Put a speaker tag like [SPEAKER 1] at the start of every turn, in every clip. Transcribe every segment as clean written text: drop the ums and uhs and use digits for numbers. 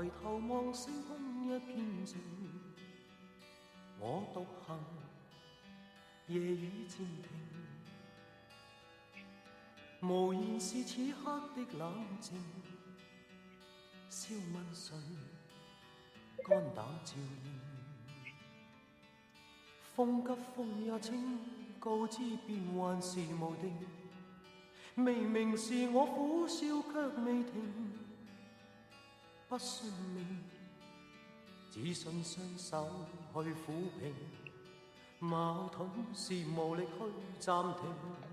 [SPEAKER 1] 頭望星空一片靜，我獨行，夜雨漸停，無言是此刻的冷靜，笑問誰，肝膽照應，風急風也清，告知變幻是無定，明明是我苦笑卻未停，不信命，只信雙手去撫平，矛盾是無力去暫停，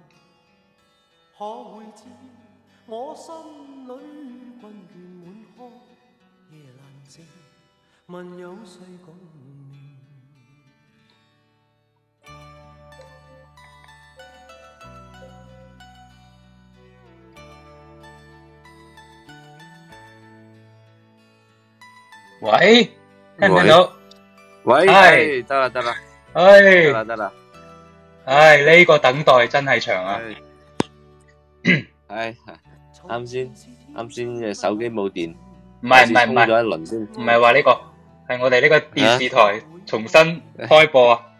[SPEAKER 1] 可會知我心裏困倦滿腔，夜闌靜，問有誰共鳴？
[SPEAKER 2] 喂，聽唔聽到？
[SPEAKER 3] 喂，係得啦，得啦，
[SPEAKER 2] 唉，呢個等待真係長啊！
[SPEAKER 3] 唉，啱先嘅手機冇電，
[SPEAKER 2] 唔係，
[SPEAKER 3] 充咗一輪先，
[SPEAKER 2] 唔係話呢個，係我哋呢個電視台重新開播啊！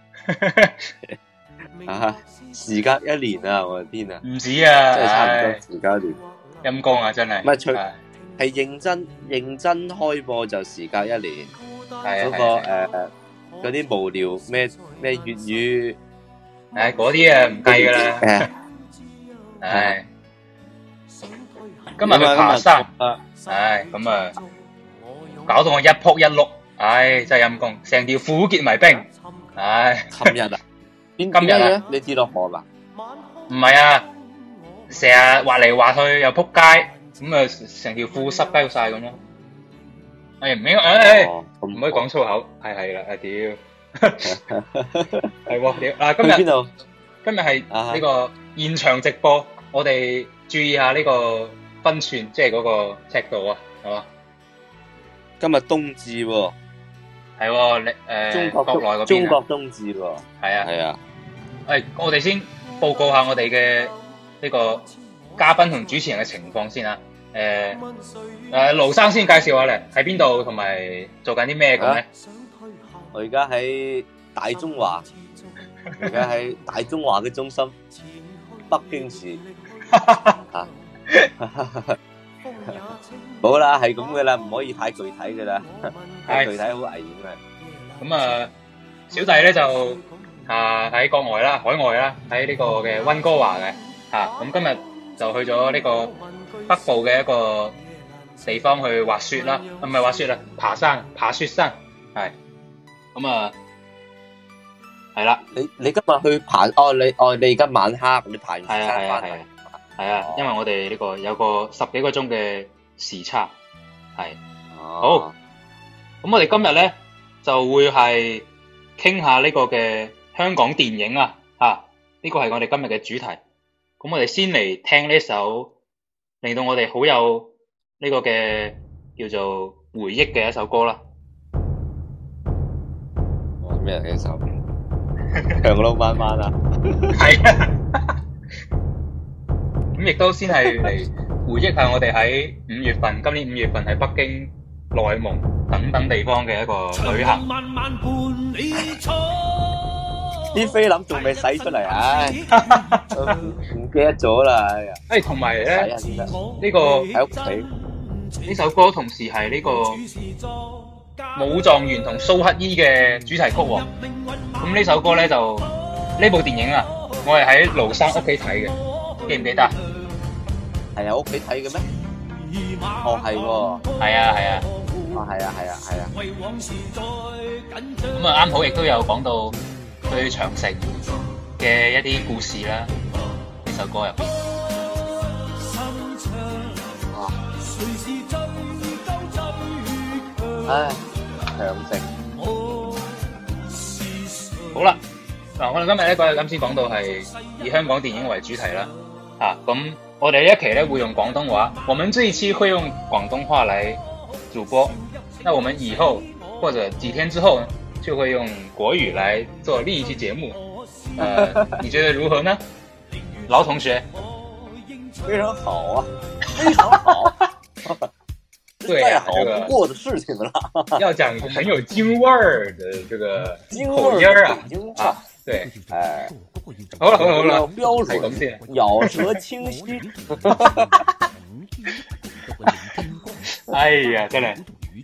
[SPEAKER 3] 啊，時隔一年啊，我嘅天啊，
[SPEAKER 2] 唔止啊，
[SPEAKER 3] 真係差唔多時隔一年，
[SPEAKER 2] 陰公啊，真係。
[SPEAKER 3] 唔係係認真開播就時隔一年，嗰個嗰啲無聊咩粵語，
[SPEAKER 2] 唉嗰啲啊唔計噶啦，唉，今日去爬山，唉咁啊，搞到我一仆一碌，唉真係陰公，成條褲結埋冰，唉，
[SPEAKER 3] 琴日啊，今日啊，你跌落河啦？
[SPEAKER 2] 唔係啊，成日滑嚟滑去又仆街。咁啊，成條褲濕鳩晒咁咯。哎唔應該，唔可以講粗口。係啦，屌，係喎屌。嗱，今日係呢個現場直播，我哋注意下呢個分寸，即係嗰個尺度啊，係嘛？
[SPEAKER 3] 今日冬至喎，
[SPEAKER 2] 係喎，你國內嗰邊
[SPEAKER 3] 中國冬至喎，
[SPEAKER 2] 係啊。我哋先報告下我哋嘅呢個嘉賓同主持人嘅情況先啊。盧生先介紹下咧，喺邊度同埋做緊啲咩咁咧？
[SPEAKER 3] 我而家喺大中華，而家喺大中華嘅中心，北京市。好啦，係咁嘅啦，唔可以太具體嘅啦，太具體好危險嘅。
[SPEAKER 2] 咁啊，小弟咧就喺國外啦，海外啦，喺呢個嘅溫哥華嘅咁今日就去咗呢個北部嘅一個地方去滑雪啦，唔係滑雪啦，爬雪山，係咁啊，係啦。
[SPEAKER 3] 你今日去爬？你而家晚黑你爬完雪山翻嚟？
[SPEAKER 2] 係啊，因為我哋呢個有個10幾個鐘嘅時差，係好。咁我哋今日咧就會係傾下呢個嘅香港電影啊，呢個係我哋今日嘅主題。咁我哋先嚟聽呢首令到我哋好有呢個嘅叫做回憶嘅一首歌啦。
[SPEAKER 3] 咩嚟？呢首長路漫漫啊！
[SPEAKER 2] 係啊，咁亦都先係嚟回憶下我哋喺今年5月份喺北京、內蒙等等地方嘅一個旅行。
[SPEAKER 3] 啲菲林仲未洗出嚟，唉，唔記得咗啦，哎呀！
[SPEAKER 2] 同埋咧，呢個
[SPEAKER 3] 喺屋企
[SPEAKER 2] 呢首歌同時係呢個武狀元同蘇乞兒嘅主題曲喎。咁呢首歌咧就呢部電影啊，我係喺盧生屋企睇嘅，記唔記得？
[SPEAKER 3] 係啊，屋企睇嘅咩？哦，係喎，
[SPEAKER 2] 係啊，
[SPEAKER 3] 哦，係啊。
[SPEAKER 2] 咁啊，啱好亦都有講到對長城嘅一啲故事啦，呢首歌入邊。
[SPEAKER 3] 唉，長城。
[SPEAKER 2] 好啦，嗱，我哋今日咧啱先講到係以香港電影為主題啦，咁我哋呢一期咧會用廣東話，我們這一期會用廣東話來主播，那我們以後或者幾天之後呢，就會用國語來做另一期節目，你覺得如何呢？老同學？
[SPEAKER 3] 非常好啊，非常好。
[SPEAKER 2] 對呀，
[SPEAKER 3] 好不過的事情了。
[SPEAKER 2] 要講很有京味兒的這個口音啊，對，
[SPEAKER 3] 哎，
[SPEAKER 2] 好了，
[SPEAKER 3] 標準，咬舌清晰。
[SPEAKER 2] 哎呀，真係，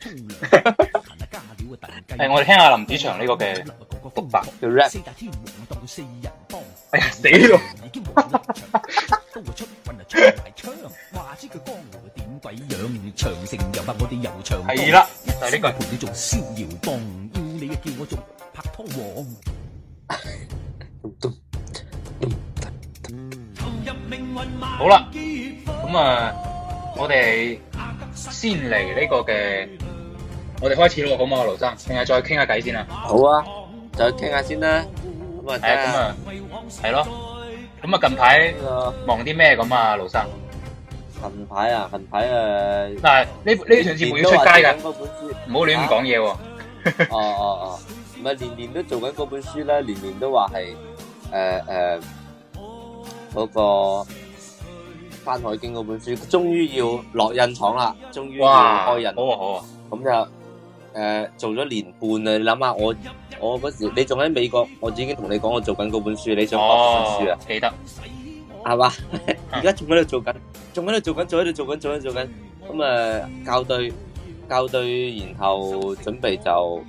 [SPEAKER 2] 我哋聽下林子祥呢個嘅獨白
[SPEAKER 3] 嘅 rap。
[SPEAKER 2] 哎呀，死咯！係啦，就係呢句。好啦，咁啊，我哋先嚟呢個嘅，我哋開始咯，好唔好啊，盧生？定係再傾下偈先啊？
[SPEAKER 3] 好啊，再傾下先啦。咁啊，
[SPEAKER 2] 係咯。咁啊，近排忙啲咩咁啊，盧生？
[SPEAKER 3] 近排
[SPEAKER 2] 嗱，呢段節目要出街㗎，唔好亂咁講嘢喎。
[SPEAKER 3] 哦，唔係年年都做緊嗰本書啦，年年都話係嗰個《山海經》嗰本書，終於要落印廠啦，終於要開印。
[SPEAKER 2] 好啊。
[SPEAKER 3] 咁就做咗年半啦，你諗下我嗰時你仲喺美國，我已經同你講我做緊嗰本書，你想學嗰本書啊？
[SPEAKER 2] 記得
[SPEAKER 3] 係嘛？而家仲喺度做緊，咁啊校對，然後準備就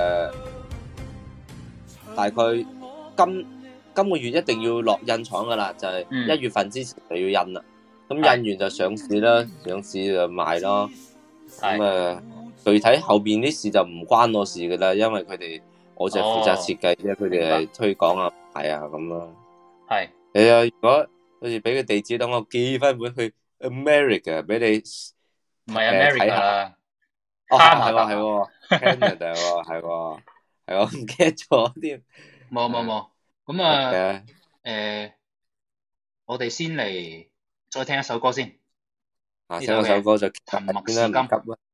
[SPEAKER 3] 大概今個月一定要落印廠噶啦，就係1月份之前就要印啦。咁印完就上市啦，上市就賣咯。咁具體後邊啲事就唔關我事噶啦，因為我就負責設計啫，佢哋係推廣啊，係啊咁咯。係。如果好似俾個地址，等我寄翻本去 America 俾你。
[SPEAKER 2] 唔係 America 啦。
[SPEAKER 3] 係喎 Canada 喎，係我唔記得咗添。
[SPEAKER 2] 冇。咁啊，我哋先嚟再聽一首歌先。
[SPEAKER 3] 聽一首歌就
[SPEAKER 2] 沉默是金。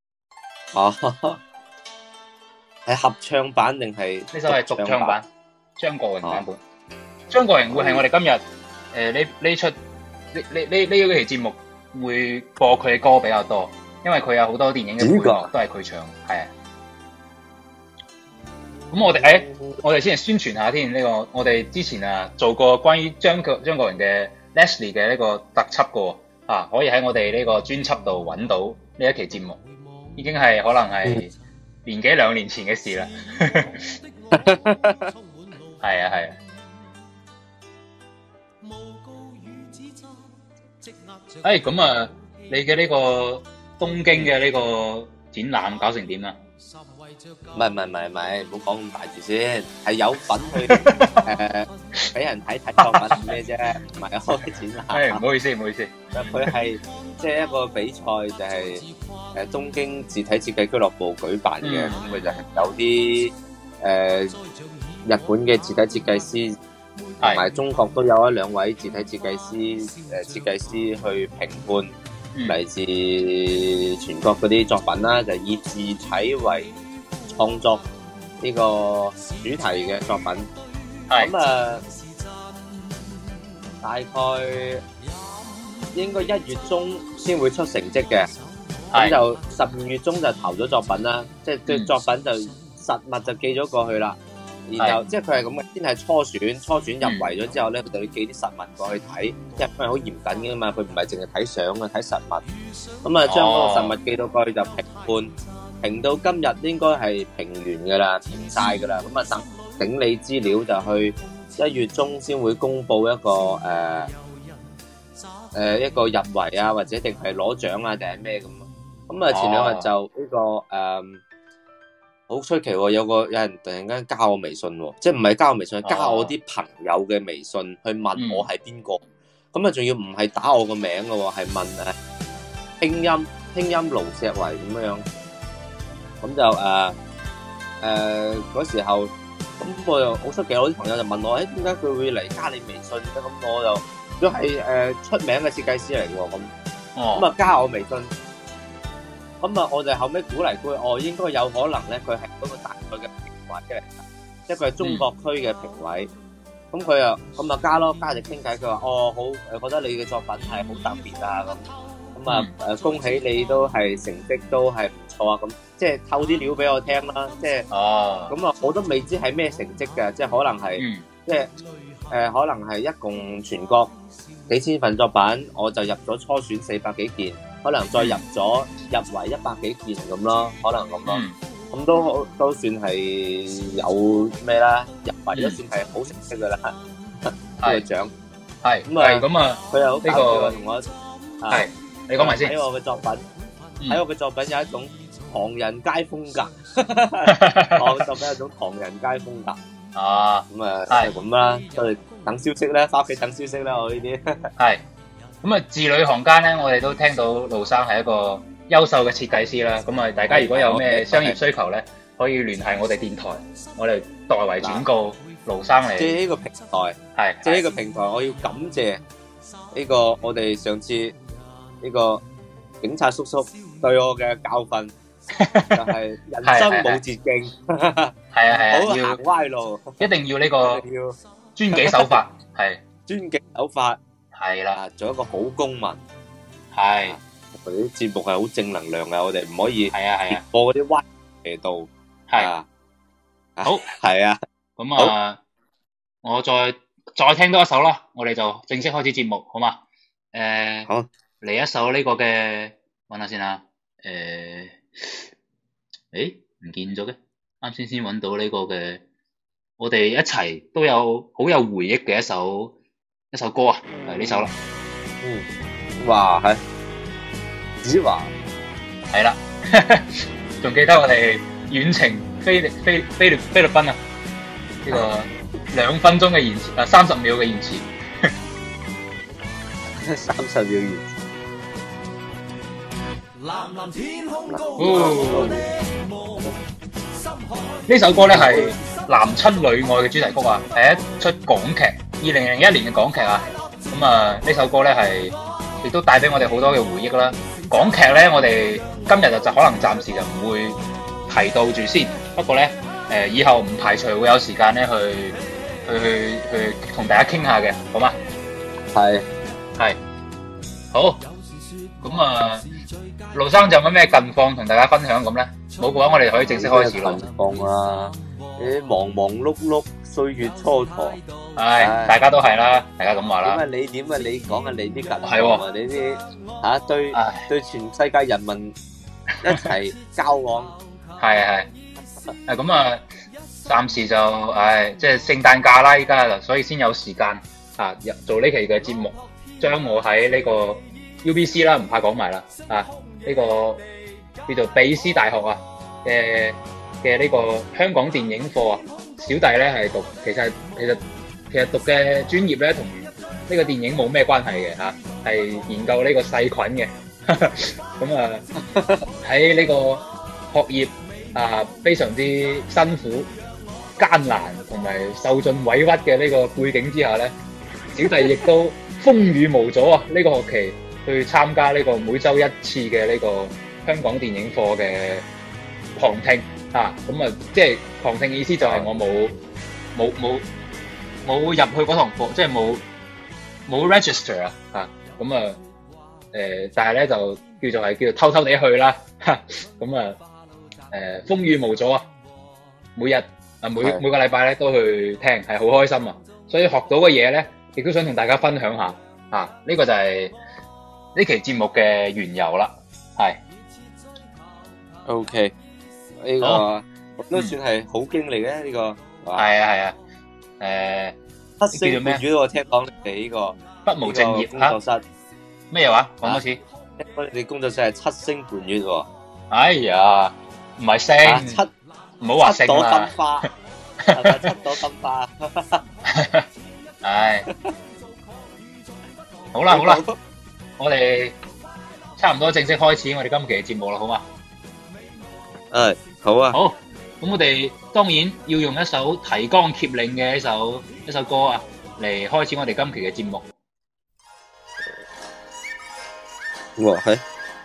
[SPEAKER 3] 係合唱版定係？
[SPEAKER 2] 呢首係獨唱版，張國榮版本。張國榮會係我哋今日呢期節目會播佢嘅歌比較多，因為佢有好多電影嘅配樂都係佢唱，係啊。咁我哋先嚟宣傳下添，呢個我哋之前做過關於張國榮嘅 Leslie 嘅呢個特輯過啊，可以喺我哋呢個專輯度揾到呢一期節目，已經係可能係年幾2年前嘅事啦。係啊。咁啊，你嘅呢個東京嘅呢個展覽搞成點啊？
[SPEAKER 3] 唔係，唔好講咁大字先，係有份去俾人睇作品咩啫，唔係開展覽。
[SPEAKER 2] 唔好意思。
[SPEAKER 3] 佢係即係一個比賽，就係東京字體設計俱樂部舉辦嘅，咁佢就係有啲日本嘅字體設計師，同埋中國都有1-2位字體設計師去評判嚟自全國嗰啲作品啦，就以字體為創作呢個主題嘅作品。咁大概應該1月中先會出成績嘅，咁就12月中就投咗作品啦，即係對作品就實物就寄咗過去啦。然後即係佢係咁嘅，先係初選入圍咗之後咧，佢就要寄啲實物過去睇，因為好嚴謹嘅嘛，佢唔係淨係睇相啊，睇實物。咁啊，將嗰個實物寄到過去就評判，評到今日應該係評完噶啦，評晒噶啦。咁啊，等整理資料就去1月中先會公布一個一個入圍啊，或者定係攞獎啊，定係咩咁。咁啊，前2日就呢個好出奇喎！有人突然間加我微信喎，即係唔係加我微信，係加我啲朋友嘅微信去問我係邊個。咁啊，仲要唔係打我個名嘅喎，係問拼音盧碩維咁樣。咁就嗰時候，咁我又好出奇，我啲朋友就問我，點解佢會嚟加你微信咧？咁我就都係出名嘅設計師嚟嘅喎，咁啊加我微信。咁啊，我就後尾估嚟估去，應該有可能咧，佢係嗰個大賽嘅評委嚟，即係佢係中國區嘅評委。咁佢又咁啊加就傾偈，佢話好，覺得你嘅作品係好特別啊咁咁啊恭喜你都係成績都係唔錯啊！咁即係透啲料俾我聽啦，即係咁啊我都未知係咩成績嘅，即係可能係即係可能係一共全國幾千份作品，我就入咗初選400幾件，可能再入圍100幾件咁咯，可能咁咯。咁都算係有咩啦，入圍都算係好成績噶啦，呢個獎
[SPEAKER 2] 係咁啊，
[SPEAKER 3] 佢又好搞笑啊，同我
[SPEAKER 2] 係你講埋先。
[SPEAKER 3] 睇我嘅作品，睇我嘅作品有一種唐人街風格，我嘅作品有一種唐人街風格。咁啊係咁啦，都係等消息啦，翻屋企等消息啦，我呢啲
[SPEAKER 2] 係咁啊，字裏行間咧，我哋都聽到盧生係一個優秀嘅設計師啦，咁啊，大家如果有咩商業需求咧，可以聯繫我哋電台，我哋代為轉告盧生嚟。
[SPEAKER 3] 即係呢個平台，係即係呢個平台，我要感謝呢個我哋上次呢個警察叔叔對我嘅教訓，就係人生冇捷徑，
[SPEAKER 2] 係啊，
[SPEAKER 3] 唔好行歪路，
[SPEAKER 2] 一定要呢個遵紀守法，係
[SPEAKER 3] 遵紀守法，
[SPEAKER 2] 係啦，
[SPEAKER 3] 做一個好公民，
[SPEAKER 2] 係。
[SPEAKER 3] 我哋啲節目係好正能量嘅，我哋唔可以
[SPEAKER 2] 播
[SPEAKER 3] 嗰啲歪斜道。係
[SPEAKER 2] 好
[SPEAKER 3] 係啊，
[SPEAKER 2] 咁啊，我再聽多一首啦，我哋就正式開始節目，好嘛？好嚟一首呢個嘅，揾下先啊。唔見咗嘅，啱先揾到呢個嘅，我哋一齊都有好有回憶嘅一首歌啊，係呢首啦。
[SPEAKER 3] 哇，係。子華
[SPEAKER 2] 係啦，仲記得我哋遠程菲律賓啊，呢個2分鐘嘅延遲30秒嘅延遲
[SPEAKER 3] ，30秒延
[SPEAKER 2] 遲。呢首歌咧係男親女愛嘅主題曲啊，係一出港劇，2001年嘅港劇啊。咁啊，呢首歌咧係亦都帶俾我哋好多嘅回憶啦。港劇咧，我哋今日就可能暫時就唔會提到住先。不過咧，以後唔排除會有時間咧去同大家傾下嘅，好嗎？
[SPEAKER 3] 係
[SPEAKER 2] 好。咁啊，盧生仲有咩近況同大家分享咁咧？冇嘅話，我哋可以正式開始咯。
[SPEAKER 3] 近況啊，啲忙忙碌碌，歲月蹉跎。
[SPEAKER 2] 大家都係啦，大家咁話啦。
[SPEAKER 3] 你講下你啲近況啊，你啲對全世界人民一齊交往。係
[SPEAKER 2] 咁啊，暫時就即係聖誕假啦，依家所以先有時間做呢期嘅節目，將我喺呢個 UBC 啦，唔怕講埋啦，呢個叫做比斯大學嘅呢個香港電影課啊，小弟咧係讀，其實讀嘅專業咧同呢個電影冇咩關係嘅嚇，係研究呢個細菌嘅。咁啊喺呢個學業非常之辛苦、艱難同埋受盡委屈嘅呢個背景之下咧，小弟亦都風雨無阻啊！呢個學期去參加呢個每週一次嘅呢個香港電影課嘅旁聽咁啊，即係旁聽意思就係我冇入去嗰堂課，即係冇 register 咁啊但係咧就叫做偷偷地去啦，咁啊風雨無阻啊，每個禮拜咧都去聽，係好開心啊！所以學到嘅嘢咧，亦都想同大家分享下呢個就係呢期節目嘅緣由啦。係
[SPEAKER 3] OK， 呢個都算係好經歷嘅呢個。
[SPEAKER 2] 係啊。
[SPEAKER 3] 七星半月我聽講你哋呢個
[SPEAKER 2] 不務正業
[SPEAKER 3] 工作室
[SPEAKER 2] 咩話？講多次。
[SPEAKER 3] 我哋工作室係7星半月喎。
[SPEAKER 2] 哎呀，唔係星，唔好話星啦。
[SPEAKER 3] 七朵金花。
[SPEAKER 2] 唉，好啦，我哋差唔多正式開始我哋今期嘅節目啦，好嘛？
[SPEAKER 3] 好啊。
[SPEAKER 2] 好，咁我哋當然要用一首提綱挈領嘅一首歌啊，嚟開始我哋今期嘅節目。
[SPEAKER 3] 哇，係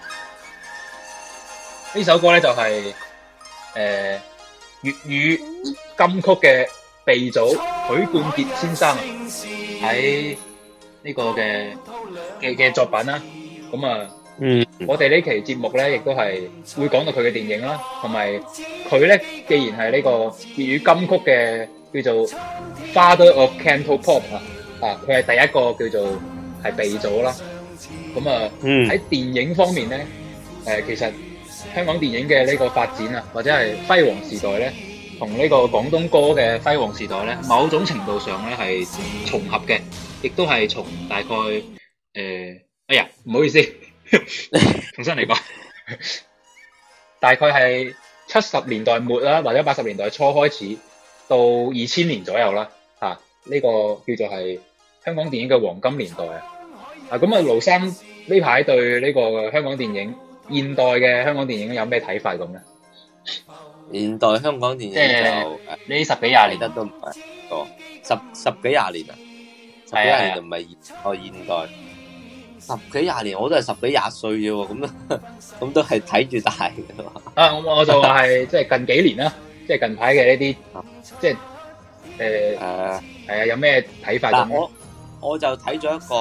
[SPEAKER 2] 呢首歌咧就係粵語金曲嘅鼻祖許冠傑先生喺呢個嘅作品啦。咁啊， 我哋呢期節目咧，亦都係會講到佢嘅電影啦，同埋佢咧，既然係呢個粵語金曲嘅叫做 Father of Cantopop 佢係第一個叫做係鼻祖啦。咁喺電影方面咧，其實香港電影嘅呢個發展啊，或者係輝煌時代咧，同呢個廣東歌嘅輝煌時代咧，某種程度上咧係重合嘅，亦都係從大概哎呀，唔好意思。重新嚟講，大概係70年代末啦，或者80年代初開始到2000年左右啦，呢個叫做係香港電影嘅黃金年代啊。咁盧生呢排對呢個香港電影現代嘅香港電影有咩睇法咁咧？
[SPEAKER 3] 現代香港電影就
[SPEAKER 2] 呢10幾廿年
[SPEAKER 3] 得都唔係多，十幾廿年啊，十幾廿年就唔係現代。10幾廿年我都係10幾廿歲啫喎，咁都係睇住大嘅嘛。
[SPEAKER 2] 我就話係即係近幾年啦，即係近排嘅呢啲，即係係啊，有咩睇法咁？
[SPEAKER 3] 我就睇咗一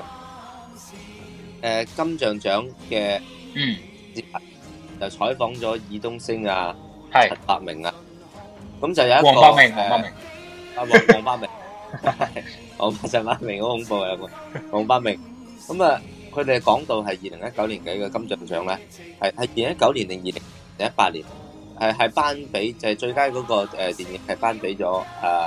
[SPEAKER 3] 個金像獎嘅節目，就採訪咗爾冬陞啊、陳百鳴啊，咁就有一個
[SPEAKER 2] 黃百鳴，
[SPEAKER 3] 黃百鳴，陳百鳴好恐怖啊！黃百鳴。咁佢哋講到係2019年嘅一個金像獎咧，係2019年定2018年，係頒俾就係最佳嗰個電影係頒俾咗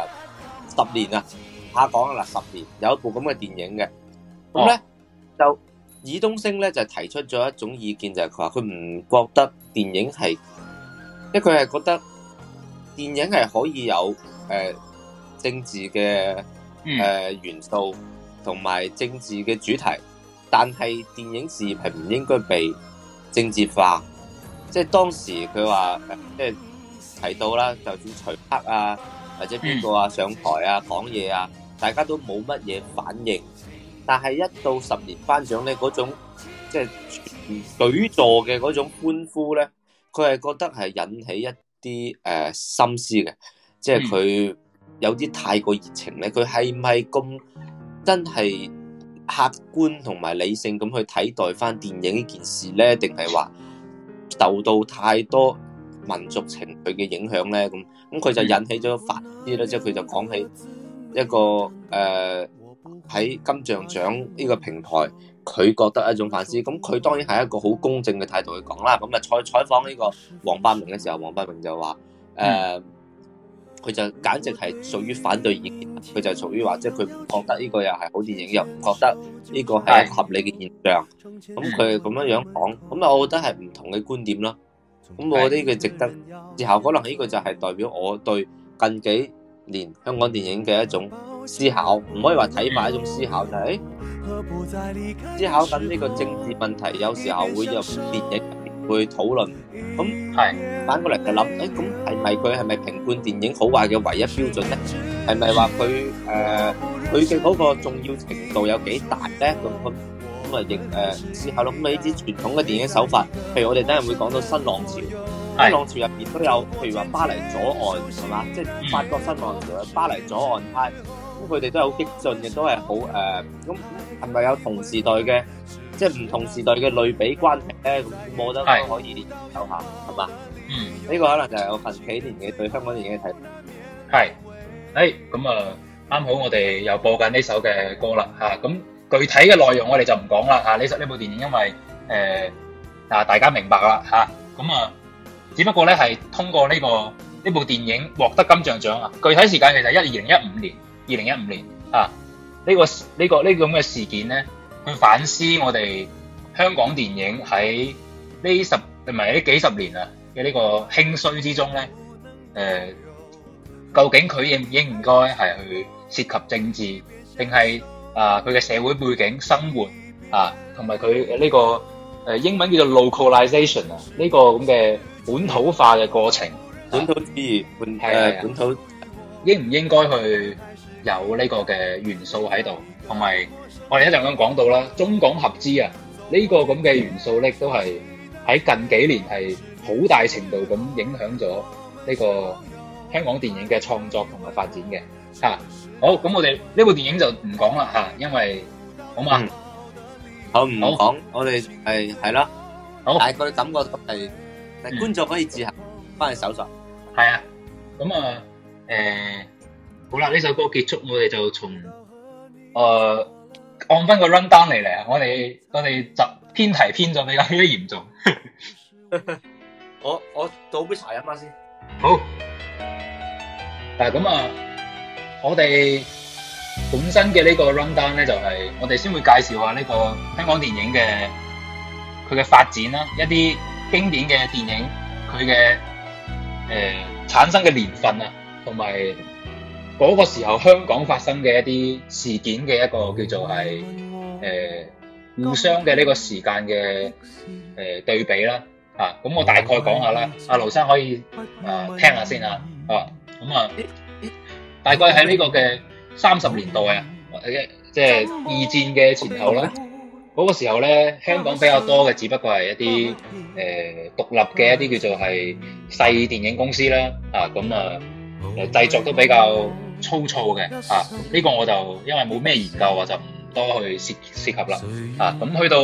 [SPEAKER 3] 10年啊，下講啦10年有一部咁嘅電影嘅，咁咧就爾冬陞咧就提出咗一種意見，就係佢話佢唔覺得電影係，因為佢係覺得電影係可以有政治嘅元素同埋政治嘅主題。但係電影事業係唔應該被政治化，即係當時佢話即係提到啦，就算徐克啊或者邊個啊上台啊講嘢啊，大家都冇乜嘢反應。但係一到10年頒獎咧，嗰種即係舉座嘅嗰種歡呼咧，佢係覺得係引起一啲心思嘅，即係佢有啲太過熱情咧，佢係唔係咁真係客觀同埋理性咁去睇待翻電影呢件事咧，定係話受到太多民族情緒嘅影響咧？咁佢就引起咗反思啦，即係佢就講起一個喺金像獎呢個平台，佢覺得一種反思。咁佢當然係一個好公正嘅態度去講啦。咁啊採訪呢個黃百鳴嘅時候，黃百鳴就話佢就簡直係屬於反對意見，佢就屬於話，即係佢唔覺得呢個又係好電影，又唔覺得呢個係一個合理嘅現象。咁佢咁樣講，咁啊，我覺得係唔同嘅觀點啦。咁我覺得呢個值得之後，可能呢個就係代表我對近幾年香港電影嘅一種思考，唔可以話睇法，一種思考就係思考緊呢個政治問題，有時候會入電影會討論。咁反過嚟就諗，咁係咪評判電影好壞嘅唯一標準咧？係咪話佢嘅嗰個重要程度有幾大咧？咁亦思考咯。咁呢啲傳統嘅電影手法，譬如我哋等陣會講到新浪潮，新浪潮入邊都有，譬如話巴黎左岸係嘛，即係法國新浪潮嘅巴黎左岸派，咁佢哋都係好激進嘅，都係好咁係咪有同時代嘅？即係唔同時代嘅類比關係咧，咁我覺得可以研究下，係嘛？呢個可能就係我近幾年嘅對香港電影嘅睇法。
[SPEAKER 2] 係，咁啱好我哋又播緊呢首嘅歌啦嚇。咁具體嘅內容我哋就唔講啦嚇。呢部電影因為大家明白啦嚇。咁只不過咧係通過呢部電影獲得金像獎啊。具體時間其實2015年啊。呢個咁嘅事件咧，去反思我哋香港電影喺呢幾十年啊嘅呢個興衰之中咧，究竟佢應唔應該係去涉及政治，定係佢嘅社會背景、生活同埋佢呢個英文叫做 localization 呢個咁嘅本土化嘅過程，
[SPEAKER 3] 本土主義本土
[SPEAKER 2] 應唔應該去有呢個嘅元素喺度，同埋我哋一陣間講到啦，中港合資呢個咁嘅元素咧，都係喺近幾年係好大程度咁影響咗呢個香港電影嘅創作同埋發展嘅。好，咁我哋呢部電影就唔講啦因為好嘛，
[SPEAKER 3] 好唔講，我哋係啦，
[SPEAKER 2] 好，
[SPEAKER 3] 大概感覺係觀眾可以自行翻去搜索。
[SPEAKER 2] 係啊，咁啊，好啦，呢首歌結束，我哋就從按翻個 run down 嚟啊，我哋就偏題偏咗比較嚴重。
[SPEAKER 3] 我倒杯茶飲下先。
[SPEAKER 2] 好，咁啊，我哋本身嘅呢個 run down 咧，就係我哋先會介紹下呢個香港電影嘅佢嘅發展啦，一啲經典嘅電影佢嘅產生嘅年份啊，同埋嗰個時候香港發生嘅一啲事件嘅一個叫做係互相嘅呢個時間嘅對比啦。咁我大概講下啦，阿盧生可以聽下先啊。咁啊，大概喺呢個嘅30年代啊，即係二戰嘅前後啦。嗰個時候咧，香港比較多嘅只不過係一啲獨立嘅一啲叫做係細電影公司啦。製作都比較粗糙嘅。呢個我就因為冇咩研究，我就唔多去涉及啦。咁去到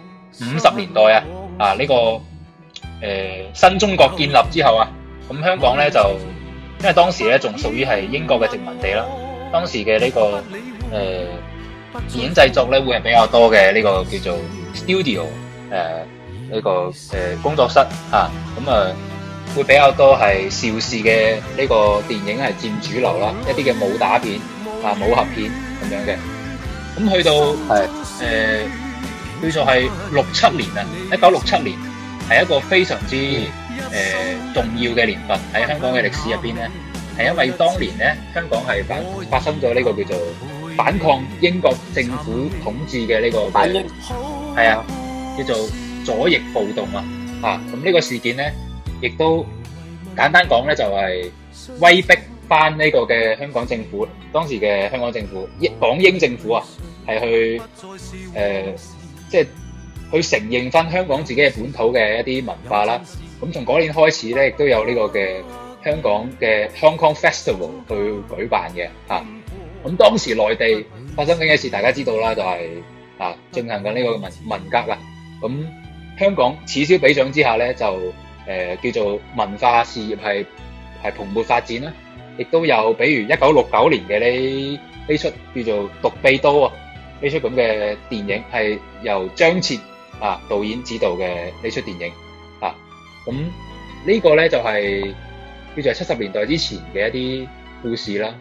[SPEAKER 2] 50年代呢個新中國建立之後啊，咁香港咧就因為當時咧仲屬於係英國嘅殖民地啦，當時嘅呢個電影製作咧會係比較多嘅呢個叫做 studio 呢個工作室會比較多係邵氏嘅呢個電影係佔主流啦，一啲嘅武打片武俠片咁樣嘅。咁去到叫做係67年啊，1967年係一個非常之重要嘅年份喺香港嘅歷史入邊咧，係因為當年咧香港係發生咗呢個叫做反抗英國政府統治嘅呢個反英叫做左翼暴動咁呢個事件咧，亦都簡單講咧就係威逼翻呢個嘅香港政府，當時嘅香港政府港英政府係去即係去承認翻香港自己嘅本土嘅一啲文化啦。咁從嗰年開始咧，亦都有呢個嘅香港嘅 Hong Kong Festival 去舉辦嘅咁當時內地發生緊嘅事，大家知道啦，就係進行緊呢個文革啦。咁香港此消彼長之下咧，就叫做文化事業係蓬勃發展啦。亦都有比如1969年嘅呢出叫做《獨臂刀》呢出咁嘅電影，係由張徹導演指導嘅呢出電影咁呢個咧就係叫做70年代之前嘅一啲故事啦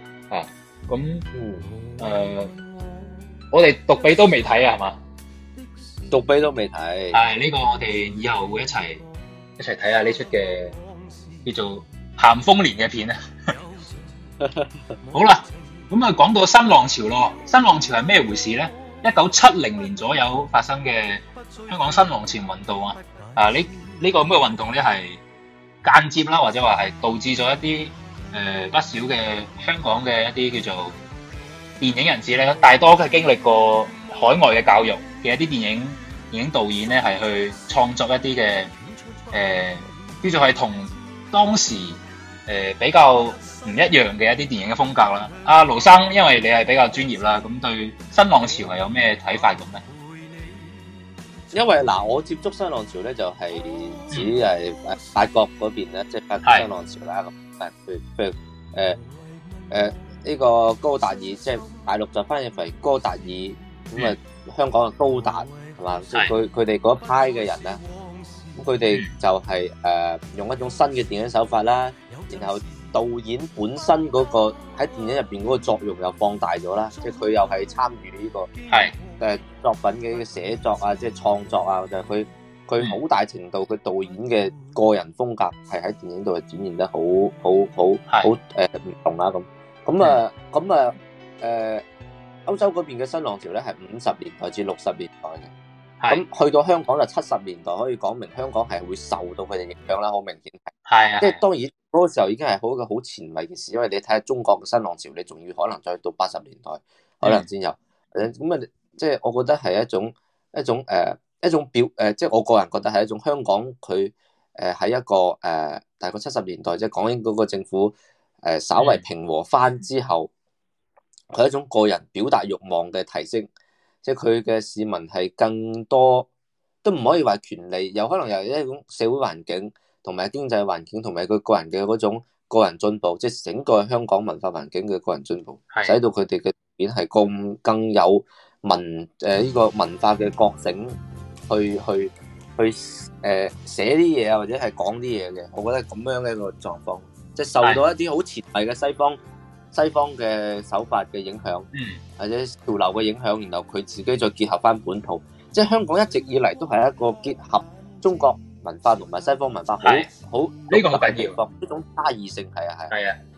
[SPEAKER 2] 我哋獨臂都未睇係嘛？
[SPEAKER 3] 獨臂都未睇。
[SPEAKER 2] 係呢個我哋以後會一齊睇下呢出嘅叫做咸豐年嘅片好啦，咁講到新浪潮咯。新浪潮係咩回事咧？1970年左右發生嘅香港新浪潮運動呢個咁嘅運動咧係間接啦，或者話係導致咗一啲不少嘅香港嘅一啲叫做電影人士咧，大多係經歷過海外嘅教育嘅一啲電影導演咧，係去創作一啲嘅叫做係同當時比較唔一樣嘅一啲電影嘅風格啦。阿盧生，因為你係比較專業啦，咁對新浪潮係有咩睇法咁咧？
[SPEAKER 3] 因為我接觸新浪潮咧，就係指係法國嗰邊咧，即係法國新浪潮啦。咁譬如呢個高達爾，即係大陸就翻譯為高達爾，咁香港嘅高達係嘛？即係佢哋嗰一派嘅人咧，咁佢哋就係用一種新嘅電影手法啦，然後導演本身嗰個喺電影入邊嗰個作用又放大咗啦，即係佢又係參與呢個作品嘅寫作即係創作就係佢好大程度佢導演嘅個人風格係喺電影度係展現得好唔同啦咁。歐洲嗰邊嘅新浪潮咧係50年代至60年代嘅，咁去到香港就70年代，可以講明香港係會受到佢哋影響啦，好明顯係。即係當然嗰個時候已經係好一個好前衛嘅事，因為你睇下中國嘅新浪潮，你仲要可能再到80年代可能先有。咁即係我覺得係一種即係我個人覺得係一種香港佢喺一個大概70年代即係港英嗰個政府稍為平和翻之後，佢係一種個人表達慾望嘅提升， 即係佢嘅市民係更多，都唔可以話權利，有可能由一種社會環境同埋經濟環境同埋佢個人嘅嗰種個人進步，即係整個香港文化環境嘅個人進步，使到佢哋嘅片係更有呢個文化嘅覺醒，去寫啲嘢啊，或者係講啲嘢嘅。我覺得係咁樣嘅一個狀況，即係受到一啲好前衛嘅西方嘅手法嘅影響，或者潮流嘅影響，然後佢自己再結合翻本土，即係香港一直以嚟都係一個結合中國文化同埋西方文化好呢個好緊要，呢種差異性係啊。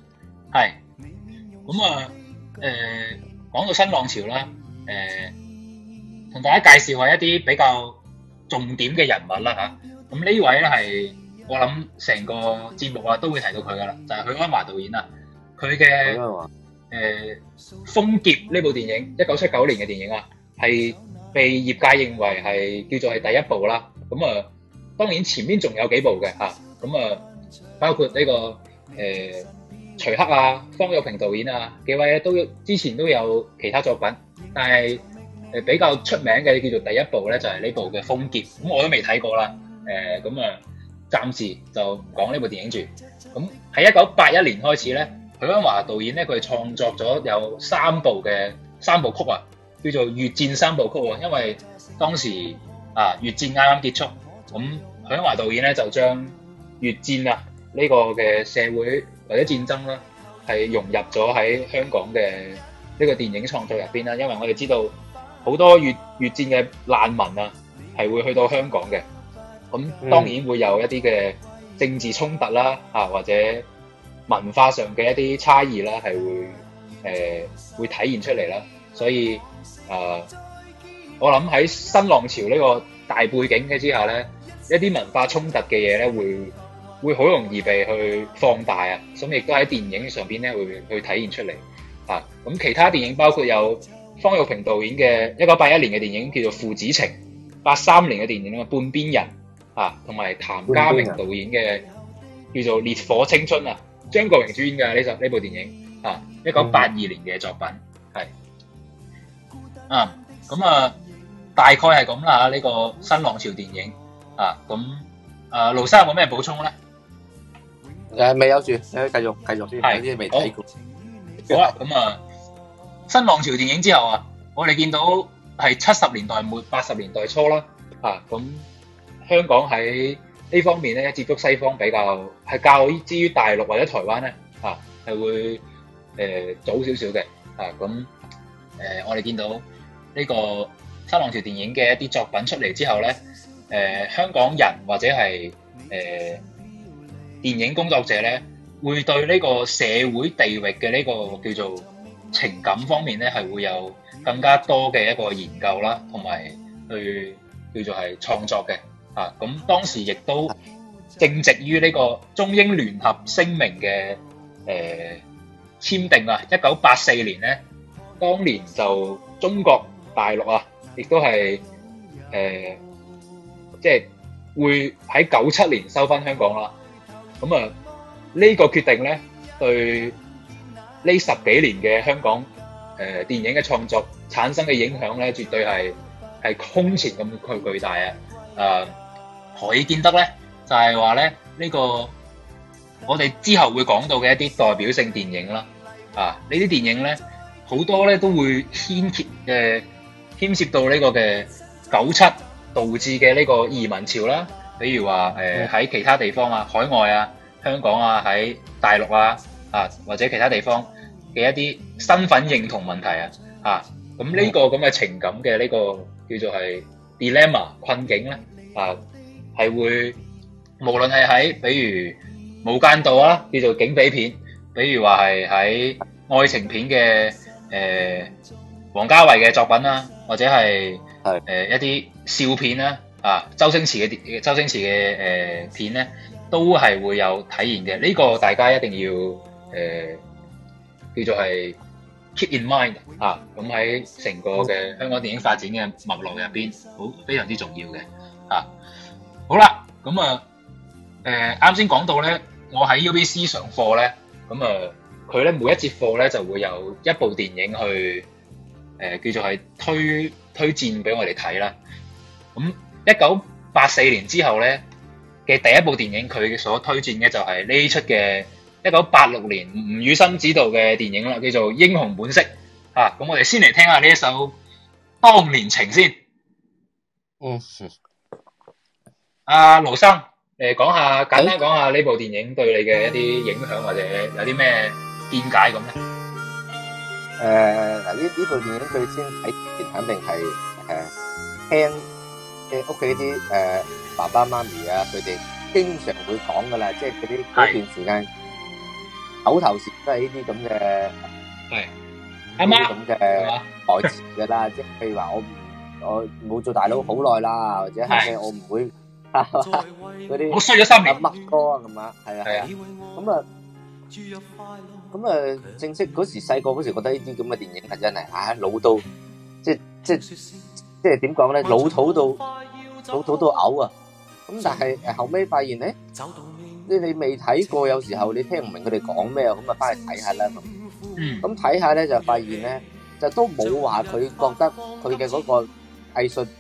[SPEAKER 2] 咁啊講到新浪潮啦，同大家介紹下一啲比較重點嘅人物啦嚇。咁呢位咧係我諗成個節目啊都會提到佢噶啦，就係許鞍華導演啊。佢嘅瘋劫呢部電影，1979年嘅電影啊，係被業界認為係叫做係第一部啦。咁啊，當然前面仲有幾部嘅嚇。咁啊，包括呢個徐克啊、方育平導演啊幾位咧，之前都有其他作品，但係比較出名嘅叫做第一部咧，就係呢部嘅瘋劫。咁我都未睇過啦。咁啊，暫時就唔講呢部電影住。咁喺1981年開始咧，許鞍華導演咧，佢創作咗有三部曲啊，叫做越戰三部曲啊。因為當時越戰啱啱結束，咁許鞍華導演咧就將越戰啊呢個嘅社會或者戰爭啦，係融入咗喺香港嘅呢個電影創作入邊啦。因為我哋知道好多越戰嘅難民啊，係會去到香港嘅，咁當然會有一啲嘅政治衝突啦，或者文化上嘅一啲差異啦，係會體現出嚟啦。所以我諗喺新浪潮呢個大背景嘅之下咧，一啲文化衝突嘅嘢咧，會好容易被去放大啊。咁亦都喺電影上邊咧會去體現出嚟。咁其他電影包括有方育平導演嘅1981年嘅電影叫做《父子情》，83年嘅電影《半邊人》同埋譚家明導演嘅叫做《烈火青春》啊。張國榮主演嘅呢部電影1982年嘅作品係咁大概係咁啦。呢個新浪潮電影咁盧生有冇咩補充咧？
[SPEAKER 3] 未有住，繼續先，有啲未睇過。
[SPEAKER 2] 好啦，咁新浪潮電影之後啊，我哋見到係70年代末80年代初啦，咁香港喺呢方面咧接觸西方比較係較之於大陸或者台灣咧，係會早少少嘅。咁我哋見到呢個新浪潮電影嘅一啲作品出嚟之後咧，香港人或者係電影工作者咧，會對呢個社會地域嘅呢個叫做情感方面咧，係會有更加多嘅一個研究啦，同埋去叫做係創作嘅。咁當時亦都正值於呢個中英聯合聲明嘅簽訂啊，1984年咧，當年就中國大陸啊，亦都係即係會喺97年收翻香港啦。咁呢個決定咧，對呢10幾年嘅香港電影嘅創作產生嘅影響咧，絕對係空前咁巨大啊！何以見得咧？就係話咧，呢個我哋之後會講到嘅一啲代表性電影啦，呢啲電影咧好多咧都會牽涉到呢個嘅97導致嘅呢個移民潮啦，比如話喺其他地方啊、海外啊、香港啊、喺大陸啊或者其他地方嘅一啲身份認同問題咁呢個咁嘅情感嘅呢個叫做係 dilemma 困境咧係會無論係喺比如無間道啦，叫做警匪片，比如話係喺愛情片嘅王家衛嘅作品啦，或者係一啲笑片啦周星馳嘅片咧，都係會有體現嘅。呢個大家一定要叫做係 keep in mind 咁喺成個嘅香港電影發展嘅脈絡入邊，非常之重要嘅好啦，咁啱先講到咧，我喺 UBC 上課咧，咁佢咧每一節課咧就會有一部電影去叫做係推薦俾我哋睇啦。咁1984年之後咧嘅第一部電影，佢所推薦嘅就係呢出嘅1986年吳宇森執導嘅電影啦，叫做《英雄本色》啊。咁我哋先嚟聽下呢一首《當年情》先。阿盧生，簡單講下呢部電影對你嘅一啲影響，或者有啲咩見解咁咧？
[SPEAKER 3] 嗱，呢部電影最先睇前肯定係聽屋企啲爸爸媽咪啊，佢哋經常會講噶啦，即係嗰段時間口頭禪都係呢啲咁嘅，係阿媽咁嘅台詞噶啦，即係譬如話我冇做大佬好耐啦，或者係我唔會嗰啲
[SPEAKER 2] 我衰咗3年
[SPEAKER 3] 乜歌啊咁啊，係啊，咁啊正式嗰時細個嗰時覺得呢啲咁嘅電影係真係老到即係點講咧，老土到嘔啊！咁但係後尾發現咧，你未睇過，有時候你聽唔明佢哋講咩，咁啊翻去睇下啦咁。咁睇下咧就發現咧，就都冇話佢覺得佢嘅嗰個藝術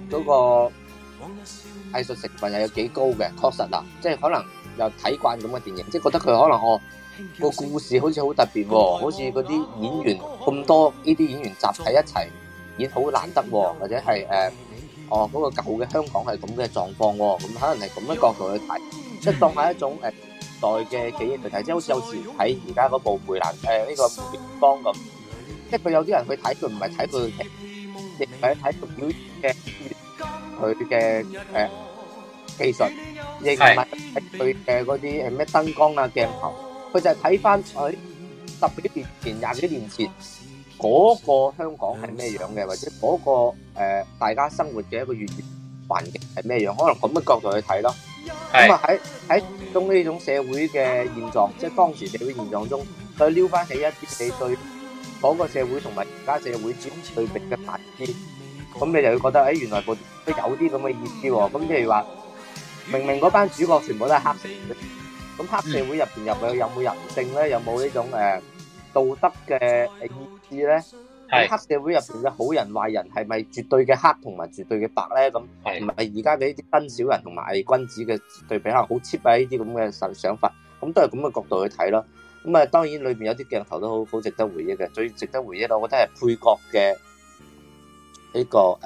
[SPEAKER 3] 成分又有幾高嘅，確實啦，即係可能又睇慣咁嘅電影，即係覺得佢可能個故事好似好特別喎，好似嗰啲演員咁多呢啲演員集喺一齊演好難得喎，或者係嗰個舊嘅香港係咁嘅狀況喎，咁可能係咁嘅角度去睇，即係當係一種代嘅記憶去睇，即係好似有時睇而家嗰部梅蘭呢個梅艷芳咁，即係佢有啲人去睇佢唔係睇佢劇，亦唔係睇佢表演嘅佢嘅技術，亦唔係睇佢嘅嗰啲咩燈光啊鏡頭，佢就係睇翻佢10幾年前、20幾年前嗰個香港係咩樣嘅，或者嗰個大家生活嘅一個粵語環境係咩樣，可能咁嘅角度去睇咯。咁啊喺中呢種社會嘅現狀，即係當時社會現狀中，再撩翻起一啲你對嗰個社會同埋而家社會之間對比嘅反思，咁你就會覺得原來都有啲咁嘅意思喎。咁譬如話，明明嗰班主角全部都係黑社會，咁黑社會入邊有冇人性咧？有冇呢種道德嘅意志咧？黑社會入邊嘅好人壞人係咪絕對嘅黑同埋絕對嘅白咧？咁唔係而家嘅呢啲真小人同埋偽君子嘅對比，可能好 cheap 啊！呢啲咁嘅想法，咁都係咁嘅角度去睇咯。咁當然裏邊有啲鏡頭都好值得回憶嘅。最值得回憶，我覺得係配角嘅呢個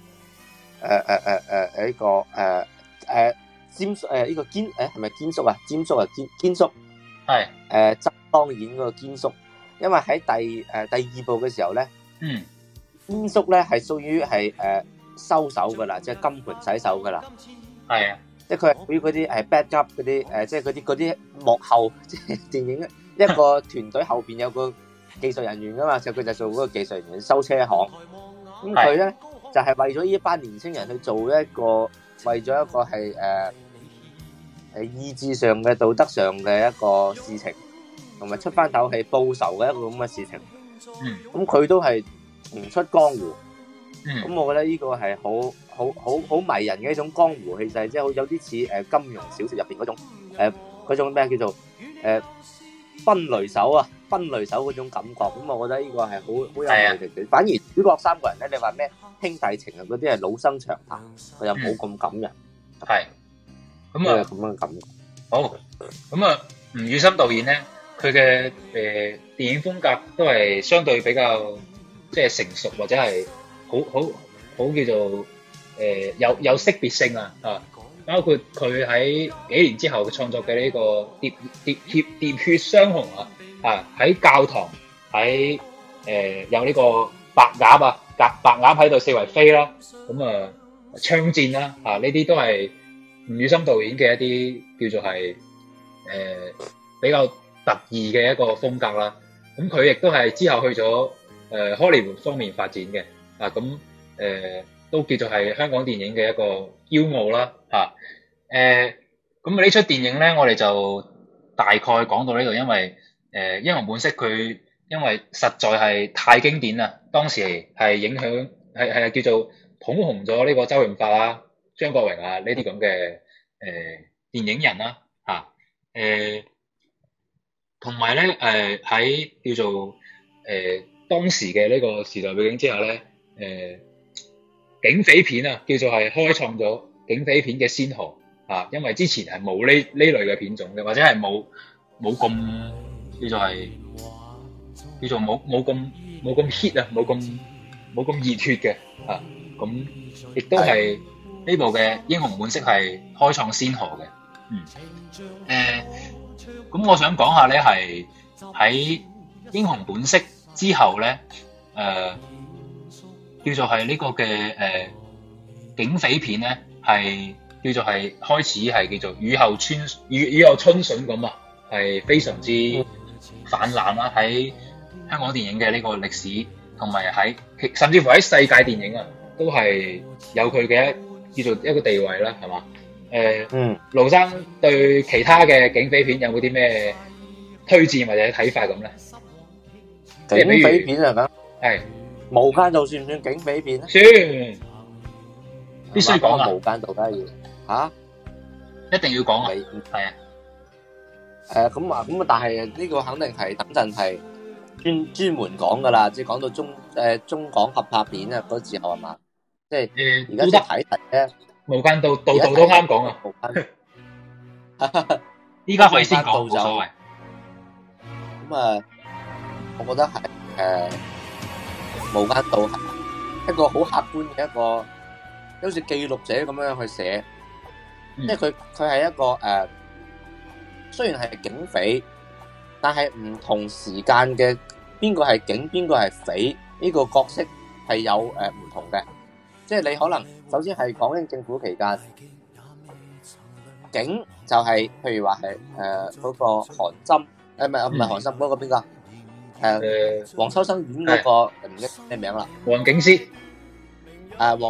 [SPEAKER 3] 呢個堅係咪堅叔啊？堅叔係曾當演嗰個堅叔。因為喺第二部嘅時候咧，堅叔咧係屬於係收手噶啦，即係金盆洗手噶啦，係啊，即係佢係屬於嗰啲bad up 嗰啲即係嗰啲幕後，即係電影一個團隊後邊有個技術人員噶嘛，就佢就做嗰個技術人員收車行，咁佢咧就係為咗呢一班年青人去做一個，為咗一個係意志上嘅道德上嘅一個事情。同埋出翻口氣報仇嘅一個咁嘅事情，咁佢都係唔出江湖，咁我覺得呢個係好迷人嘅一種江湖氣勢，即係好有啲似金庸小說入邊嗰種咩叫做分雷手啊，分雷手嗰種感覺，咁我覺得呢個係好有魅力嘅。反而主角3個人咧，你話咩兄弟情啊嗰啲係老生常談，佢又冇咁感人，係咁啊咁樣感覺。
[SPEAKER 2] 好，咁啊吳宇森導演咧。佢嘅電影風格都係相對比較即係成熟，或者係好叫做有識別性啊，包括佢喺幾年之後創作嘅呢個喋血雙雄啊，喺教堂喺有呢個白鴨啊，白鴨喺度四圍飛啦，咁啊槍戰啦呢啲都係吳宇森導演嘅一啲叫做係比較特異嘅一個風格啦，咁佢亦都係之後去咗荷里活方面發展嘅，咁都叫做係香港電影嘅一個驕傲啦，咁呢出電影咧，我哋就大概講到呢度，因為英雄本色佢因為實在係太經典啦，當時係影響係叫做捧紅咗呢個周潤發啊、張國榮啊呢啲咁嘅電影人啦，同埋咧喺叫做當時嘅呢個時代背景之下咧，警匪片啊，叫做係開創咗警匪片嘅先河啊，因為之前係冇呢類嘅片種嘅，或者係冇咁叫做冇咁 hit 啊，冇咁熱血嘅啊，咁亦都係呢部嘅英雄本色係開創先河嘅。咁我想講下咧，係喺英雄本色之後咧，叫做係呢個嘅警匪片咧，係叫做係開始係叫做雨後春筍咁啊，係非常之氾濫啦！喺香港電影嘅呢個歷史，同埋甚至乎喺世界電影啊，都係有佢嘅叫做一個地位啦，係嘛？盧生對其他嘅警匪片有冇啲咩推薦或者睇法咁咧？
[SPEAKER 3] 警匪片係咪？
[SPEAKER 2] 係
[SPEAKER 3] 無間道算唔算警匪片咧？
[SPEAKER 2] 算，必須講啊！
[SPEAKER 3] 無間道梗係要
[SPEAKER 2] 一定要講啊！係啊。
[SPEAKER 3] 咁啊，但係呢個肯定係等陣係專門講噶啦，即係講到中港合拍片啊嗰時候係嘛？即係而家即係睇題咧，
[SPEAKER 2] 無間道度都啱講啊！依家可以先講，冇所謂。
[SPEAKER 3] 咁啊，我覺得係無間道係一個好客觀嘅一個，好似記錄者咁樣去寫，即係佢係一個雖然係警匪，但係唔同時間嘅邊個係警邊個係匪呢個角色係有唔同嘅，即係你可能首先係講緊政府期間，警就係譬如話係嗰個韓琛，唔係韓琛嗰個邊個？黃秋生演嗰個唔記得咩名啦？
[SPEAKER 2] 黃警司。
[SPEAKER 3] 黃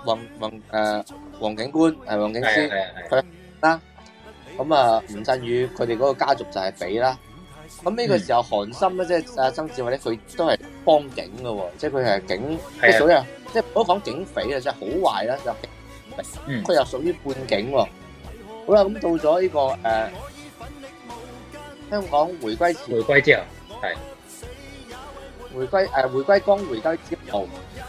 [SPEAKER 3] 警官黃警司佢啦。咁啊，吳鎮宇佢哋嗰個家族就係匪啦。咁呢個時候，韓琛咧，即係阿曾志偉咧，佢都係幫警嘅喎，即係佢係警，即係屬於即係唔好講警匪啊，即係好壞啦，就佢又屬於半警喎。好啦，咁到咗呢個香港回歸之後，
[SPEAKER 2] 係
[SPEAKER 3] 回歸江回歸之後，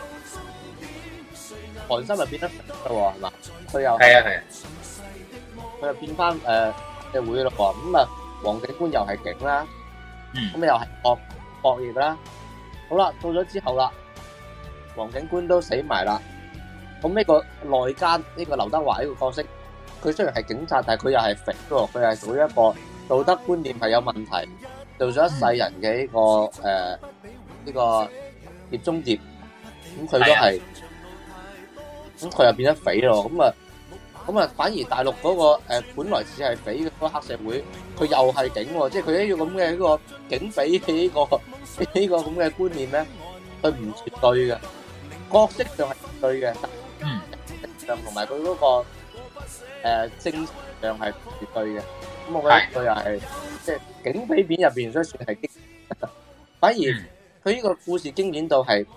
[SPEAKER 3] 韓琛就變得匪啦喎，係嘛？佢又係。佢又變翻社會咯喎，咁啊黃警官又係警啦，咁又係惡業啦。好啦，到咗之後啦，黃警官都死埋啦。咁呢個內奸呢個劉德華呢個角色，佢雖然係警察，但係佢又係匪喎，佢係屬於一個道德觀念係有問題，做咗一世人嘅呢個碟中諜，咁佢都係，咁佢又變得匪咯，咁啊，反而大陸嗰個本來似係匪嘅嗰個黑社會，佢又係警喎，即係佢呢個咁嘅呢個警匪嘅呢個咁嘅觀念咧，佢唔絕對嘅，角色上係絕對嘅，上同埋佢嗰個正上係絕對嘅，咁我覺得佢又係即係警匪片入邊，所以算係經典。反而佢呢個故事經典到係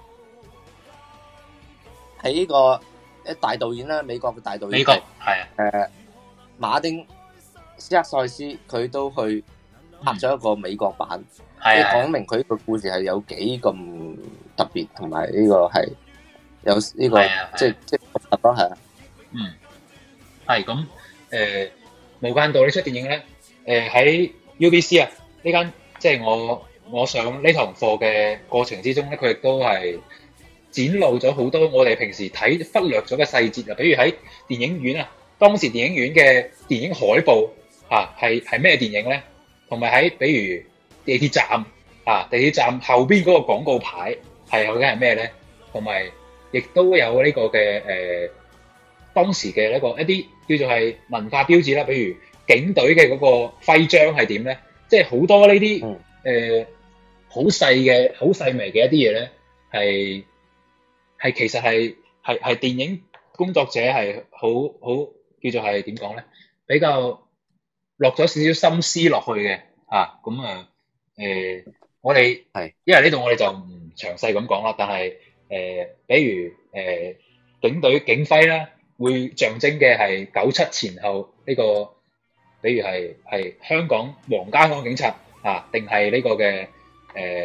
[SPEAKER 3] 呢個。大導演啦，美國嘅大導演，
[SPEAKER 2] 美國係
[SPEAKER 3] 馬丁斯克塞斯，佢都去拍咗一個美國版，即係講明佢呢個故事係有幾咁特別，同埋呢個係有呢個即係獨特咯，係啊，
[SPEAKER 2] 係咁無間道呢出電影咧，喺 UBC 啊呢間，即係我上呢堂課嘅過程之中咧，佢亦都係展露咗好多我哋平時睇忽略咗嘅細節啊，比如喺電影院啊，當時電影院嘅電影海報啊，係咩電影咧？同埋喺比如地鐵站啊，地鐵站後邊嗰個廣告牌係究竟係咩咧？同埋亦都有呢個嘅當時嘅一啲叫做係文化標誌啦，比如警隊嘅嗰個徽章係點咧？即係好多呢啲好細微嘅一啲嘢咧，係其實係電影工作者係好叫做係點講咧？比較落咗少少心思落去嘅啊，咁我哋係因為呢度我哋就唔詳細咁講啦，但係比如警隊警徽啦，會象徵嘅係97前後呢個，比如係香港皇家香港警察啊，定係呢個嘅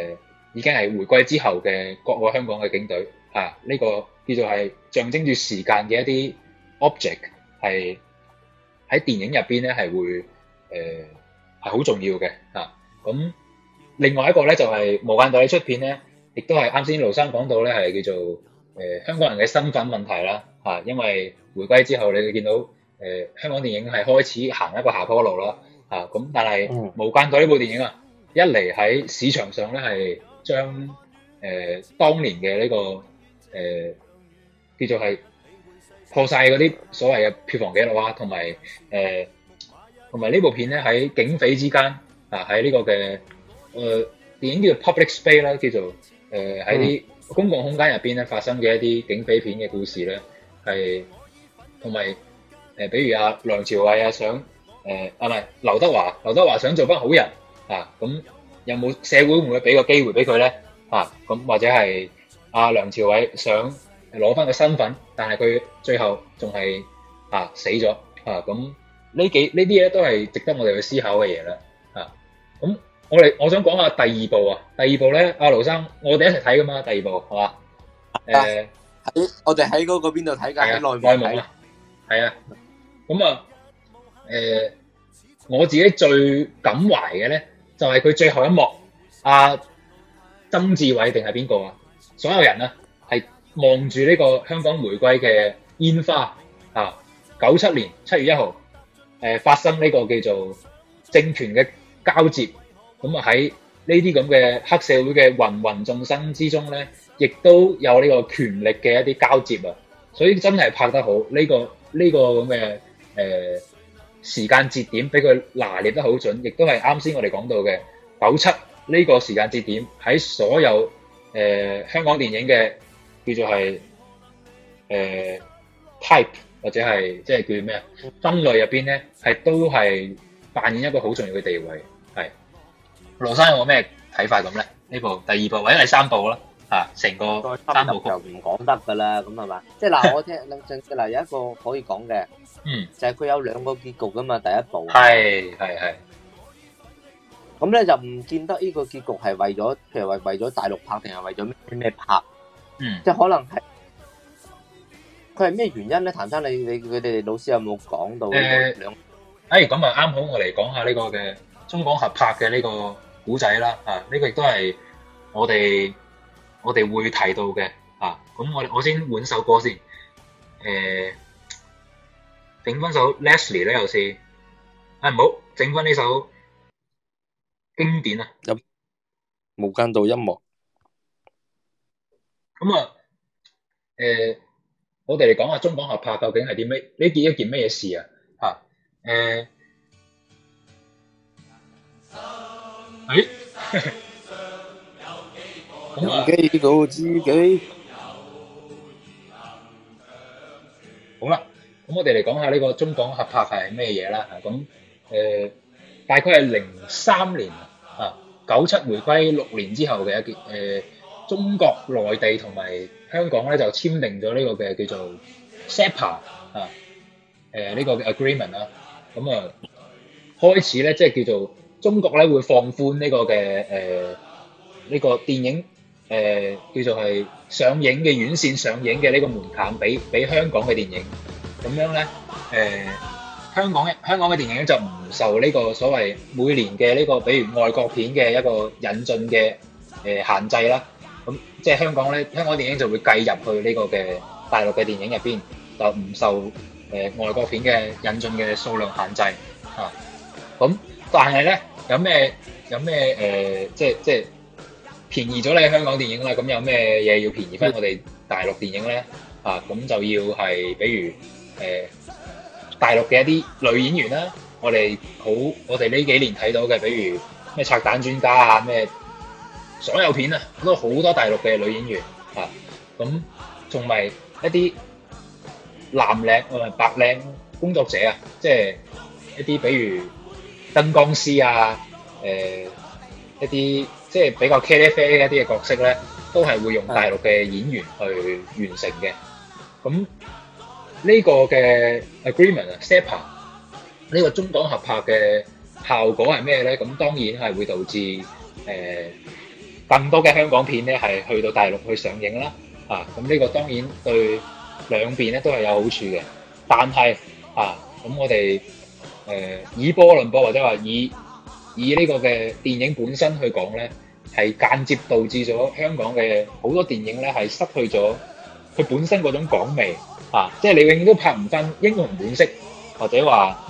[SPEAKER 2] 已經係回歸之後嘅國內香港嘅警隊呢個叫做係象徵住時間嘅一啲 object 係喺電影入邊咧係會係好重要嘅咁另外一個咧就係無間道呢出片咧，亦都係啱先盧生講到咧係叫做香港人嘅身份問題啦因為回歸之後你會見到香港電影係開始行一個下坡路啦咁但係無間道呢部電影一嚟喺市場上咧係將當年嘅呢個叫做係破晒嗰啲所謂嘅票房紀錄同埋呢部片咧喺警匪之間喺呢個嘅電影叫做 public space 啦，叫做喺啲公共空間入邊咧發生嘅一啲警匪片嘅故事咧係同埋比如梁朝偉想唔係劉德華想做翻好人咁有冇社會會唔會俾個機會俾佢咧咁或者係梁朝偉想攞翻個身份，但係佢最後仲係死咗咁呢啲咧都係值得我哋去思考嘅嘢啦咁我想講下第二部第二部咧盧生我哋一齊睇噶嘛，第二部係嘛
[SPEAKER 3] 我哋喺嗰個邊度睇㗎？喺內蒙
[SPEAKER 2] 係咁我自己最感懷嘅咧就係佢最後一幕曾志偉定係邊個所有人係望住呢個香港回歸嘅煙花97年7月1號發生呢個叫做政權嘅交接，咁喺呢啲咁嘅黑社會嘅芸芸眾生之中咧，亦都有呢個權力嘅一啲交接所以真係拍得好呢個咁嘅時間節點，俾佢拿捏得好準，亦都係啱先我哋講到嘅97呢個時間節點喺所有香港電影嘅叫做係type 或者係即係叫咩分類入邊咧，係都係扮演一個好重要嘅地位。係羅生有冇咩睇法咁咧？呢部第二部或者第三部啦成個三部曲
[SPEAKER 3] 就唔講得㗎啦，咁係嘛？即係嗱，我聽嗱有一個可以講嘅，就係佢有兩個結局㗎嘛，第一部
[SPEAKER 2] 係
[SPEAKER 3] 咁咧就唔見得呢個結局係為咗，譬如為咗大陸拍定係為咗咩拍？即係可能係佢係咩原因咧？譚生，你佢哋老師有冇講到兩？
[SPEAKER 2] 咁啱好我嚟講下呢個嘅中港合拍嘅呢個古仔啦呢個亦都係我哋會提到嘅咁我先換首歌先整翻首 Leslie 咧，又是唔好整翻呢首經典
[SPEAKER 3] 無間道音樂
[SPEAKER 2] 咁我哋嚟講下中港合拍究竟係啲咩？呢件一件咩嘢事
[SPEAKER 3] 記到自己
[SPEAKER 2] 好啦，咁我哋嚟講下呢個中港合拍係咩嘢啦咁大概係03年97回歸6年之後嘅一件中國內地同埋香港咧就簽訂咗呢個嘅叫做 SAPA 呢個嘅 agreement 咁開始咧即係叫做中國咧會放寬呢個嘅呢個電影叫做係上映嘅院線上映嘅呢個門檻俾香港嘅電影，咁樣咧香港嘅電影就唔受呢個所謂每年嘅呢個比如外國片嘅一個引進嘅限制啦。咁即係香港電影就會計入去呢個嘅大陸嘅電影入邊，就唔受外國片嘅引進嘅數量限制咁但係咧有咩即係便宜咗你香港電影啦，咁有咩嘢要便宜翻我哋大陸電影咧咁就要係比如大陸嘅一啲女演員啦，我哋呢幾年睇到嘅，比如咩拆彈專家咩所有片都好多大陸嘅女演員咁仲埋一啲藍領同埋白領工作者即係一啲比如燈光師一啲即係比較茄喱啡一啲嘅角色咧，都係會用大陸嘅演員去完成嘅。咁呢個嘅 agreement SAPA 呢個中港合拍嘅效果係咩咧？咁當然係會導致更多嘅香港片咧係去到大陸去上映啦。咁呢個當然對兩邊咧都係有好處嘅。但係咁我哋以波論波，或者話以呢個嘅電影本身去講咧，係間接導致咗香港嘅好多電影咧係失去咗佢本身嗰種港味。即係你永遠都拍唔翻英雄本色，或者話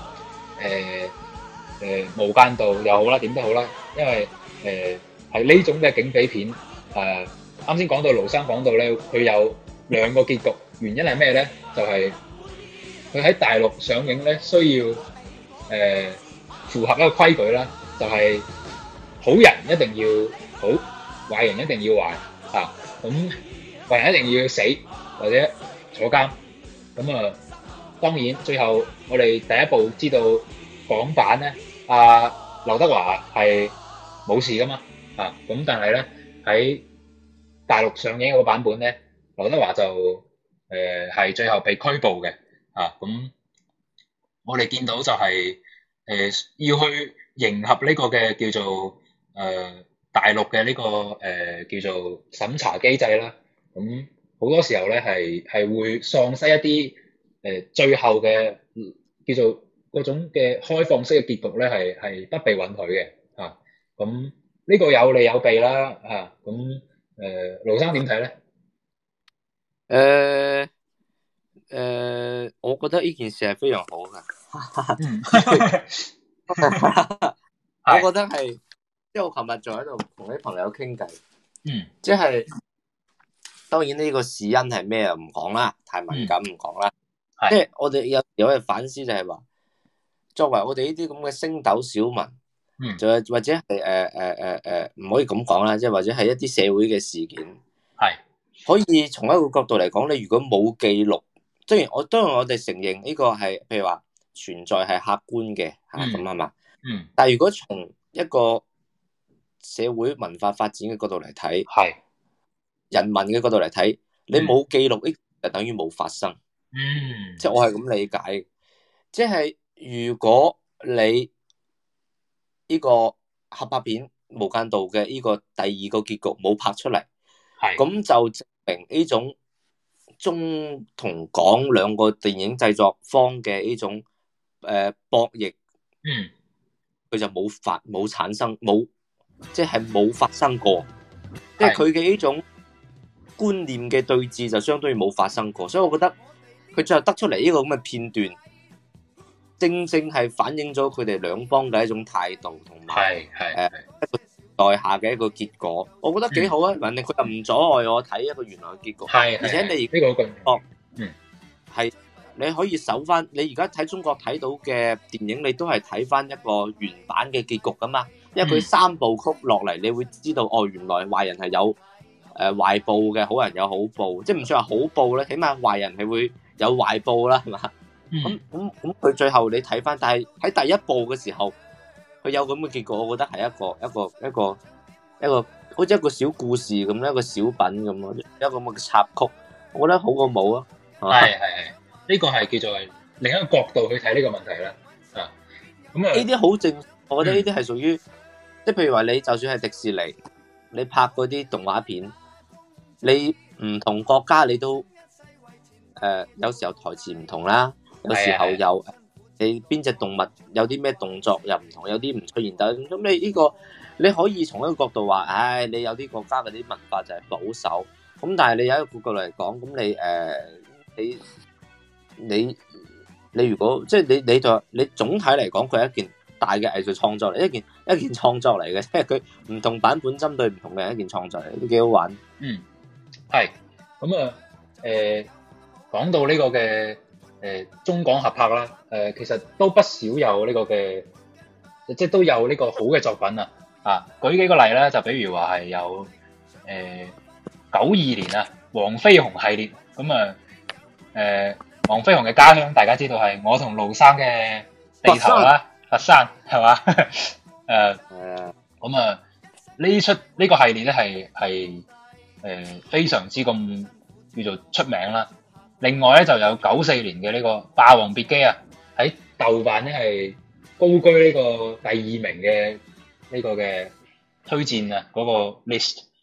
[SPEAKER 2] 無間道又好啦，點都好啦，因為係呢種嘅警匪片。啱先講到盧生講到咧，佢有兩個結局，原因係咩咧？就係佢喺大陸上映咧，需要符合一個規矩啦，就係好人一定要好，壞人一定要壞。咁壞人一定要死或者坐監。咁當然最後我哋第一部知道港版咧，劉德華係冇事噶嘛。咁但係咧喺大陸上映嗰個版本咧，劉德華就係最後被拘捕嘅。咁我哋見到就係要去迎合呢個嘅叫做大陸嘅呢個叫做審查機制啦。咁好多時候咧係會喪失一啲最後嘅叫做嗰種嘅開放式嘅結局咧，係不被允許嘅。咁呢個有利有弊啦。咁盧生點睇咧？
[SPEAKER 3] 我覺得呢件事係非常好噶。我覺得係，即係我琴日仲喺度同啲朋友傾偈。即係當然呢個事因係咩唔講啦，太敏感唔講啦。即係我哋有嘅反思就係話，作為我哋呢啲咁嘅星斗小民，就或者係唔可以咁講啦，即係或者係一啲社會嘅事件，可以從一個角度嚟講，你如果冇記錄，當然我哋承認呢個係譬如話存在係客觀嘅咁係嘛。但係如果從一個社會文化發展嘅角度嚟睇，人民嘅角度嚟睇，你冇記錄，就等於冇發生。即係我係咁理解，即係如果你呢個合拍片《無間道》嘅呢個第二個結局冇拍出嚟，咁就證明呢種中同港兩個電影製作方嘅呢種博弈，佢就冇產生，即係冇發生過，即係佢嘅呢種觀念嘅對峙就相當於冇發生過，所以我覺得佢最後得出嚟呢個咁嘅片段，正正係反映咗佢哋兩方嘅一種態度同埋一個代下嘅一個結果，我覺得幾好啊！反正佢又唔阻礙我睇一個原來嘅結局，而且你呢個係你可以搜翻，你而家睇中國睇到嘅電影，你都係睇翻一個原版嘅結局噶嘛，因為佢三部曲落嚟，你會知道原來壞人係有壞報嘅，好人有好報，即係唔算話好報咧，起碼壞人係會有壞報啦，係嘛？咁佢最後你睇翻，但係喺第一部嘅時候，佢有咁嘅結果，我覺得係一個好似一個小故事咁，一個小品咁咯，一個咁嘅插曲，我覺得好過冇啊。
[SPEAKER 2] 係呢個係叫做另一個角度去睇呢個問題啦。咁
[SPEAKER 3] 呢啲好正，我覺得呢啲係屬於，即係譬如話你就算係迪士尼，你拍嗰啲動畫片，你唔同國家你都有時候台詞唔同啦，有時候有你邊隻動物有啲咩動作又唔同，有啲唔出現得，咁你呢個你可以從一個角度話，你有啲國家嗰啲文化就係保守，咁但係你有一個角度嚟講，咁你如果即係你總體嚟講，佢係一件大嘅藝術創作嚟，一件創作嚟嘅，即係佢唔同版本針對唔同嘅人一件創作嚟，都幾好玩。
[SPEAKER 2] 係咁講到呢個嘅中港合拍啦，其實都不少有呢個嘅，即係都有呢個好嘅作品啊！舉幾個例啦，就比如話係有92年啊，黃飛鴻系列，咁黃飛鴻嘅家鄉大家知道係我同盧生嘅地頭啦，佛山係嘛？咁呢個系列咧係非常之咁叫做出名啦。另外咧就有94年嘅呢個《霸王別姬》啊，喺豆瓣咧係高居呢個第2名嘅呢個嘅推薦啊嗰個 list。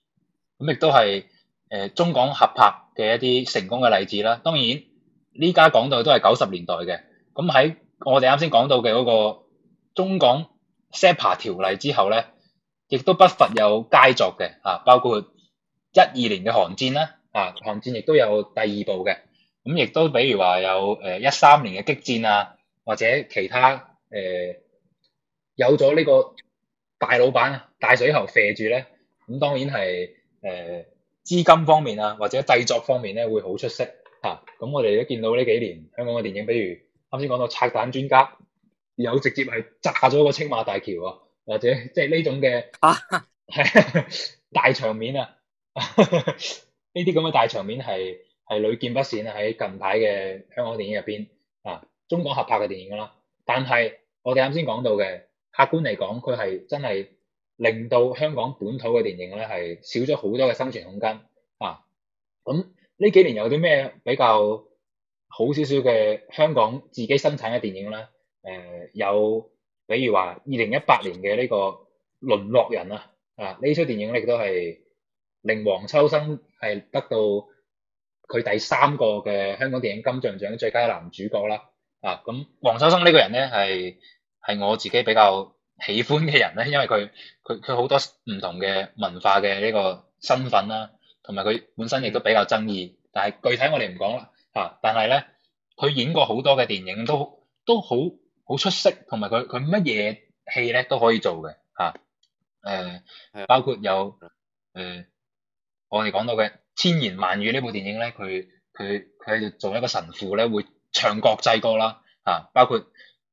[SPEAKER 2] 咁亦都係中港合拍嘅一啲成功嘅例子啦。當然呢家講到都係90年代嘅，咁喺我哋啱先講到嘅嗰個中港 CEPA 條例之後咧，亦都不乏有佳作嘅包括12年嘅韓戰啦，韓戰亦都有第二部嘅，咁亦都比如話有13年嘅激戰啊，或者其他有咗呢個大老闆大水喉射住咧，咁當然係資金方面啊，或者製作方面咧會好出色嚇。咁我哋都見到呢幾年香港嘅電影，比如啱先講到拆彈專家，有直接係炸咗個青馬大橋啊，或者即係呢種嘅大場面啊，呢啲咁嘅大場面係屢見不鮮啊，喺近排嘅香港電影入邊中港合拍嘅電影啦。但係我哋啱先講到嘅，客觀嚟講，佢係真係令到香港本土嘅電影咧係少咗好多嘅生存空間咁呢幾年有啲咩比較好少少嘅香港自己生產嘅電影咧？有比如話2018年嘅呢個《淪落人》呢出電影亦都係令黃秋生係得到佢第3個嘅香港電影金像獎最佳男主角啦。咁黃秋生呢個人咧係我自己比較喜歡嘅人咧，因為佢好多唔同嘅文化嘅呢個身份啦，同埋佢本身亦都比較爭議，但係具體我哋唔講啦但係咧佢演過好多嘅電影都好出色，同埋佢乜嘢戲咧都可以做嘅包括有我哋講到嘅《千言萬語》呢部電影咧，佢喺度做一個神父咧，會唱國際歌啦包括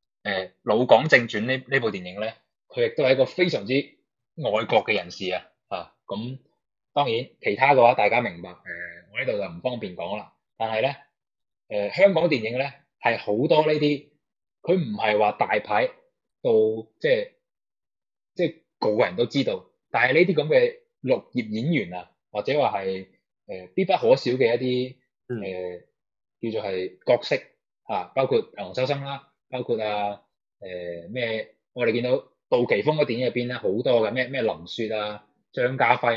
[SPEAKER 2] 《老港正傳》呢部電影咧，佢亦都係一個非常之愛國嘅人士咁當然其他嘅話大家明白我呢度就唔方便講啦。但係咧香港電影咧係好多呢啲，佢唔係話大牌到即係個個人都知道，但係呢啲咁嘅綠葉演員或者話係必不可少嘅一啲叫做係角色包括黃秋生啦，包括咩我哋見到杜琪峰嘅電影入邊咧好多嘅咩林雪張家輝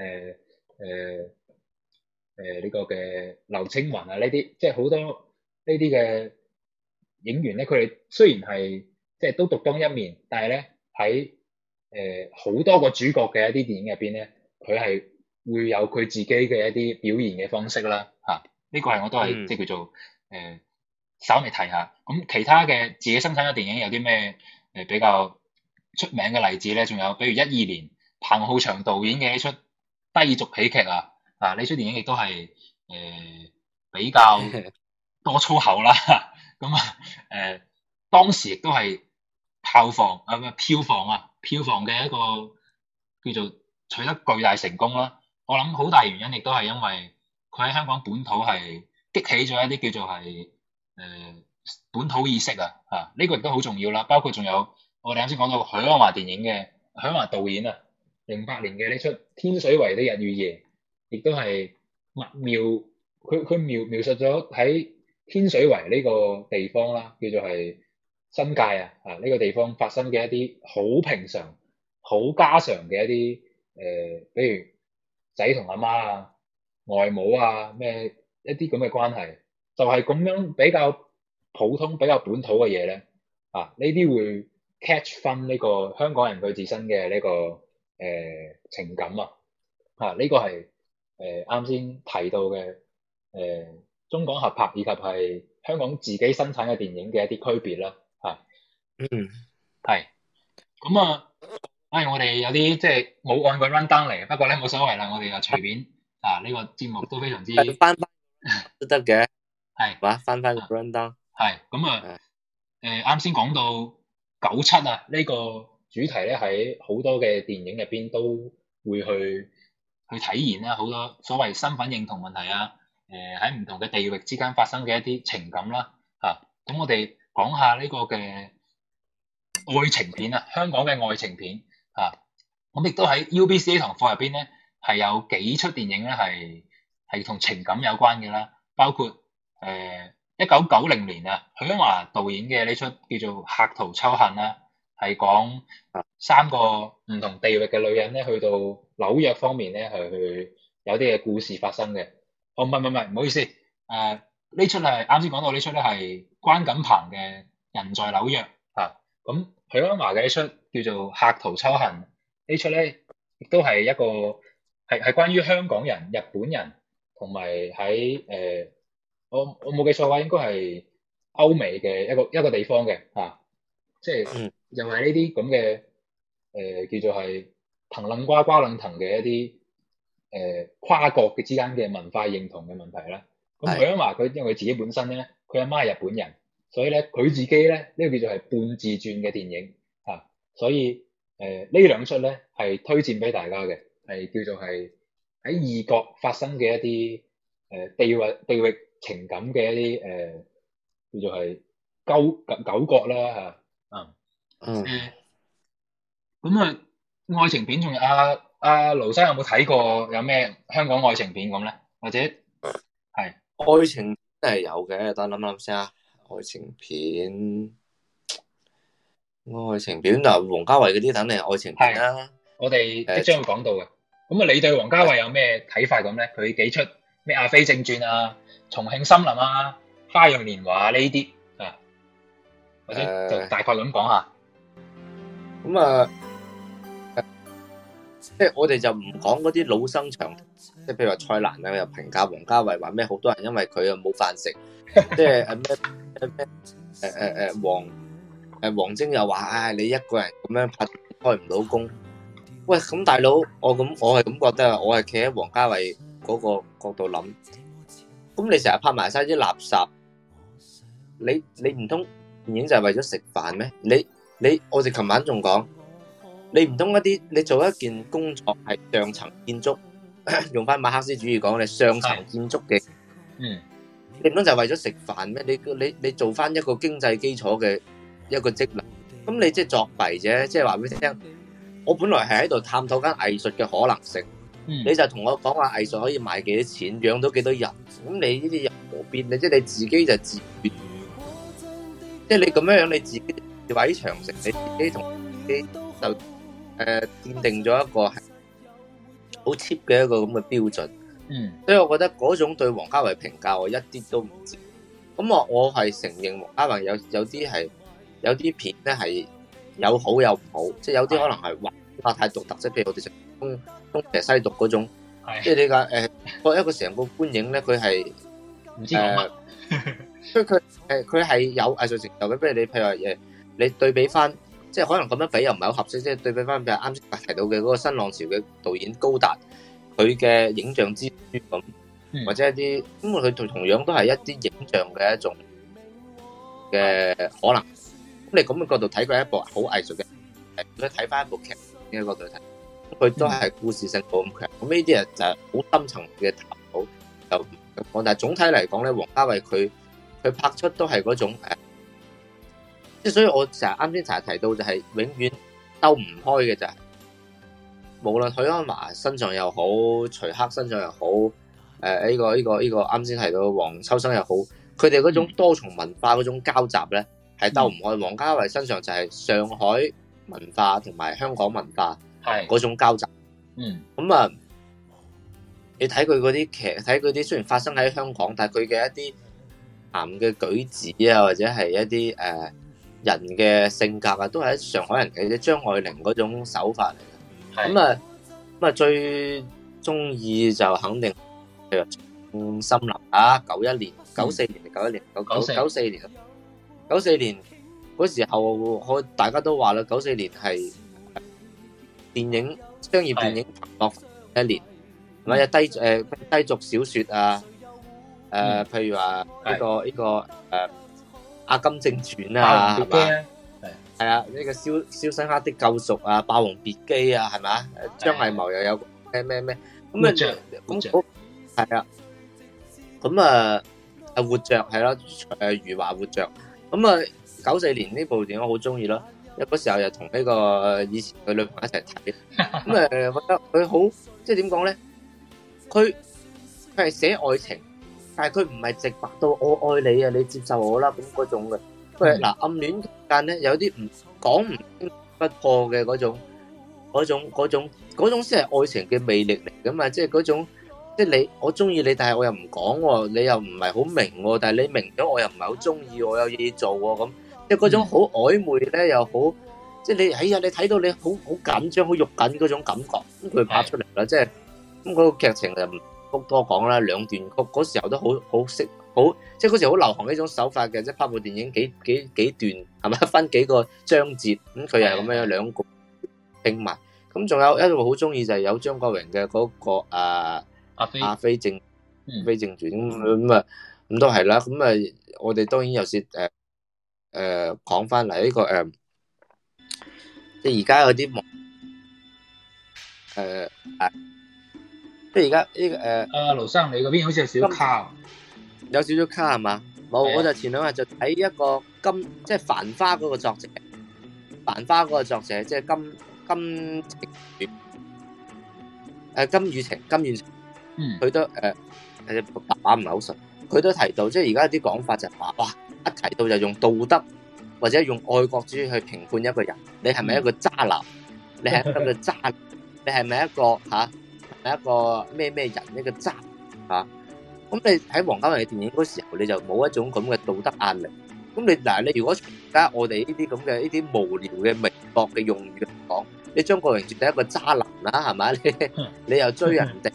[SPEAKER 2] 呢個嘅劉青雲呢啲，即係好多呢啲嘅影員咧，佢哋雖然係即係都獨當一面，但係咧喺好多個主角嘅一啲電影入邊咧，佢係會有佢自己嘅一啲表現嘅方式啦呢個係我都係即係叫做稍微提下。咁其他嘅自己生產嘅電影有啲咩比較出名嘅例子咧？仲有比如12年彭浩翔導演嘅呢出低俗喜劇呢出電影亦都係比較多粗口啦咁當時亦都係票房嘅一個叫做取得巨大成功啦。我諗好大原因亦都係因為佢喺香港本土係激起咗一啲叫做係本土意識呢個亦都好重要啦。包括仲有我哋啱先講到許鞍華電影嘅許鞍華導演08年嘅呢出天水圍的日與夜，亦都係佢描述咗喺天水圍呢個地方啦，叫做係新界呢個地方發生嘅一啲好平常好家常嘅一啲比如仔同阿媽外母咩一啲咁嘅關係，就係咁樣比較普通比較本土嘅嘢咧呢啲會 catch 翻呢個香港人佢自身嘅呢個情感呢個係啱先提到嘅中港合拍以及係香港自己生產嘅電影嘅一啲區別啦係咁我哋有啲即係冇按個 run down 嚟，不過咧冇所謂啦，我哋就隨便呢個節目都非常之
[SPEAKER 3] 翻都得嘅
[SPEAKER 2] 係
[SPEAKER 3] 翻個 run down
[SPEAKER 2] 係咁啱先講到97呢個主題咧喺好多嘅電影入邊都會去體現啦，好多所謂身份認同問題喺唔同嘅地域之間發生嘅一啲情感啦咁我哋講下呢個嘅愛情片香港嘅愛情片咁亦都喺 UBC 呢堂課入邊咧係有幾出電影咧係同情感有關嘅啦，包括1990年許鞍華導演嘅呢出叫做《客途秋恨》啦係講3個唔同地域嘅女人咧，去到紐約方面咧，係去有啲嘅故事發生嘅。哦，唔係，唔好意思，呢出係啱先講到呢出咧係關錦鵬嘅人在紐約嚇。咁許鞍華嘅呢出叫做客途秋恨，呢出咧亦都係一個係關於香港人、日本人同埋喺我冇記錯嘅話，應該係歐美嘅一個地方嘅嚇，即係又係呢啲咁嘅叫做係藤撚瓜瓜撚藤嘅一啲跨國嘅之間嘅文化認同嘅問題啦。咁許鞍華佢因為佢自己本身咧，佢阿媽係日本人，所以咧佢自己咧呢個叫做係半自傳嘅電影嚇，所以呢兩出咧係推薦俾大家嘅，係叫做係喺異國發生嘅一啲地域情感嘅一啲叫做係糾葛啦嚇。咁愛情片仲有阿盧生有冇睇過有咩香港愛情片咁咧？或者係
[SPEAKER 3] 愛情片係有嘅，等我諗先啊。愛情片嗱，王家衛嗰啲肯定係愛情片啦。
[SPEAKER 2] 我哋即將會講到嘅。咁你對王家衛有咩睇法咁咧？佢幾出咩《阿飛正傳》啊、《重慶森林》啊、《花樣年華》呢啲啊，或者就大概咁講下。
[SPEAKER 3] 咁即係我哋就唔講嗰啲老生常談，即係譬如話蔡瀾啊，又評價王家衛話咩？好多人因為佢啊冇飯食，即係王晶又話你一個人咁樣拍開唔到工。喂，咁大佬，我係咁覺得，我係企喺王家衛嗰個角度諗。咁你成日拍埋晒啲垃圾，你唔通電影就係為咗食飯咩？我哋琴晚仲講。你唔通你做一件工作係上層建築，用翻馬克思主義講，你上層建築嘅，你唔通就係為咗食飯咩？你做翻一個經濟基礎嘅一個職能，咁你即係作弊啫，即係話俾你聽，我本來係喺度探討緊藝術嘅可能性，你就同我講話藝術可以賣幾多錢，養到幾多人，咁你呢啲人何必？即係你自己就自願，即係你咁樣你自己毀長城，你自己同自己就奠定咗一個係好 cheap 嘅一個咁嘅標準，所以我覺得嗰種對王家衛評價我一啲都唔知。咁我係承認王家衛有啲片咧係有好有唔好，即係有啲可能係畫太獨特，即係譬如我哋成東邪西毒嗰種，即係你講一個成個觀影咧，佢係唔知講乜，所以佢係有藝術成就嘅。譬如話你對比翻。即係可能咁樣比又唔係好合適，即係對比翻譬如啱先提到嘅嗰個新浪潮嘅導演高達，佢嘅影像之書咁，或者一啲咁佢同樣都係一啲影像嘅一種嘅可能。咁你咁嘅角度睇佢係一部好藝術嘅，如果睇翻一部劇呢個角度睇，佢都係故事性冇咁強。咁呢啲就係好深層嘅探討就咁講。但係總體嚟講咧，王家衛佢拍出都係嗰種即係所以我啱先成日提到就係永遠兜唔開嘅就係，無論許鞍華身上又好，徐克身上又好，呢個啱先提到黃秋生又好，佢哋嗰種多重文化嗰種交集咧係兜唔開。王家衛身上就係上海文化同埋香港文化嗰種交集。咁你睇佢嗰啲劇，睇佢啲雖然發生喺香港，但係佢嘅一啲鹹嘅舉止啊，或者係一啲人嘅性格啊，都係上海人嘅張愛玲嗰種手法嚟嘅。咁最中意就肯定譬如森林啊，94年嗰時候，大家都話啦，94年係商業電影蓬勃一年，或者低俗小說啊，譬如話呢個阿金正傳啊，係嘛？係啊，呢個肖申克的救贖啊，霸王別姬啊，係嘛？張藝謀又有咩咁係啊，咁活着係咯，余華活着。咁94年呢部電影我好中意咯，因為嗰時候又同呢個以前佢女朋友一齊睇，咁覺得佢好，即係點講咧？佢係寫愛情。但係佢唔係直白到我愛你啊，你接受我啦咁嗰種嘅， 佢嗱暗戀期間咧有啲唔講唔清不破嘅嗰種先係愛情嘅魅力嚟噶嘛，即係嗰種即係我中意你，但係我又唔講喎，你又唔係好明喎，但係你明咗我又唔係好中意，我有嘢做喎咁，即係嗰種好曖昧咧又好，即係你你睇到你好緊張好肉緊嗰種感覺，咁佢拍出嚟啦，即係咁嗰個劇情就唔多講啦，兩段曲嗰時候都好識。好，即係嗰時好流行呢種手法嘅，即係拍部電影幾段係咪分幾個章節，咁佢又係咁樣兩個拼埋，咁仲有一個好中意就係有張國榮嘅嗰個阿飛正傳咁都係啦，咁啊我哋當然有時講翻嚟呢個即係而家有啲即係而家呢個
[SPEAKER 2] 盧生你嗰邊好似有少少卡。
[SPEAKER 3] 有少少卡係嘛？冇，我就前兩日就睇一個即係《繁花》嗰個作者，《繁花》嗰個作者即係金宇澄，佢都白話唔係好熟，佢都提到，即係而家啲講法就係話，哇，一提到就用道德或者用愛國主義去評判一個人，你係咪一個渣男？你係一個渣？你係咪一個係咪一個咩人？一個渣嚇？咁你喺王家衛嘅電影嗰時候，你就冇一種咁嘅道德壓力。咁你如果而家我哋呢啲咁嘅呢啲無聊嘅微博嘅用語嚟講，你張國榮絕對係一個渣男啦，係咪？你又追人哋，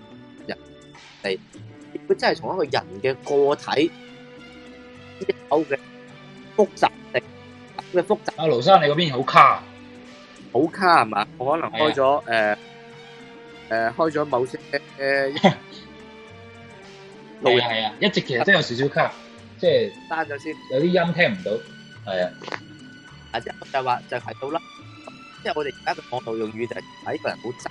[SPEAKER 3] 佢真係從一個人嘅個體有嘅複雜性嘅複雜。
[SPEAKER 2] 阿盧生，你嗰邊好卡，
[SPEAKER 3] 好卡係嘛？我可能開咗開咗某些
[SPEAKER 2] 係啊，一直其實真有少少卡，即係
[SPEAKER 3] 單咗先，
[SPEAKER 2] 有啲音聽唔到，係啊。
[SPEAKER 3] 即係就話就提到啦，即係我哋而家嘅網絡用語就係睇一個人好渣，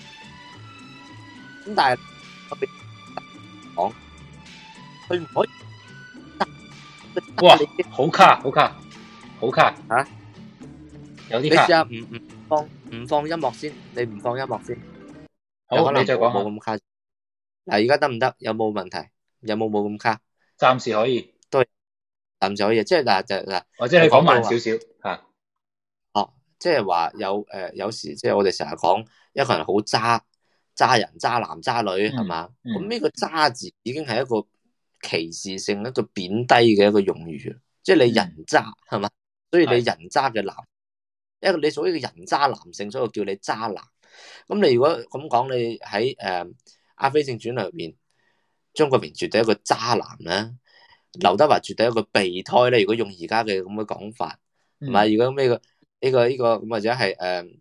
[SPEAKER 3] 咁但係我哋講，佢唔可以。
[SPEAKER 2] 哇！好卡嚇，有啲卡。
[SPEAKER 3] 你試下唔放音樂先，你唔放音樂先。
[SPEAKER 2] 好，你再講下。
[SPEAKER 3] 冇咁卡。嗱，而家得唔得？有冇問題？有冇咁卡？
[SPEAKER 2] 暫時可以，
[SPEAKER 3] 都暫時可以。即係嗱，
[SPEAKER 2] 或者你講慢少少嚇。
[SPEAKER 3] 哦，即係話有時即係我哋成日講一個人好渣人、渣男、渣女係嘛？咁呢個渣字已經係一個歧視性、一個貶低嘅一個用語。即係你人渣係嘛？所以你人渣嘅男，一個你屬於一個人渣男性，所以我叫你渣男。咁你如果咁講，你喺阿飛正傳裏面，張國榮絕對係一個渣男啦，劉德華絕對係一個備胎咧。如果用而家嘅咁嘅講法，係咪？如果呢個咁或者係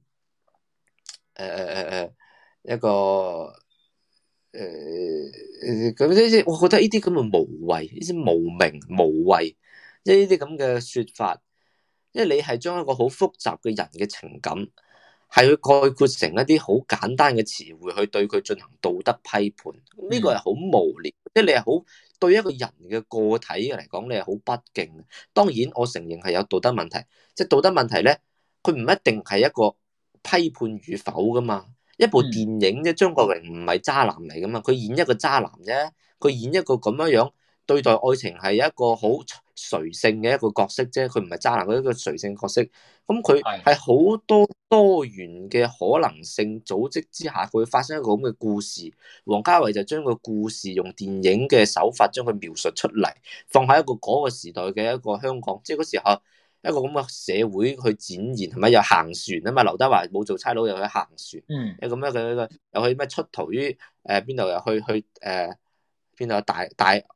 [SPEAKER 3] 一個咁呢啲，我覺得呢啲咁嘅無謂，呢啲無名無謂，即係呢啲咁嘅說法，因為你係將一個好複雜嘅人嘅情感，係去概括成一啲好簡單嘅詞彙去對佢進行道德批判，呢個係好無聊，即係你係好對一個人嘅個體嚟講，你係好不敬。當然，我承認係有道德問題，即係道德問題咧，佢唔一定係一個批判與否噶嘛。一部電影啫，張國榮唔係渣男嚟噶嘛，佢演一個渣男啫，佢演一個咁樣對待愛情係一個好垂性嘅一個角色啫，佢唔係渣男，佢一個垂性角色。咁佢係好多元嘅可能性組織之下，佢會發生一個咁嘅故事。王家衛就將個故事用電影嘅手法將佢描述出嚟，放喺一個嗰個時代嘅一個香港，即係嗰時候一個咁嘅社會去展現，係咪又行船啊嘛？劉德華冇做差佬又去行船，咁樣佢又去咩出逃於邊度，又去邊度大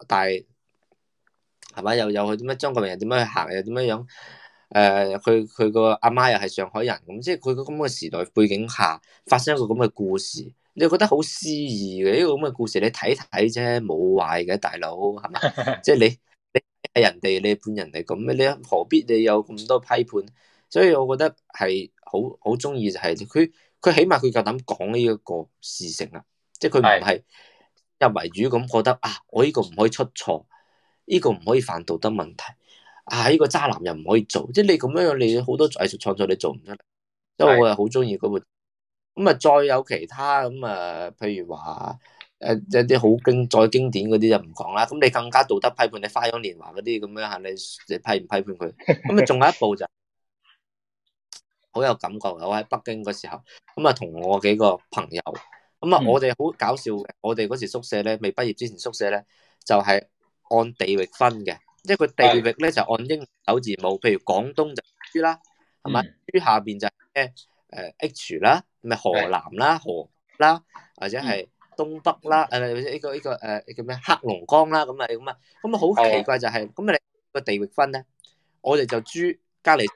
[SPEAKER 3] 係咪？又去點樣？張國榮又點樣去行？又點樣樣？佢個阿媽又係上海人，咁即係佢個咁嘅時代背景下發生一個咁嘅故事，你覺得好詩意嘅呢個咁嘅故事，你睇睇啫，冇壞嘅，大佬係咪？即係你係人哋，你判人哋咁，你何必你有咁多批判？所以我覺得係好中意就係佢起碼佢夠膽講呢一個事情啊，即係佢唔係入為主咁覺得啊，我呢個唔可以出錯，呢個唔可以犯道德問題。呢個渣男又唔可以做，即係你咁樣，你好多藝術創作你做唔出嚟，所以我係好中意嗰部。咁啊，再有其他咁啊，譬如話一啲好再經典嗰啲就唔講啦。咁你更加道德批判，你《花樣年華》嗰啲咁樣嚇，你批唔批判佢？咁啊，仲有一部就好有感覺。我喺北京嗰時候，咁啊同我幾個朋友，咁啊我哋好搞笑嘅。我哋嗰時宿舍咧，未畢業之前宿舍咧就係按地域分嘅，即係佢地域咧就按英文首字母，譬如廣東就 H 啦，係咪？H 下邊就係H 啦，咪河南啦、河啦，或者係東北啦，呢個叫咩黑龍江啦，咁啊好奇怪就係咁你個地域分咧，我哋就珠隔離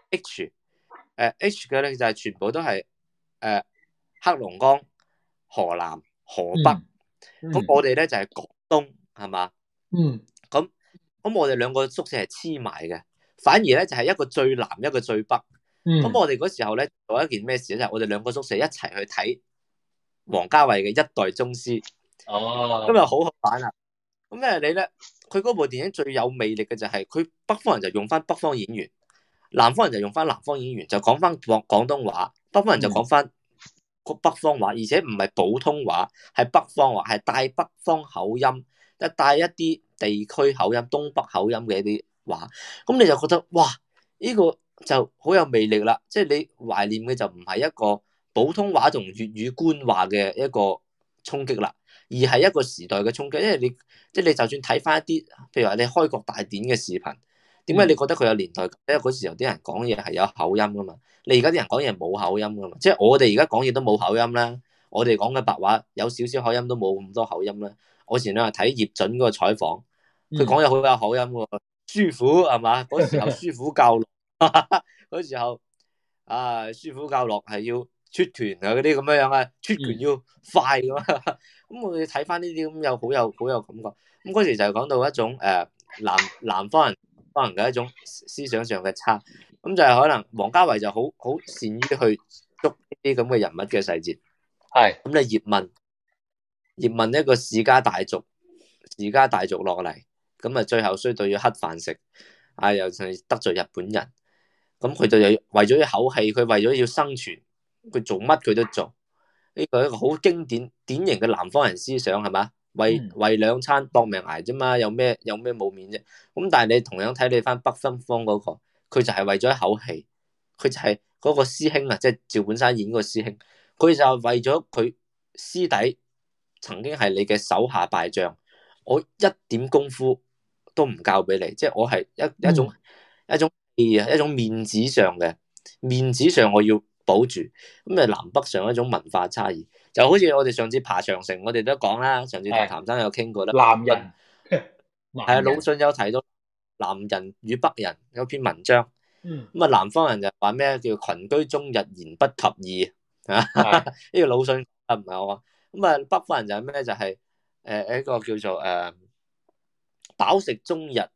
[SPEAKER 3] H 嘅咧就係全部都係黑龍江、河南、河北，咁我哋咧就係廣東，係嘛？咁我哋兩個宿舍係黐埋嘅，反而咧就係一個最南一個最北。咁我哋嗰時候咧做一件咩事咧？就係我哋兩個宿舍一齊去睇王家衛嘅《一代宗師》。咁又好好玩啦。咁你咧，佢嗰部電影最有魅力嘅就係佢北方人就用翻北方演員，南方人就用翻南方演員，就講翻廣東話。北方人就講翻北方話，而且唔係普通話，係北方話，係帶北方口音，即係帶一啲地區口音、東北口音嘅一啲話。咁你就覺得哇，呢個就好有魅力啦！即係你懷念嘅就唔係一個普通話同粵語官話嘅一個衝擊啦，而係一個時代嘅衝擊。因為你就算睇翻一啲，譬如話你開國大典嘅視頻，點解你覺得佢有年代感？因為嗰時候啲人講嘢係有口音噶嘛，你而家啲人講嘢冇口音噶嘛，即係我哋而家講嘢都冇口音啦，我哋講嘅白話有少少口音都冇咁多口音啦。我前兩日睇葉準嗰個採訪，佢講嘢好有口音喎，師傅係嘛？嗰時候師傅教嗰時候師傅教落係要出拳啊，嗰啲咁樣樣啊，出拳要快咁啊。咁我哋睇翻呢啲咁又好有感覺。咁嗰時就講到一種南方人嘅一種思想上嘅差。咁就係可能王家衛就好善於去捉呢啲咁嘅人物嘅細節。係咁你葉問一個世家大族落嚟，咁啊最後衰到要乞飯食，又係得罪日本人。咁佢就為咗一口氣，佢為咗要生存，佢做乜佢都做。呢個係一個好經典典型嘅南方人思想，係嘛？為兩餐搏命捱啫嘛，有咩冇面啫？咁但係你同樣睇你翻北方嗰個，佢就係為咗一口氣，佢就係嗰個師兄啊，即係趙本山演嗰個師兄，佢就係為咗佢師弟曾經係你嘅手下敗將，我一點功夫都唔教俾你，即係我係一種氣啊，一種面子上我要保住。咁啊南北上一種文化差異，就好似我哋上次爬長城，我哋都講啦，上次同譚生有傾過啦。南人係魯迅有提到南人與北人有篇文章。咁啊南方人就話咩叫群居終日言不及義啊？呢個魯迅唔係我。咁啊北方人就係咩？就係一個叫做飽食終日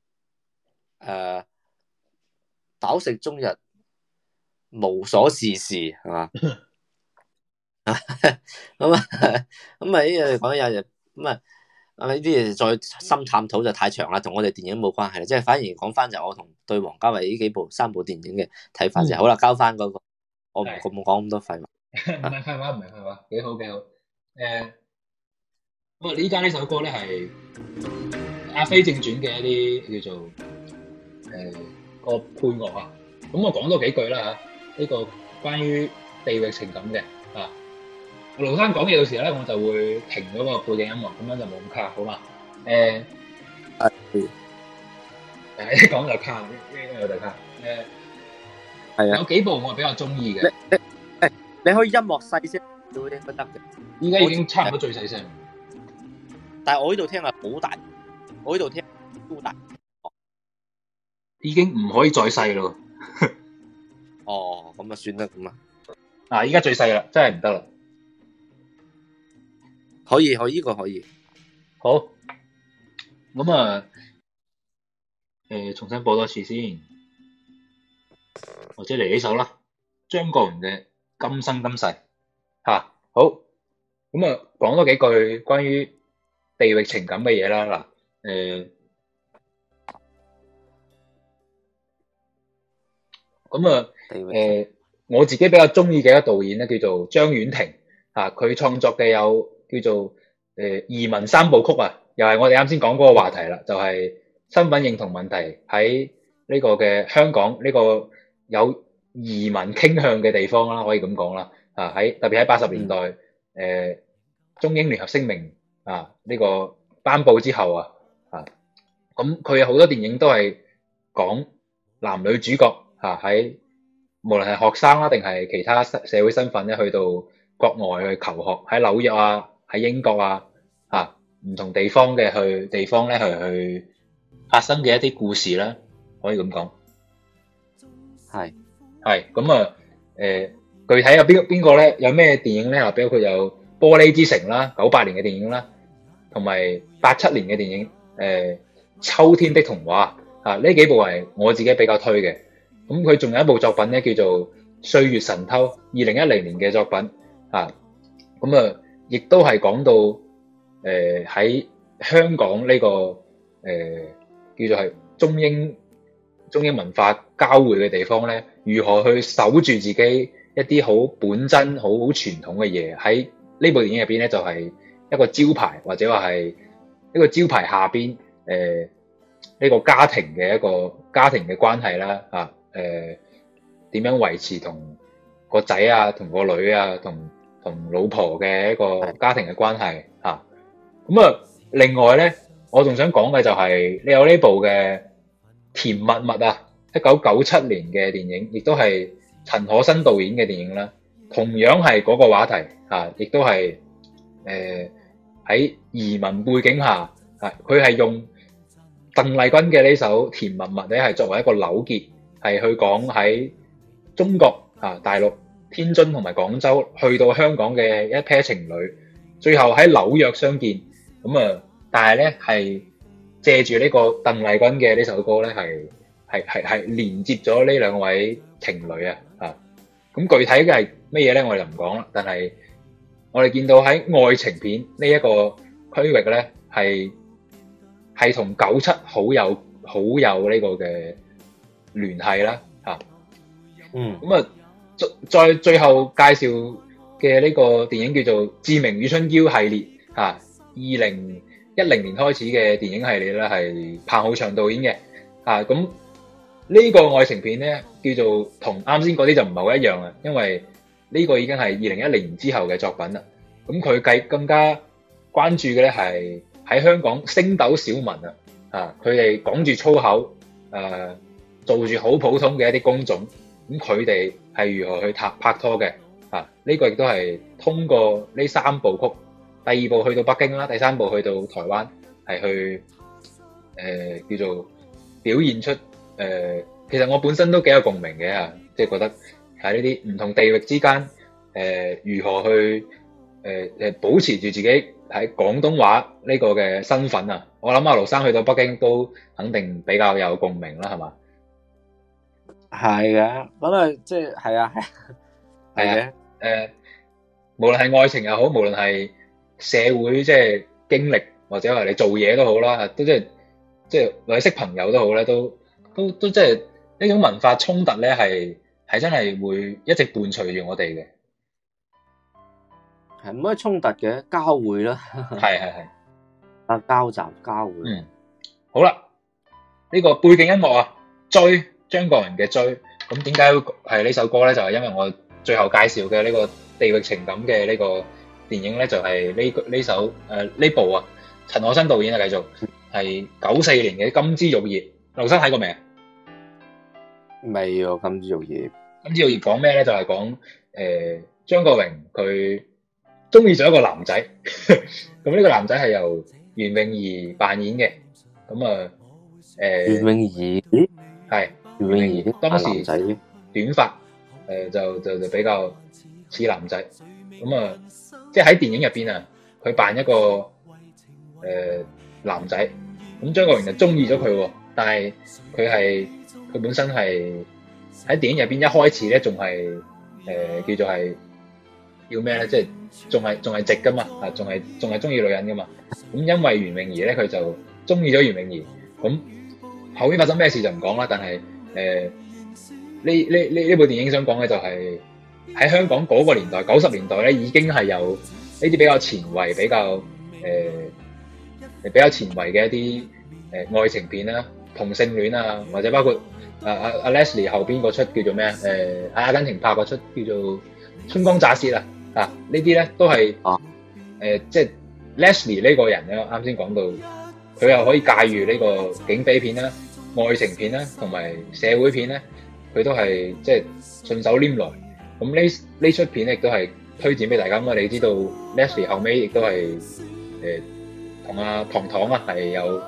[SPEAKER 3] 飽食終日無所事事，係嘛？咁呢嘢講有咁啊，呢啲嘢再深探討就太長啦，同我哋電影冇關係啦。即係反而講翻就我同對王家衛呢三部電影嘅睇法就好啦。交翻嗰個，我唔講咁多廢話。唔係廢話，幾好。
[SPEAKER 2] 咁啊呢家呢首歌咧係《阿飛正傳》嘅一啲叫做個配樂啊。咁我講多幾句啦嚇，呢個關於地域情感嘅啊。盧生講嘢嘅時候咧，我就會停咗個背景音樂，咁樣就冇咁卡，好嘛？一講就卡，一有就卡。係啊。有幾部我係比較中意嘅。
[SPEAKER 3] 你可以音樂細聲都應該得嘅。
[SPEAKER 2] 依家已經差唔多最細聲。
[SPEAKER 3] 但係我呢度聽係好大，我呢度聽超大。
[SPEAKER 2] 已經唔可以再細咯。
[SPEAKER 3] 哦，咁啊算啦，咁
[SPEAKER 2] 啊。依家最細啦，真係唔得啦。
[SPEAKER 3] 可以，呢個可以。
[SPEAKER 2] 好。咁啊，重新播多次先，或者嚟呢首啦，張國榮嘅《今生今世》嚇。好。咁啊，講多幾句關於地域情感嘅嘢啦。嗱，咁啊，我自己比較中意嘅一個導演咧，叫做張婉婷。佢創作嘅有叫做移民三部曲啊，又係我哋啱先講嗰個話題啦，就係身份認同問題喺呢個嘅香港呢個有移民傾向嘅地方啦，可以咁講啦。啊，特別喺80年代，中英聯合聲明啊呢個頒布之後咁佢有好多電影都係講男女主角喺無論係學生啦，定係其他社會身份咧，去到國外去求學，喺紐約啊，喺英國唔同地方咧去發生嘅一啲故事啦，可以咁講。係咁具體有邊個咧？有咩電影咧？比如佢有《玻璃之城》啦，98年嘅電影啦，同埋87年嘅電影秋天的童話呢幾部係我自己比較推嘅。咁佢仲有一部作品咧，叫做《歲月神偷》，2010年嘅作品亦都係講到喺香港呢個叫做係中英文化交匯嘅地方咧，如何去守住自己一啲好本真、好傳統嘅嘢。喺呢部電影入邊咧，就係一個招牌，或者話係一個招牌下邊呢個家庭嘅關係啦。點樣維持同個仔啊、同個女啊、同老婆嘅一個家庭嘅關係另外咧，我仲想講嘅就係你有呢部嘅《甜蜜蜜》1997年嘅電影，亦都係陳可辛導演嘅電影啦。同樣係嗰個話題亦都係喺移民背景下佢係用鄧麗君嘅呢首《甜蜜蜜》咧，係作為一個扭結，係去講喺中國大陸天津同埋廣州去到香港嘅一 pair 情侶，最後喺紐約相見。但係咧係借住呢個鄧麗君嘅呢首歌咧，係連接咗呢兩位情侶咁具體嘅係乜嘢咧？我哋就唔講啦。但係我哋見到喺愛情片呢一個區域咧，係同97好有呢個嘅聯繫啦再最後介紹嘅呢個電影叫做《志明與春嬌》系列2010年開始嘅電影系列咧，係彭浩翔導演嘅咁呢個愛情片咧，叫做同啱先嗰啲就唔係好一樣啊，因為呢個已經係2010年之後嘅作品啦。咁佢更加關注嘅咧係喺香港星斗小民佢哋講住粗口做住好普通嘅一啲工種，咁佢哋係如何去拍拖嘅呢個亦都係通過呢三部曲，第二部去到北京啦，第三部去到台灣，係去叫做表現出其實我本身都幾有共鳴嘅即係覺得喺呢啲唔同地域之間如何去保持住自己喺廣東話呢個嘅身份我諗阿盧生去到北京都肯定比較有共鳴啦，係嘛？
[SPEAKER 3] 係嘅，咁即係係嘅
[SPEAKER 2] 無論係愛情又好，無論係社會即係經歷，或者話你做嘢都好啦，都即係或者識朋友都好咧，都即係呢種文化衝突咧，係真係會一直伴隨住我哋嘅。
[SPEAKER 3] 係唔可以衝突嘅，交匯啦。係交集交匯。
[SPEAKER 2] 好啦，呢個背景音樂追張國榮嘅追，咁點解係呢首歌咧？就係因為我最後介紹嘅呢個地域情感嘅呢個電影咧，就係呢首呢部陳可辛導演繼續係94年嘅《金枝玉葉》。劉生睇過未啊？
[SPEAKER 3] 未喎，《金枝玉葉》。
[SPEAKER 2] 金枝玉葉講咩咧？就係講張國榮佢中意咗一個男仔，咁呢個男仔係由袁詠儀扮演嘅。咁
[SPEAKER 3] 袁詠儀
[SPEAKER 2] 係袁詠儀當時短髮，就比較似男仔。咁即係喺電影入邊佢扮一個男仔，咁張國榮就中意咗佢，但係佢本身係喺電影入邊一開始咧，仲係叫做係叫咩咧？即係仲係直噶嘛，仲係中意女人噶嘛。咁因為袁詠儀咧，佢就中意咗袁詠儀。咁後面發生咩事就唔講啦。但係呢部電影想講嘅就係喺香港嗰個年代，90年代咧，已經係有呢啲比較前衛、比較比較前衛嘅一啲愛情片啦、同性戀啊，或者包括阿 Leslie 後邊嗰出叫做咩阿根廷拍嗰出叫做《春光乍泄》呢啲咧都係即係 Leslie 呢個人咧，啱先講到佢又可以駕馭呢個警匪片啦、愛情片啦，同埋社會片咧，佢都係即係順手拈來。咁呢出片亦都係推薦俾大家。咁我哋知道 Leslie 後尾亦都係同阿唐唐係有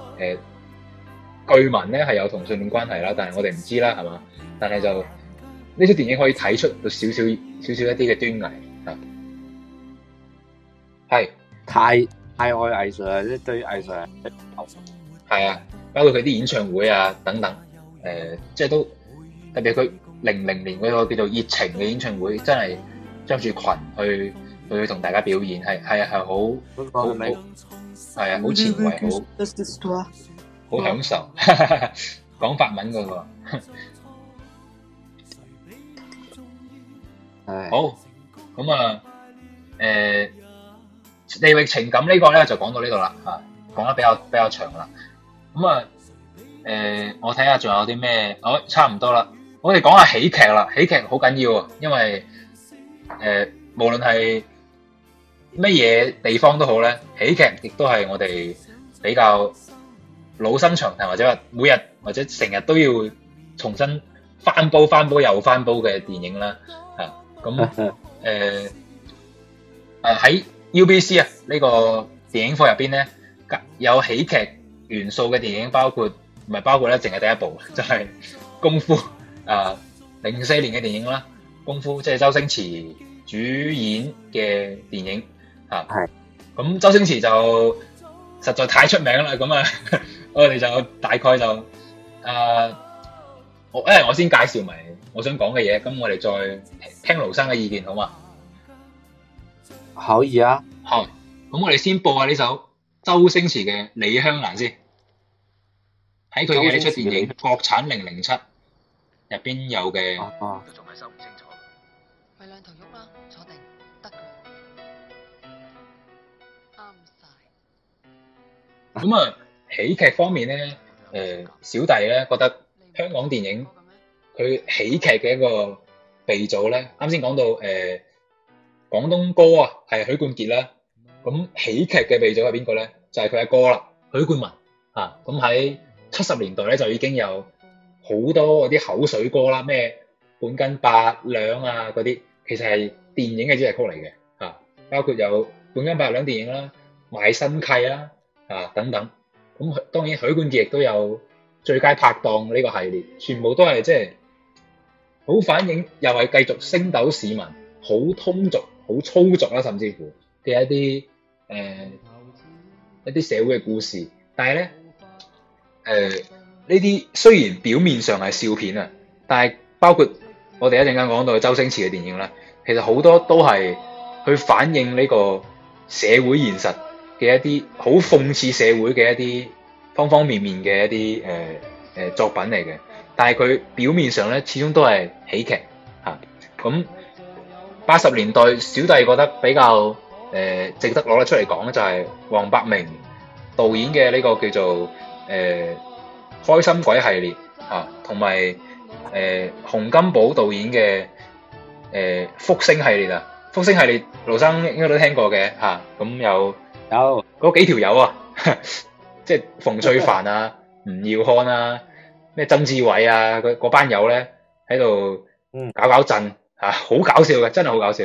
[SPEAKER 2] 據聞咧係有同性戀關係啦，但係我哋唔知啦，係嘛？但係就呢出電影可以睇出到少少一啲嘅端倪啊，係
[SPEAKER 3] 太愛藝術啦，即係對於藝術
[SPEAKER 2] 係啊，包括佢啲演唱會啊等等，即係都特別佢00年嗰個叫做熱情嘅演唱會，真係着住裙去同大家表演，係好係啊，好前衛，好享受，講法文嗰個。好，咁啊，地域情感呢個咧就講到呢度啦，講得比較長啦。咁啊，我睇下仲有啲咩，差唔多啦。我哋講下喜劇啦，喜劇好緊要啊，因為無論係乜嘢地方都好咧，喜劇亦都係我哋比較老生常談，或者話每日或者成日都要重新翻煲又翻煲嘅電影啦。咁喺 UBC 呢個電影課入邊咧，有喜劇元素嘅電影包括咧，淨係第一部就係功夫04年嘅電影啦，功夫即係周星馳主演嘅電影係。咁周星馳就實在太出名啦，咁我哋就大概就我先介紹埋我想講嘅嘢，咁我哋再聽盧生嘅意見好嘛？
[SPEAKER 3] 可以啊。
[SPEAKER 2] 好，咁我哋先播下呢首周星馳嘅《李香蘭》先，喺佢嘅呢出電影國產007入邊有嘅。都仲係收唔清楚。咪兩頭喐啦，坐定得㗎啦。啱晒。咁喜劇方面咧，小弟咧覺得香港電影佢喜劇嘅一個鼻祖咧，啱先講到廣東歌係許冠傑啦，咁喜劇嘅鼻祖係邊個咧？就係佢阿哥啦，許冠文咁喺70年代咧就已經有好多嗰啲口水歌啦，咩半斤八兩嗰啲，其實係電影嘅主題曲嚟嘅包括有半斤八兩電影啦、賣身契啦等等。咁當然許冠傑亦都有最佳拍檔呢個系列，全部都係即係好反映，又係繼續星斗市民好通俗、好粗俗啦，甚至乎嘅一啲社會嘅故事。但係咧呢啲雖然表面上係笑片但係包括我哋一陣間講到周星馳嘅電影啦，其實好多都係去反映呢個社會現實嘅一啲好諷刺社會嘅一啲方方面面嘅一啲作品嚟嘅，但係佢表面上咧始終都係喜劇咁80年代小弟覺得比較值得攞得出嚟講就係黃百鳴導演嘅呢個叫做開心鬼系列同埋洪金寶導演嘅福星系列福星系列盧生應該都聽過嘅咁有嗰幾條友即係馮淬帆吳耀漢咩曾志偉嗰班友咧喺度搞震好搞笑嘅，真係好搞笑。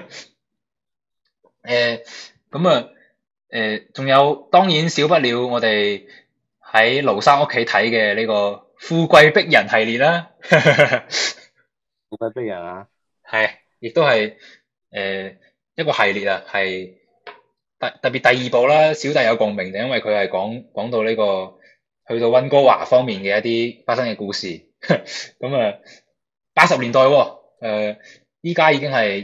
[SPEAKER 2] 仲有當然少不了我哋喺盧生屋企睇嘅呢個富貴逼人系列啦。
[SPEAKER 3] 富貴逼人
[SPEAKER 2] 係，亦都係一個系列係特別第二部啦，小弟有共鳴，就因為佢係講到呢個去到溫哥華方面嘅一啲發生嘅故事。咁80年代依家已經係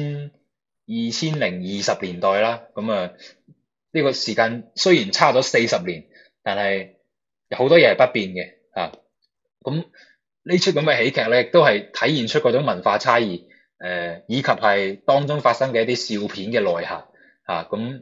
[SPEAKER 2] 2020年代啦。咁呢個時間雖然差咗40年，但係有好多嘢係不變嘅咁呢出咁嘅喜劇咧，亦都係體現出嗰種文化差異以及係當中發生嘅一啲笑片嘅內涵咁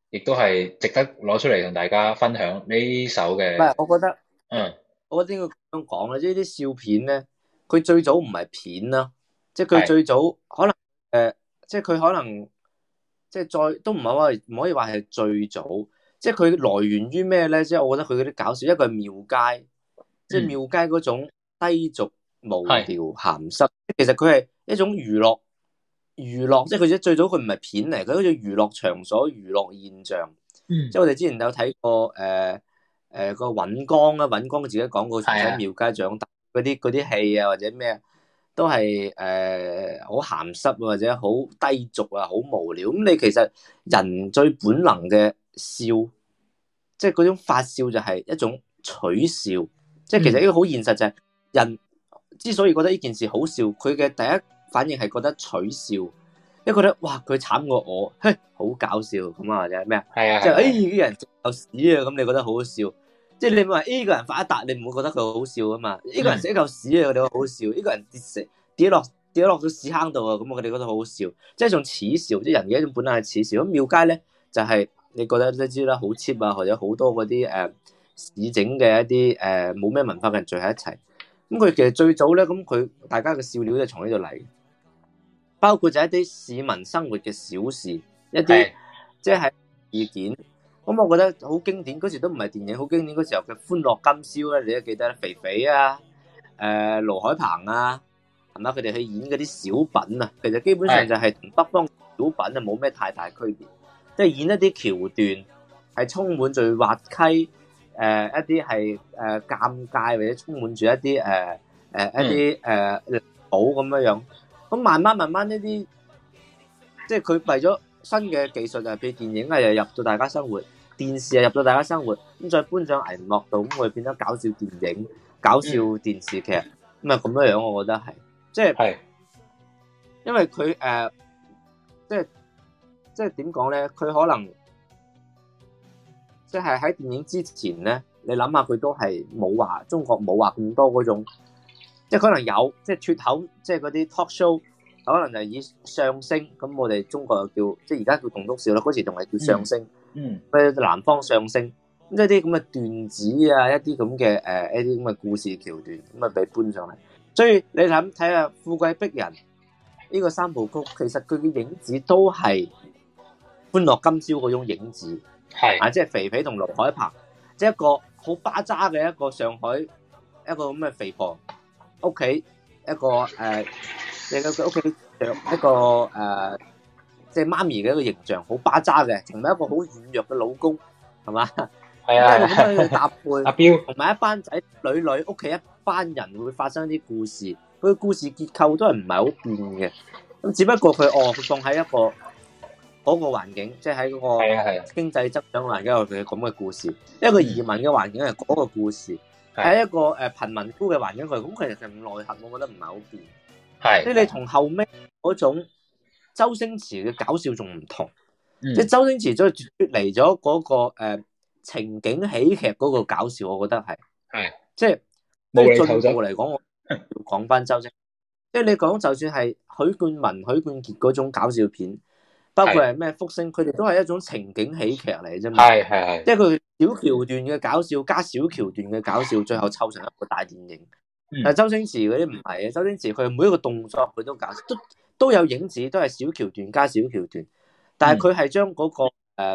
[SPEAKER 2] 亦都係值得攞出嚟同大家分享呢首嘅。
[SPEAKER 3] 唔係，我覺得，
[SPEAKER 2] 嗯，
[SPEAKER 3] 我覺得應該咁講啦，即係啲笑片咧，佢最早唔係片啦，即係佢最早可能即係佢可能即係再都唔係話唔可以話係最早，即係佢來源於咩咧？即係我覺得佢嗰啲搞笑，一個係廟街，即係廟街嗰種低俗無聊鹹濕，其實佢係一種娛樂，即係佢最早佢唔係片嚟，佢好似娛樂場所、娛樂現象。即係我哋之前有睇過個尹光啊，尹光自己講過，從喺廟街長大嗰啲戲啊，或者咩都係好鹹濕或者好低俗啊，好無聊。咁你其實人最本能嘅笑，即係嗰種發笑就係一種取笑。即係其實呢個好現實就係人之所以覺得呢件事好笑，佢嘅第一反應係覺得取笑，因為覺得哇佢慘過我，嘿好搞笑咁啊，或者咩啊？係啊，即係呢個人食嚿屎啊，咁你覺得好好笑。即係你話呢個人發一達，你唔會覺得佢好笑啊嘛？呢個人食一嚿屎啊，我哋覺得好笑。呢個人跌落咗屎坑度啊，咁我哋覺得好好笑。即係一種恥笑，即係人嘅一種本能係恥笑。咁廟街咧就係你覺得都知啦，好 cheap 啊，或者好多嗰啲市整嘅一啲冇咩文化嘅人聚喺一齊。咁佢其實最早咧，咁佢大家嘅笑料就從呢度嚟，包括就一啲市民生活嘅小事，一啲即係意見。咁我覺得好經典，嗰時都唔係電影，好經典嗰時候嘅《歡樂今宵》咧，你都記得肥肥啊，盧海鵬啊，係嘛？佢哋去演嗰啲小品啊，其實基本上就係同北方小品啊冇咩太大區別，即係演一啲橋段係充滿住滑稽，一啲係尷尬或者充滿住一啲一啲好咁樣。咁慢慢呢啲，即係佢為咗新嘅技術就係俾電影啊，又入到大家生活。電視又入到大家生活，咁再搬上銀幕度，咁會變咗搞笑電影、搞笑電視劇，咁啊咁樣，我覺得係，即係，因為佢即係點講咧？佢可能即係喺電影之前咧，你諗下佢都係冇話中國冇話咁多嗰種，即係可能有，即係脫口，即係嗰啲 talk show，可能就以相聲，咁我哋中國又叫，即係而家叫棟篤笑啦，嗰時仲係叫相聲。南方相聲，咁一啲咁嘅段子啊，一啲咁嘅一啲咁嘅故事橋段，咁啊俾搬上嚟。所以你睇下《富貴逼人》呢個三部曲，其實佢嘅影子都係《歡樂今宵》嗰種影子，係啊，即係肥肥同盧海鵬，即係一個好巴渣嘅一個上海一個咁嘅肥婆屋企，一個你嘅屋企一個即係媽咪嘅一個形象，好巴渣嘅，同埋一個好軟弱嘅老公，係嘛？係啊，咁樣去搭配阿彪，同埋一班仔女屋企一班人會發生啲故事，佢嘅故事結構都係唔係好變嘅，咁只不過佢放喺一個嗰個環境，即係喺嗰個經濟增長環境有佢咁嘅故事，一個移民嘅環境係嗰個故事，喺一個貧民窟嘅環境佢咁，其實係內核，我覺得唔係好變，係，即係你同後尾嗰種。周星馳嘅搞笑仲唔同，即係周星馳都脫離咗嗰個情景喜劇嗰個搞笑，我覺得係即係進步嚟講，我要講翻周星，即係你講就算係許冠文、許冠傑嗰種搞笑片，包括係咩福星，佢哋都係一種情景喜劇嚟啫嘛，係，即係佢小橋段嘅搞笑加小橋段嘅搞笑，最後湊成一個大電影。但係周星馳嗰啲唔係啊，周星馳佢每一個動作佢都搞笑，都有影子，都係小橋段加小橋段，但係佢係將嗰個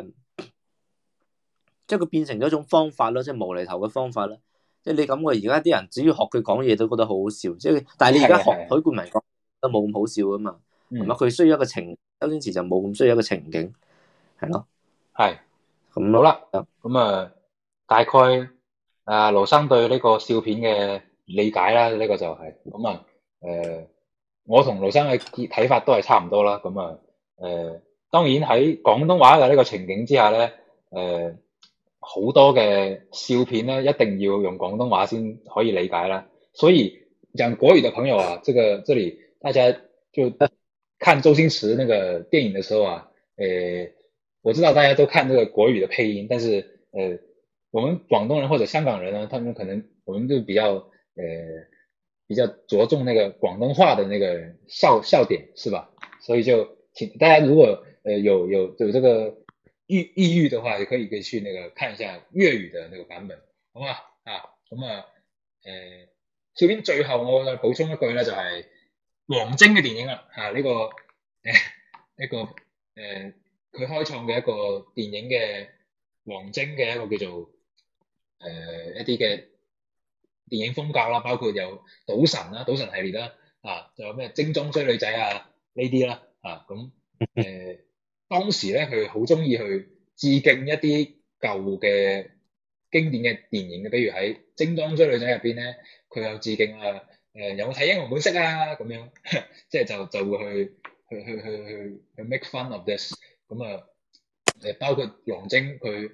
[SPEAKER 3] 即係佢變成咗一種方法咯，即係無厘頭嘅方法啦。即係你感覺而家啲人只要學佢講嘢都覺得好好笑，即係但係你而家學許冠文講都冇咁好笑噶嘛，係嘛？佢需要一個情，周星馳就冇咁需要一個情景，係咯，係咁好啦。
[SPEAKER 2] 咁啊，大概盧生對呢個笑片嘅理解啦，呢個就係咁啊，我同盧生嘅睇法都係差唔多啦。咁啊，當然喺廣東話嘅呢個情景之下咧，好多嘅笑片咧一定要用廣東話先可以理解啦。所以講國語的朋友啊，這裡大家就看周星馳那個電影的時候啊，我知道大家都看這個國語的配音，但是我們廣東人或者香港人呢，他們可能我們就比較着重那個廣東話的那個笑點，是吧？所以就請大家如果有這個抑鬱的話，也可以去那個看一下粵語的那個版本，好嘛？咁小編最後我再補充一句咧，就係王晶嘅電影啦，呢個佢開創嘅一個電影嘅王晶嘅一個叫做一啲嘅電影風格啦，包括有賭神啦、賭神系列啦，仲有咩精裝追女仔啊呢啲啦，咁當時咧佢好中意去致敬一啲舊嘅經典嘅電影嘅，比如喺精裝追女仔入邊咧，佢有致敬有冇睇英雄本色啊咁樣，即係就會去 make fun of this， 咁包括王晶佢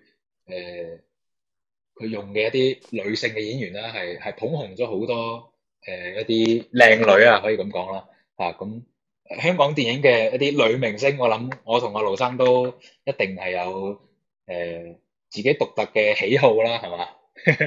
[SPEAKER 2] 用嘅一啲女性嘅演員啦，係捧紅咗好多一啲靚女啊，可以咁講啦，咁香港電影嘅一啲女明星，我諗我同阿盧生都一定係有自己獨特嘅喜好啦，係嘛？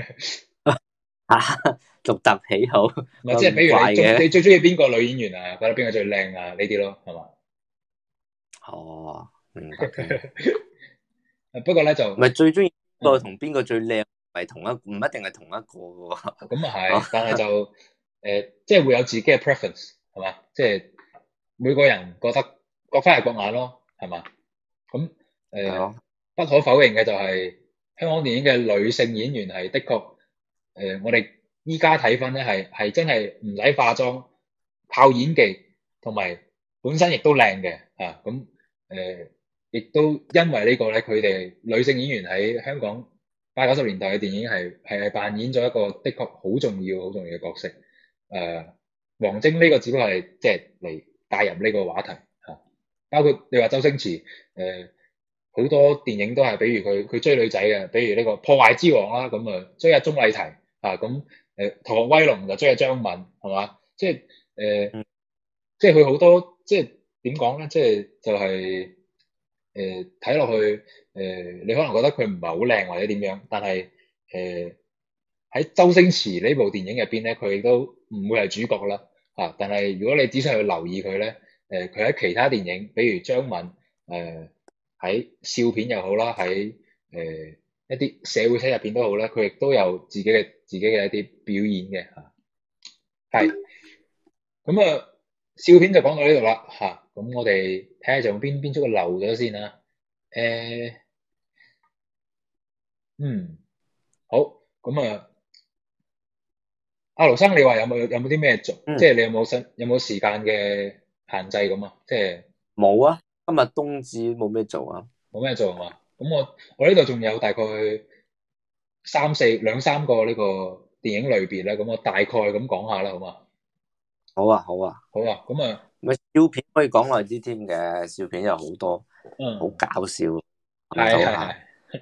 [SPEAKER 3] 獨特喜好，
[SPEAKER 2] 唔係即係比如你最中意邊個女演員啊？覺得邊個最靚啊？呢啲咯，係嘛？
[SPEAKER 3] 哦，明白。
[SPEAKER 2] 不過咧就
[SPEAKER 3] 唔係最中意邊個同邊個最靚，唔係同一，唔一定係同一個喎。
[SPEAKER 2] 咁啊係，但係就即係會有自己嘅 preference， 係嘛？即係每個人覺得各花入各眼咯，係嘛？咁不可否認嘅就係香港電影嘅女性演員係的確我哋依家睇翻咧係真係唔使化妝，靠演技，同埋本身亦都靚嘅咁亦都因為呢個咧，佢哋女性演員喺香港80、90年代嘅電影係扮演咗一個的確好重要嘅角色。王晶呢個只不過係即係嚟帶入呢個話題包括你話周星馳好多電影都係，比如佢追女仔嘅，比如呢個破壞之王啦，咁追阿鍾麗緹咁逃學威龍就追阿張敏，係嘛？即係即係佢好多即係點講咧？即係就係睇落去你可能覺得佢唔係好靚或者點樣，但係喺周星馳呢部電影入邊咧，佢亦都唔會係主角啦但係如果你仔細去留意佢咧，佢喺其他電影，比如張敏喺笑片又好啦，喺一啲社會戲入邊都好咧，佢亦都有自己嘅一啲表演嘅係咁笑片就講到呢度啦咁我哋睇下仲邊出個漏咗先啦。好咁阿盧生，你話有冇啲咩做？即係你有冇時間嘅限制咁啊？即係
[SPEAKER 3] 冇啊，今日冬至冇咩做啊，
[SPEAKER 2] 冇咩做啊嘛。咁我呢度仲有大概兩三個呢個電影類別咧，咁我大概咁講下啦，好嘛？
[SPEAKER 3] 好啊，
[SPEAKER 2] 咁
[SPEAKER 3] 咪笑片可以講耐啲添嘅，笑片有好多，好搞笑，
[SPEAKER 2] 係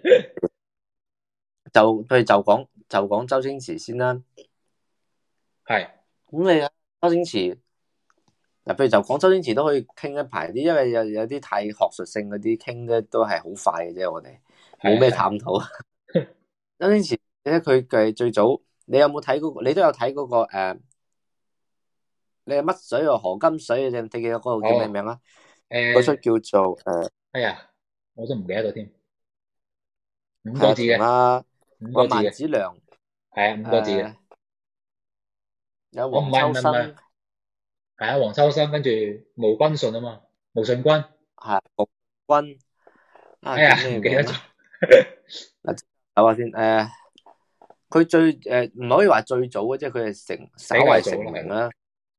[SPEAKER 3] 就講周星馳先啦，
[SPEAKER 2] 係
[SPEAKER 3] 咁你周星馳嗱，譬如就講周星馳都可以傾一排啲，因為有啲太學術性嗰啲傾咧都係好快嘅啫，我哋冇咩探討。周星馳咧，佢係最早，你有冇睇嗰個？你都有睇嗰個你係乜水啊？何金水啊？你記得嗰個叫咩名啊？嗰出叫做
[SPEAKER 2] 哎呀，我都唔記得咗添，5個字嘅，5個字嘅，
[SPEAKER 3] 萬梓良
[SPEAKER 2] 係5個字嘅，
[SPEAKER 3] 有黃秋生，
[SPEAKER 2] 係黃秋生，跟住毛君信啊嘛，毛舜筠
[SPEAKER 3] 係毛君，
[SPEAKER 2] 哎呀唔記得咗，
[SPEAKER 3] 嗱睇下先，佢最唔可以話最早嘅，即係佢係稍為成名啦。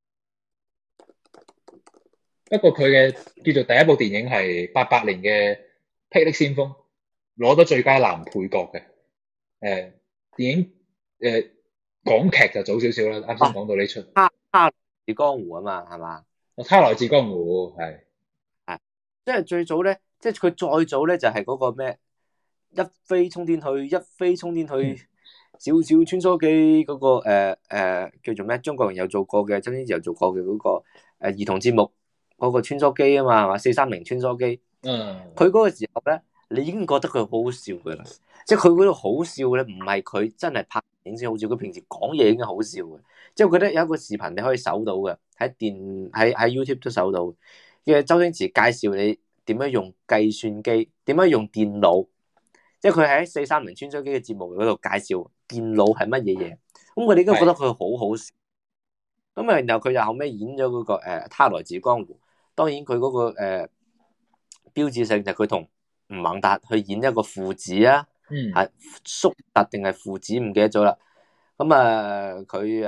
[SPEAKER 2] 不過佢嘅叫做第一部電影係88年嘅《霹靂先鋒》，攞咗最佳男配角嘅。電影港劇就早少少啦，啱先講到呢出。
[SPEAKER 3] 他來自江湖啊嘛，係嘛？
[SPEAKER 2] 他來自江湖係，
[SPEAKER 3] 即係最早咧，即係佢再早咧就係嗰個咩一飛沖天去，一飛沖天去，小小穿梭機嗰個叫做咩？張國榮有做過嘅，周星馳有做過嘅嗰個兒童節目。嗰個穿梭機啊嘛，係嘛？430穿梭機。佢嗰個時候咧，你已經覺得佢好好笑噶啦。即係佢嗰度好笑咧，唔係佢真係拍影先好笑，佢平時講嘢已經好笑嘅。即係我覺得有一個視頻你可以搜到嘅，喺 YouTube 都搜到嘅。周星馳介紹你點樣用計算機，點樣用電腦，即係佢喺430穿梭機嘅節目嗰度介紹電腦係乜嘢嘢，咁佢哋都覺得佢好好笑。咁啊，然後佢又後尾演咗嗰個他來自江湖，當然佢嗰個標誌性就係佢同吳孟達去演一個父子啊，係叔達定係父子唔記得咗啦。咁啊佢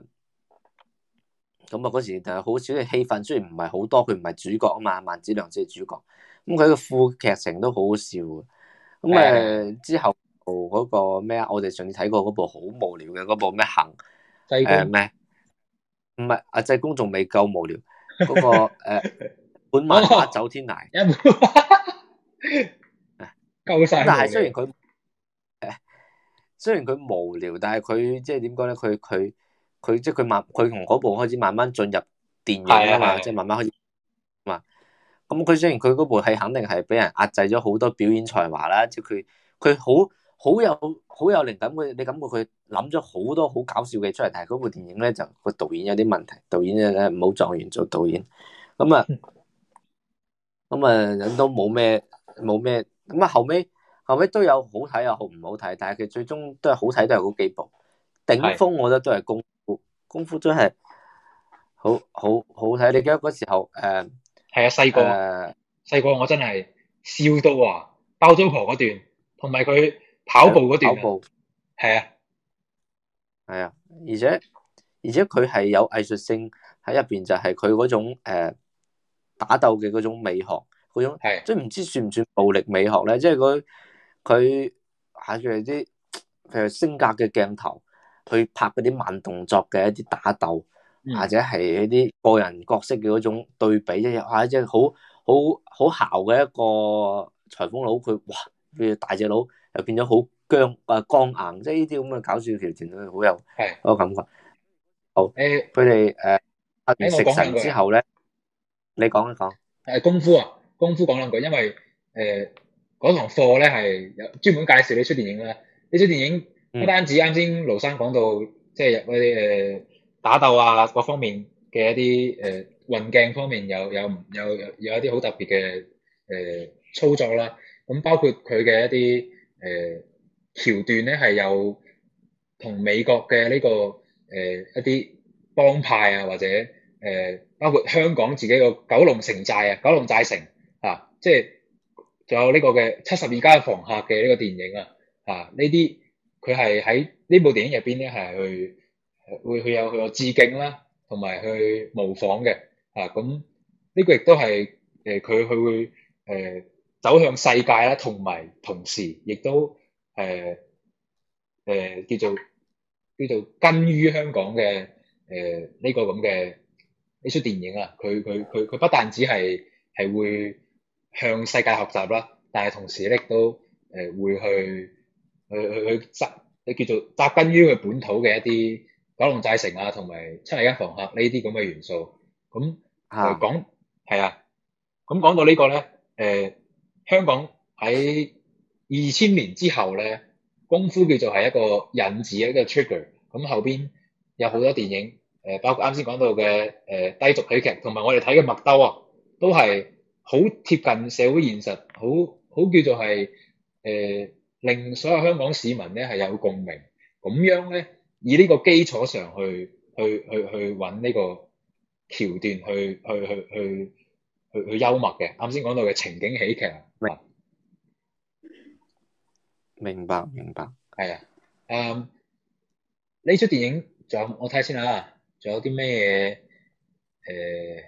[SPEAKER 3] 咁啊嗰時就好少嘅戲份，雖然唔係好多，佢唔係主角啊嘛，萬梓良先係主角。咁佢個副劇情都好好笑嘅。咁之後嗰個咩啊？我哋上次睇過嗰部好無聊嘅嗰部咩行咩？唔係阿濟公仲未夠無聊，嗰個本漫畫走天涯，
[SPEAKER 2] 夠晒。
[SPEAKER 3] 但係雖然佢無聊，但係佢即係點講咧？佢即係佢從嗰部開始慢慢進入電影啊嘛，即係慢慢開始嘛。咁佢雖然佢嗰部戲肯定係俾人壓制咗好多表演才華啦，即係佢好有靈感，你感覺佢諗咗好多好搞笑嘅出嚟，但係嗰部電影咧就個導演有啲問題，導演咧唔好狀元做導演，咁啊都冇咩，咁啊後尾都有好睇又好唔好睇，但係佢最終都係好睇，都係嗰幾部。頂峰我覺得都係功夫真係好睇。你記得嗰時候
[SPEAKER 2] 係啊，細個我真係笑到話包租婆嗰段，同埋佢跑步嗰段，係啊，
[SPEAKER 3] 而且佢係有藝術性喺入邊，就係佢嗰種打鬥嘅嗰種美學，嗰種即係唔知算唔算暴力美學咧？即係佢係佢啲譬如升格嘅鏡頭去拍嗰啲慢動作嘅一啲打鬥，或者係一啲個人角色嘅嗰種對比，即係好姣嘅一個裁縫佬，佢哇，譬如大隻佬又變咗好剛硬，即係呢啲咁嘅搞笑橋段咧，好有嗰個感覺。好，佢哋拍完食神之後咧，你講一講。
[SPEAKER 2] 功夫講兩句，因為嗰堂課咧係有專門介紹呢出電影啦。呢出電影不單止啱先盧生講到，即係嗰啲打鬥啊各方面嘅一啲運鏡方面有一啲好特別嘅操作啦。咁包括佢嘅一啲橋段咧，係有同美國嘅呢個一啲幫派啊，或者包括香港自己個九龍寨城啊，即係仲有呢個嘅72家房客嘅呢個電影啊，呢啲佢係喺呢部電影入邊咧係會有致敬啦，同埋去模仿嘅咁呢個亦都係佢會走向世界啦，同埋同時亦都叫做根於香港嘅呢個咁嘅呢出電影啊，佢不但止係會向世界學習啦，但係同時咧都會去叫做扎根於佢本土嘅一啲九龍寨城啊，同埋72間房客呢啲咁嘅元素。咁講係啊，咁講到呢個咧，香港喺2000年之後咧，功夫叫做係一個引子，一個 trigger。咁後邊有好多電影，包括啱先講到嘅低俗喜劇，同埋我哋睇嘅麥兜啊，都係好貼近社會現實，好叫做係令所有香港市民咧係有共鳴。咁樣咧，以呢個基礎上去揾呢個橋段去幽默嘅。啱先講到嘅情景喜劇啊，
[SPEAKER 3] 明白，
[SPEAKER 2] 係啊，呢出電影仲有我睇下先啦，仲有啲咩嘢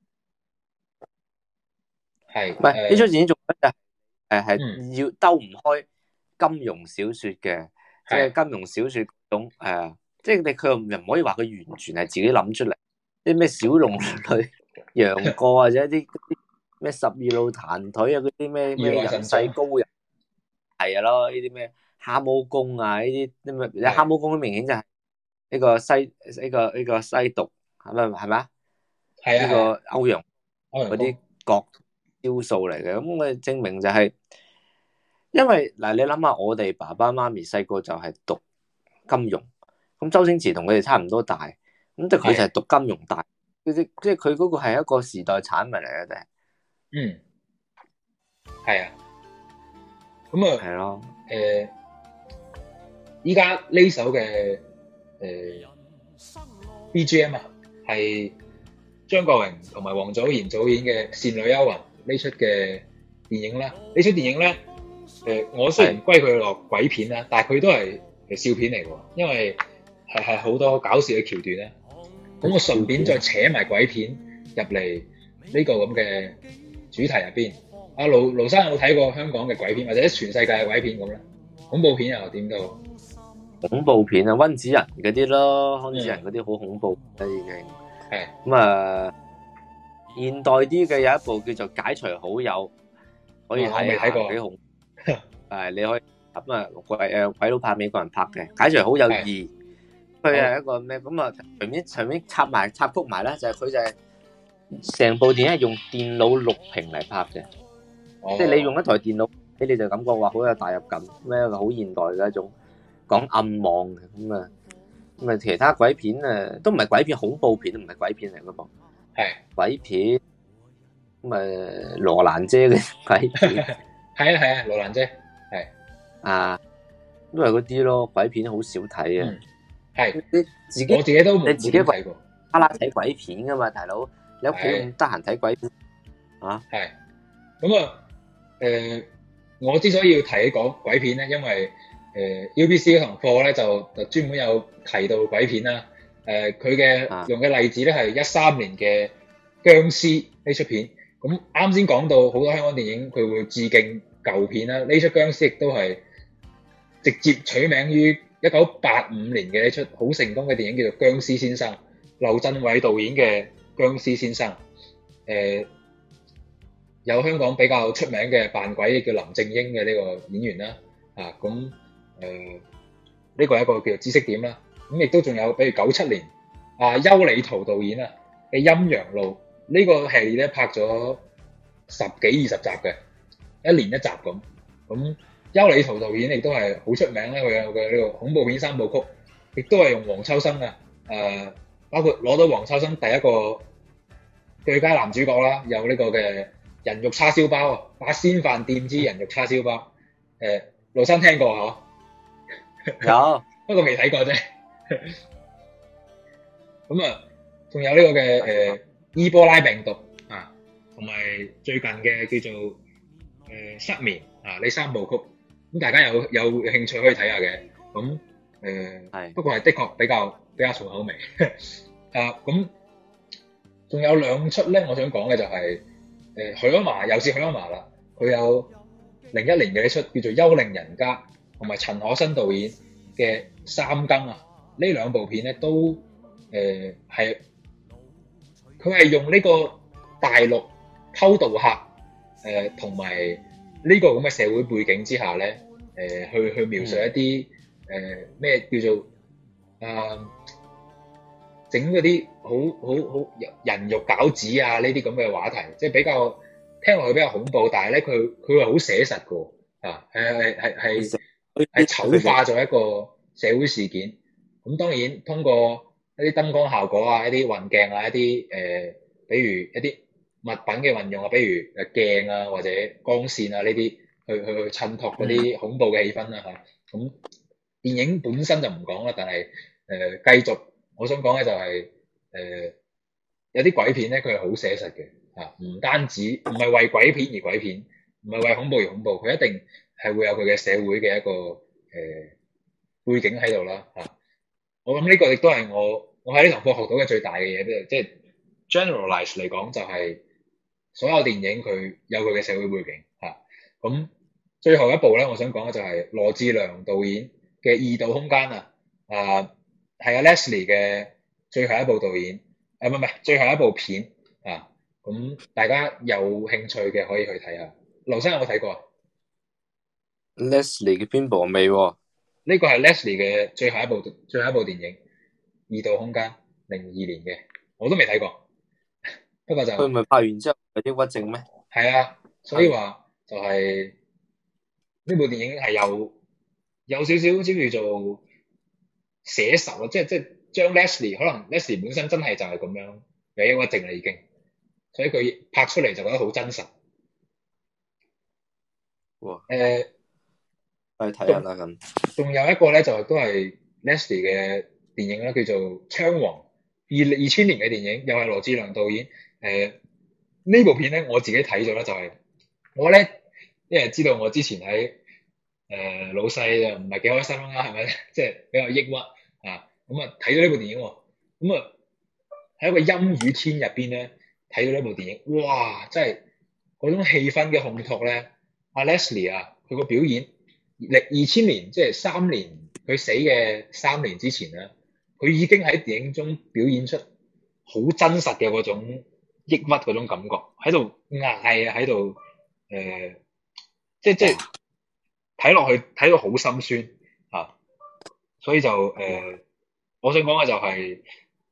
[SPEAKER 2] 係？唔係
[SPEAKER 3] 呢出電影仲係要兜唔開金庸小說嘅，即係金庸小說嗰種即係佢又唔可以話佢完全係自己諗出嚟，啲咩小龍女、楊過或者啲咩十二路彈腿啊，嗰啲咩人世高人係啊咯，呢啲咩蛤蟆功啊，呢啲咩蛤蟆功明顯就係呢個西毒係咪啊？係啊，呢個歐陽嗰啲角招數嚟嘅，咁佢證明就係，因為嗱你諗下，我哋爸爸媽咪細個就係讀金庸，咁周星馳同佢哋差唔多大，咁即係佢就係讀金庸大，即係佢嗰個係一個時代產物嚟嘅啫。
[SPEAKER 2] 係啊。咁啊，
[SPEAKER 3] 係咯。
[SPEAKER 2] 依家呢首嘅BGM 啊，係張國榮同埋王祖賢主演嘅《倩女幽魂》呢出嘅電影啦。呢出電影咧，我雖然歸佢落鬼片啦，但係佢都係笑片嚟喎，因為係好多搞笑嘅橋段啦。咁我順便再扯埋鬼片入嚟呢個咁嘅主題入邊。阿盧生有冇睇過香港嘅鬼片，或者全世界嘅鬼片咁咧？恐怖片又點都好？
[SPEAKER 3] 恐怖片啊，溫子仁嗰啲咯，溫子仁嗰啲好恐怖啦已經。係咁啊，現代啲嘅有一部叫做《解除好友》，可以睇下，我未睇過，幾恐怖。你可以咁啊，鬼佬拍美國人拍嘅《解除好友2》，佢係一個咩咁啊？隨便插曲埋咧，就係佢就係成部電影係用電腦錄屏嚟拍嘅。即係你用一台電腦，你就感覺話好有代入感，咩好現代嘅一種講暗網嘅咁啊，其他鬼片都唔係鬼片，恐怖片都唔係鬼片嚟噶噃，係鬼片咁羅蘭姐嘅鬼片，係啊，羅蘭姐係啊，都係嗰啲咯，鬼片好少睇啊，係你自己，我自己都你自己睇過，睇鬼片噶嘛，大佬你屋企咁得閒睇鬼片啊？係
[SPEAKER 2] 咁啊。我之所以要提講鬼片咧，因為UBC 嗰堂課咧就專門有提到鬼片啦。佢嘅用嘅例子咧係13年嘅殭屍呢出片。咁啱先講到好多香港電影佢會致敬舊片啦，呢出殭屍亦都係直接取名於1985年嘅呢出好成功嘅電影，叫做《殭屍先生》，劉鎮偉導演嘅《殭屍先生》。有香港比較出名嘅扮鬼叫林正英嘅呢個演員啦，呢個係一個叫做知識點啦。咁亦都仲有，比如97年邱禮濤導演啊嘅《陰陽路》呢個系列咧拍咗10幾20集嘅，一年一集咁。咁邱禮濤導演亦都係好出名咧，佢有嘅呢個恐怖片3部曲，亦都係用黃秋生啊，包括攞到黃秋生第一個最佳男主角啦，有呢個嘅人肉叉燒包啊，八仙飯店之人肉叉燒包，盧生聽過嗬？有，不過未睇過啫。咁啊，仲有呢個嘅伊波拉病毒啊，同埋最近嘅叫做失眠啊呢3部曲，咁大家有興趣可以睇下嘅。咁係，不過係的確比較重口味。咁仲有2出咧，我想講嘅就係。許鞍華又是許鞍華啦，佢有01年嘅一出叫做《幽靈人家》，同埋陳可辛導演嘅《三更》啊，呢2部片咧都係佢係用呢個大陸偷渡客同埋呢個咁嘅社會背景之下咧去描述一啲咩叫做整嗰啲好人肉餃子啊呢啲咁嘅話題，即係比較聽落去比較恐怖，但係咧佢係好寫實嘅係醜化咗一個社會事件。咁當然通過一啲燈光效果啊、一啲運鏡啊、一啲比如一啲物品嘅運用啊，比如鏡啊或者光線啊呢啲去襯托嗰啲恐怖嘅氣氛啦嚇。咁電影本身就唔講啦，但係繼續。我想講嘅就係有啲鬼片咧，佢係好寫實嘅嚇，唔單止唔係為鬼片而鬼片，唔係為恐怖而恐怖，佢一定係會有佢嘅社會嘅一個背景喺度啦嚇。我諗呢個亦都係我喺呢堂課學到嘅最大嘅嘢，即係 generalize 嚟講就係所有電影佢有佢嘅社會背景嚇。咁最後一部咧，我想講嘅就係羅志良導演嘅《異度空間》啊。係啊 Leslie 嘅最後一部導演，唔係最後一部片啊，咁大家有興趣嘅可以去睇下。劉生有冇睇過啊
[SPEAKER 3] ？Leslie 嘅邊部未喎？
[SPEAKER 2] 呢個係 Leslie 嘅最後一部電影《異度空間》02年嘅，我都未睇過。不過就
[SPEAKER 3] 佢唔係拍完之後有抑鬱症咩？
[SPEAKER 2] 係啊，所以話就係呢部電影係有少少好似叫做寫實咯，即係將 Leslie 可能 Leslie 本身真係就係咁樣有抑鬱症啦已經，所以佢拍出嚟就覺得好真實。
[SPEAKER 3] 哇！
[SPEAKER 4] 誒，
[SPEAKER 3] 去睇下啦咁。
[SPEAKER 4] 仲有一個咧就都係 Leslie 嘅電影啦，叫做《槍王》，2000年嘅電影，又係羅志良導演。呢部片咧我自己睇咗啦，就係我咧，因為知道我之前喺老細就唔係幾開心啦，係咪？即係比較抑鬱啊，咁啊睇咗呢部電影，咁啊喺一個陰雨天入邊咧睇到呢部電影，哇！真係嗰種氣氛嘅烘托咧，阿 Leslie 啊，佢個表演，2000年即係3年，佢死嘅3年之前咧，佢已經喺電影中表演出好真實嘅嗰種抑鬱嗰種感覺，喺度嗌啊，喺度即係睇落去睇到好心酸啊，所以就我想講嘅就係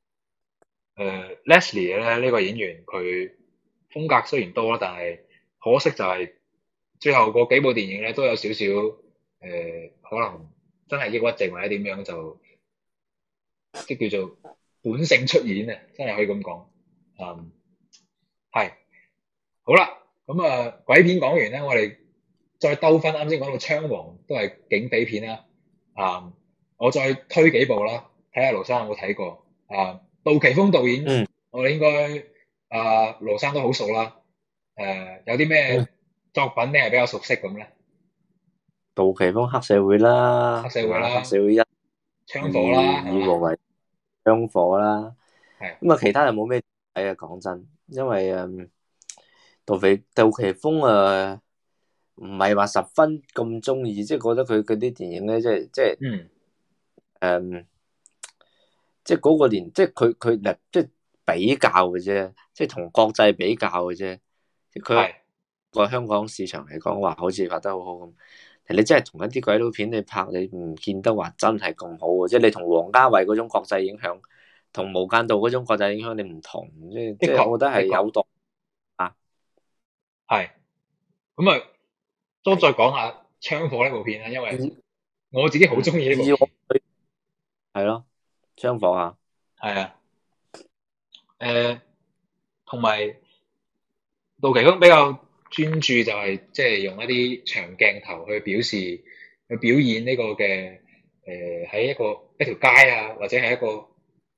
[SPEAKER 4] Leslie 咧呢個演員佢風格雖然多啦，但係可惜就係最後嗰幾部電影咧都有少少可能真係抑鬱症或者點樣就即係叫做本性出演啊，真係可以咁講。係好啦，咁鬼片講完咧，我哋再兜翻啱先講到槍王都係警匪片啦。我再推幾部啦，睇下盧生有冇睇過。杜琪峰導演，我哋應該盧生都好熟啦。有啲咩作品你係比較熟悉咁咧？
[SPEAKER 3] 杜琪峰黑社會啦，
[SPEAKER 4] 黑社會啦，
[SPEAKER 3] 黑社會一
[SPEAKER 4] 槍火啦，
[SPEAKER 3] 以和為槍火啦。
[SPEAKER 4] 係
[SPEAKER 3] 咁啊，其他人冇咩睇啊，講真，因為杜琪峰唔係話十分咁中意，即係覺得佢嗰啲電影咧，即係嗰個年，即係佢即係比較嘅啫，即係同國際比較嘅啫。佢個香港市場嚟講話，好似拍得好好咁。你真係同一啲鬼佬片你拍，你唔見得話真係咁好喎。即係你同王家衛嗰種國際影響，同無間道嗰種國際影響你唔同，即係我覺得係有度啊。
[SPEAKER 4] 係咁啊，都再講下槍火呢部片啦，因為我自己好中意呢部片。
[SPEAKER 3] 係咯，槍火啊。
[SPEAKER 4] 係啊。同埋杜琪峰比較專注就係即係用一啲長鏡頭去表演呢個嘅喺一條街啊，或者係一個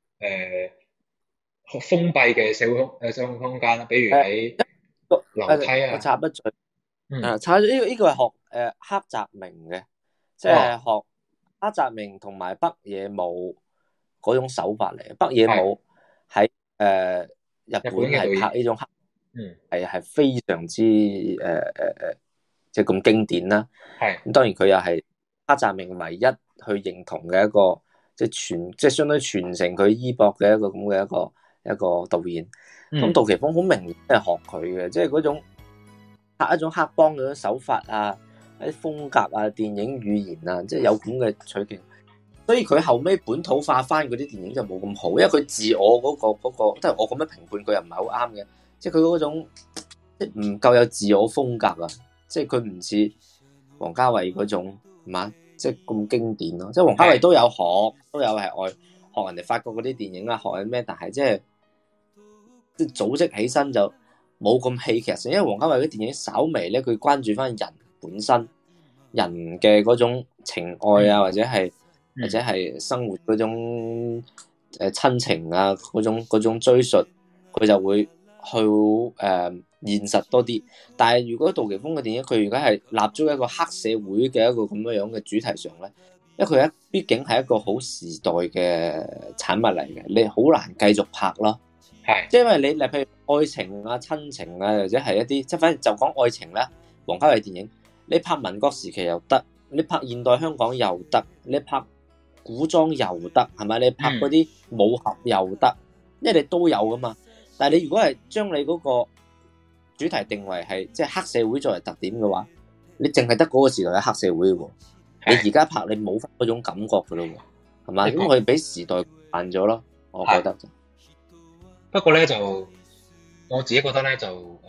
[SPEAKER 4] 封閉嘅社會空間啦，比如喺樓梯啊。
[SPEAKER 3] 我插一嘴，插咗呢個係學黑澤明嘅，即係學黑澤明同埋北野武嗰種手法嚟嘅。北野武喺日本係拍呢種黑，係非常之即係咁經典啦。咁當然佢又係黑澤明唯一去認同嘅一個，即係相當於傳承佢衣缽嘅一個咁嘅一個導演。咁杜琪峰好明顯係學佢嘅，即係嗰種拍一種黑幫嗰種手法啊，一啲風格啊，電影語言啊，即係有咁嘅取景。所以佢後尾本土化翻嗰啲電影就冇咁好，因為佢自我嗰個，即係我咁樣評判佢又唔係好啱嘅，即係佢嗰種即係唔夠有自我風格啊，即係佢唔似王家衛嗰種係嘛，即係咁經典咯。即係王家衛都有係學人哋法國嗰啲電影啊，學人咩，但係即係組織起身就冇咁戲劇性，因為王家衛嗰啲電影稍微咧，佢關注翻人本身人嘅嗰種情愛啊，或者係生活嗰種親情啊，嗰種追述，佢就會去現實多啲。但係如果杜琪峰嘅電影，佢而家係立足一個黑社會嘅一個咁樣嘅主題上咧，因為佢畢竟係一個好時代嘅產物嚟嘅，你好難繼續拍咯。係，即係因為你譬如愛情啊、親情啊，或者係一啲即係反正就講愛情啦，王家衛電影，你拍民國時期又得，你拍現代香港又得，你拍古裝又得，係咪？你拍嗰啲武俠又得，因為你都有噶嘛。但係你如果係將你嗰個主題定為係即係黑社會作為特點嘅話，你淨係得嗰個時代嘅黑社會嘅喎。你而家拍你冇翻嗰種感覺嘅咯喎，係嘛？咁我哋俾時代慢咗咯，我覺得。
[SPEAKER 4] 不過咧就我自己覺得咧就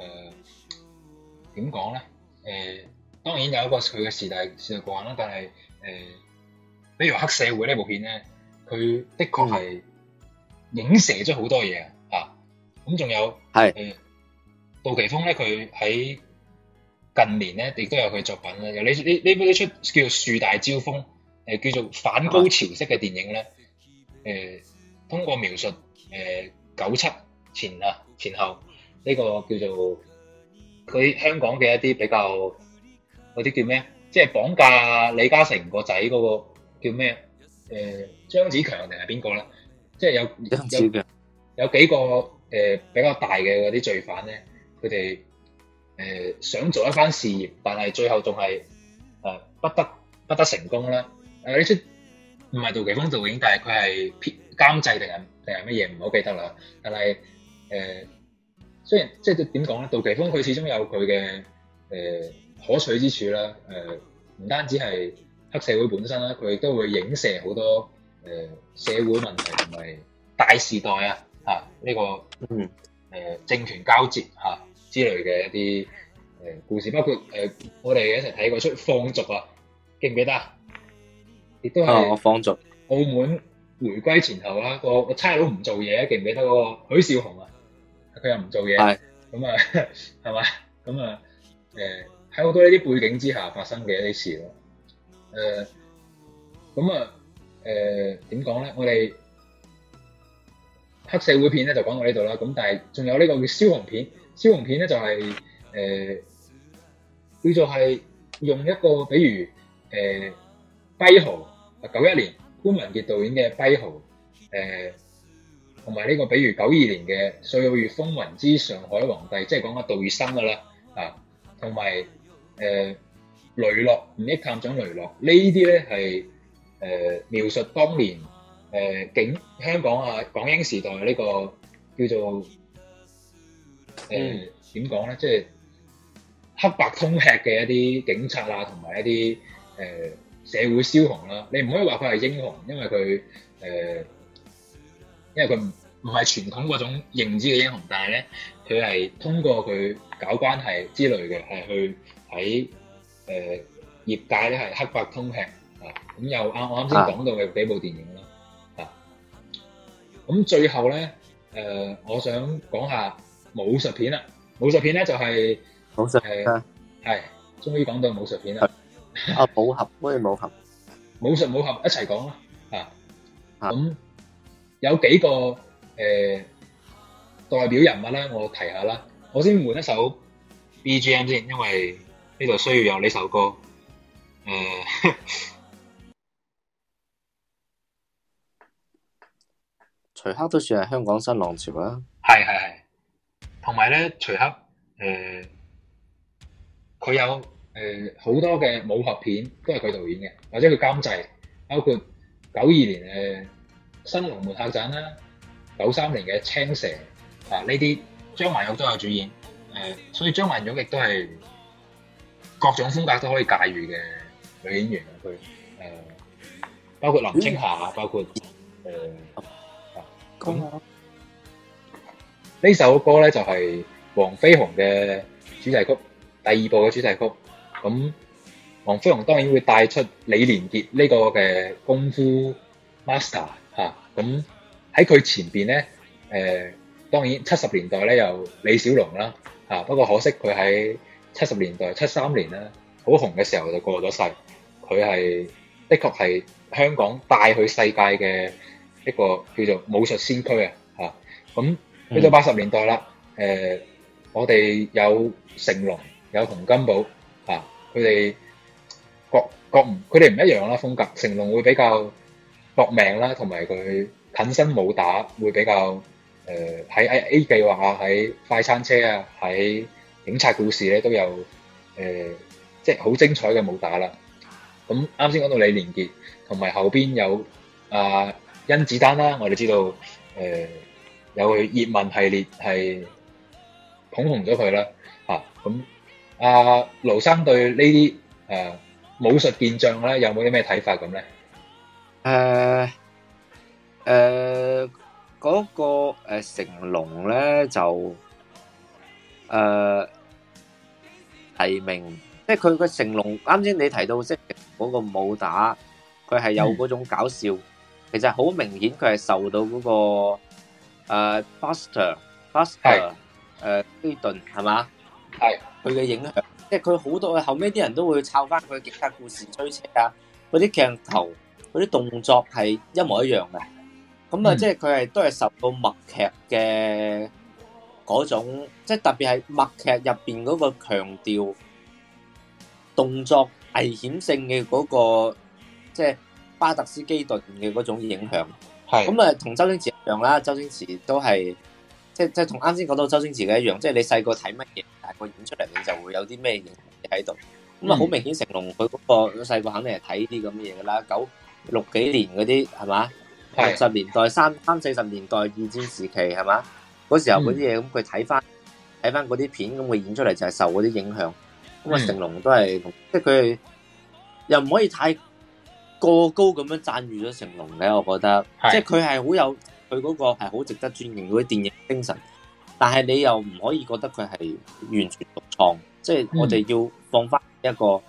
[SPEAKER 4] 點講咧？當然有一個佢嘅時代慣啦，但係比如黑社會呢部片咧，佢的確係影射咗好多嘢啊！咁仲有杜琪峰咧，佢喺近年咧亦都有佢作品啦。有呢出叫做《樹大招風》，叫做反高潮式嘅電影咧。通過描述97前後呢個叫做佢香港嘅一啲比較嗰啲叫咩？即係綁架李嘉誠個仔嗰個叫咩？張子強定係邊個咧？即係有幾個比較大嘅嗰啲罪犯咧，佢哋想做一番事業，但係最後仲係不得成功啦。呢出唔係杜琪峰導演，但係佢係監製定係乜嘢唔好記得啦。但係雖然即係點講咧，杜琪峰佢始終有佢嘅可取之處啦。唔單止係黑社會本身啦，佢亦都會影射好多社會問題同埋大時代呢個政權交接之類嘅一啲故事，包括我哋一齊睇過出《放逐》啊，記唔記得啊？亦都係
[SPEAKER 3] 放逐
[SPEAKER 4] 澳門回歸前後啦，個差佬唔做嘢，記唔記得嗰個許紹雄啊？佢又唔做嘢，咁啊係嘛？咁啊喺好多呢啲背景之下發生嘅一啲事咯。咁啊點講咧？我哋黑社會片咧就講到呢度啦。咁但係仲有呢個叫梟雄片，梟雄片咧就係叫做係用一個比如跛豪91年潘文傑導演嘅跛豪，同埋呢個比如92年嘅《歲月風雲之上海皇帝》，即係講阿杜月笙噶啦同埋雷洛吳憶探長雷洛呢啲咧係描述當年香港港英時代呢個叫做點講咧，即係黑白通吃嘅一啲警察同埋一啲社會梟雄啦。你唔可以話佢係英雄，因為佢唔係傳統嗰種認知嘅英雄，但係咧佢係通過佢搞關係之類嘅，係去喺業界咧係黑白通吃咁又我啱先講到嘅幾部電影啦咁最後咧我想講下武術片啦。武術片咧就係
[SPEAKER 3] 武術
[SPEAKER 4] 係終於講到武術片啦。
[SPEAKER 3] 武俠威武俠
[SPEAKER 4] 武術武俠一齊講啦咁有幾個代表人物咧，我提下啦。我先換一首 BGM 先，因為呢度需要有呢首歌。
[SPEAKER 3] 徐克都算係香港新浪潮啦。
[SPEAKER 4] 係。同埋咧，徐克佢有好多嘅武俠片都係佢導演嘅，或者佢監製，包括92年新龍門客棧啦，93年嘅青蛇呢啲張曼玉都有主演。所以張曼玉亦都係各種風格都可以駕馭嘅女演員。佢包括林青霞包括咁呢首歌咧就係黃飛鴻嘅主題曲，第2部嘅主題曲。咁黃飛鴻當然會帶出李連杰呢個嘅功夫 master 咁喺佢前邊咧當然70年代咧有李小龍啦不過可惜佢喺70年代73年啦好紅嘅時候就過咗世。佢係的確係香港帶去世界嘅一個叫做武術先驅咁去到80年代啦我哋有成龍有洪金寶佢哋佢哋唔一樣啦風格。成龍會比較搏命啦，同埋佢近身武打會比較喺 A 計劃喺快餐車喺警察故事咧都有即係好精彩嘅武打啦。咁啱先講到李連杰，同埋後邊有甄子丹啦，我哋知道有佢葉問系列係捧紅咗佢啦咁盧生對呢啲武術健將咧有冇啲咩睇法咁咧？
[SPEAKER 3] 嗰個成龍咧就提名，即係佢個成龍啱先你提到即係嗰個武打，佢係有嗰種搞笑，其實好明顯佢係受到嗰個Buster 基頓係嘛？係佢嘅影響。 即係佢好多後尾啲人都會抄翻佢其他故事追車啊，嗰啲鏡頭、嗰啲動作係一模一樣嘅。咁啊，即係佢係都係受到默劇嘅嗰種，即係特別係默劇入邊嗰個強調動作危險性嘅嗰個，即係巴特斯基頓嘅嗰種影響。係咁啊，同周星馳一樣啦。周星馳都係即係同啱先講到周星馳嘅一樣，即係你細個睇乜嘢，大個演出嚟你就會有啲咩影響喺度。咁啊，好明顯成龍佢嗰個細個肯定係睇啲咁嘅嘢噶啦，96幾年嗰啲係嘛，60年代30-40年代二戰時期係嘛，嗰時候嗰啲嘢，咁佢睇翻嗰啲片，咁佢演出嚟就係受嗰啲影響。咁啊，成龍都係即係佢又唔可以太過高咁樣讚譽咗成龍嘅，我覺得，即係佢係好有佢嗰個係好值得尊敬嗰啲電影精神，但係你又唔可以覺得佢係完全獨創，即係我哋要放翻一個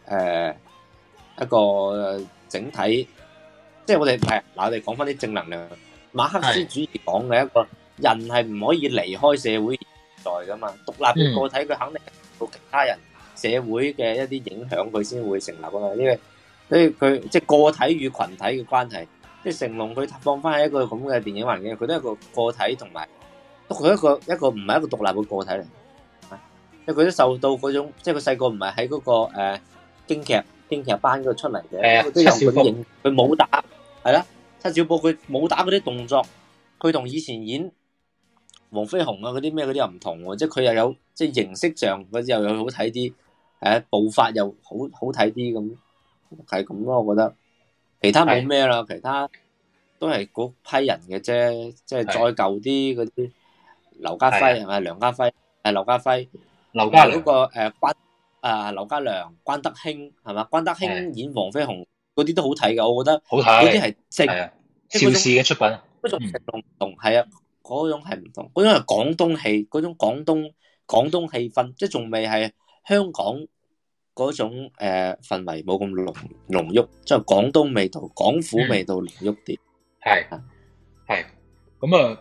[SPEAKER 3] 整體，即係我哋我哋講翻啲正能量。馬克思主義講嘅一個人係唔可以離開社會現在噶嘛，獨立嘅個體佢肯定受到其他人社會嘅一啲影響，佢先會成立噶嘛。呢個所以佢即係個體與群體嘅關係，即係成龍佢放翻喺一個咁嘅電影環境，佢都係一個個體，同埋佢一個唔係一個獨立嘅個體嚟，因為佢都受到嗰種，即係佢細個唔係喺嗰個京劇班嗰度出嚟嘅，佢都有嗰啲影，佢武打係啦，七小寶佢武打嗰啲動作，佢同以前演黃飛鴻啊嗰啲咩嗰啲又唔同喎，即係佢又有即係形式上嗰啲又有好睇啲，步伐又好睇啲咁。係咁咯，我覺得其他冇咩啦，其他都係嗰批人嘅啫，即係再舊啲嗰啲劉家輝係咪？梁家輝劉家輝，劉家良嗰個劉家良、關德興係嘛？關德興演黃飛鴻嗰啲都好睇噶，我覺得好睇，嗰啲係正邵氏嘅出品，嗰種成龍唔同，係啊，嗰種係唔同，嗰種係廣東戲，嗰種廣東氣氛，即係仲未係香港嗰種氛圍冇咁濃郁，即係廣東味道、廣府味道濃郁啲。係
[SPEAKER 4] 咁啊，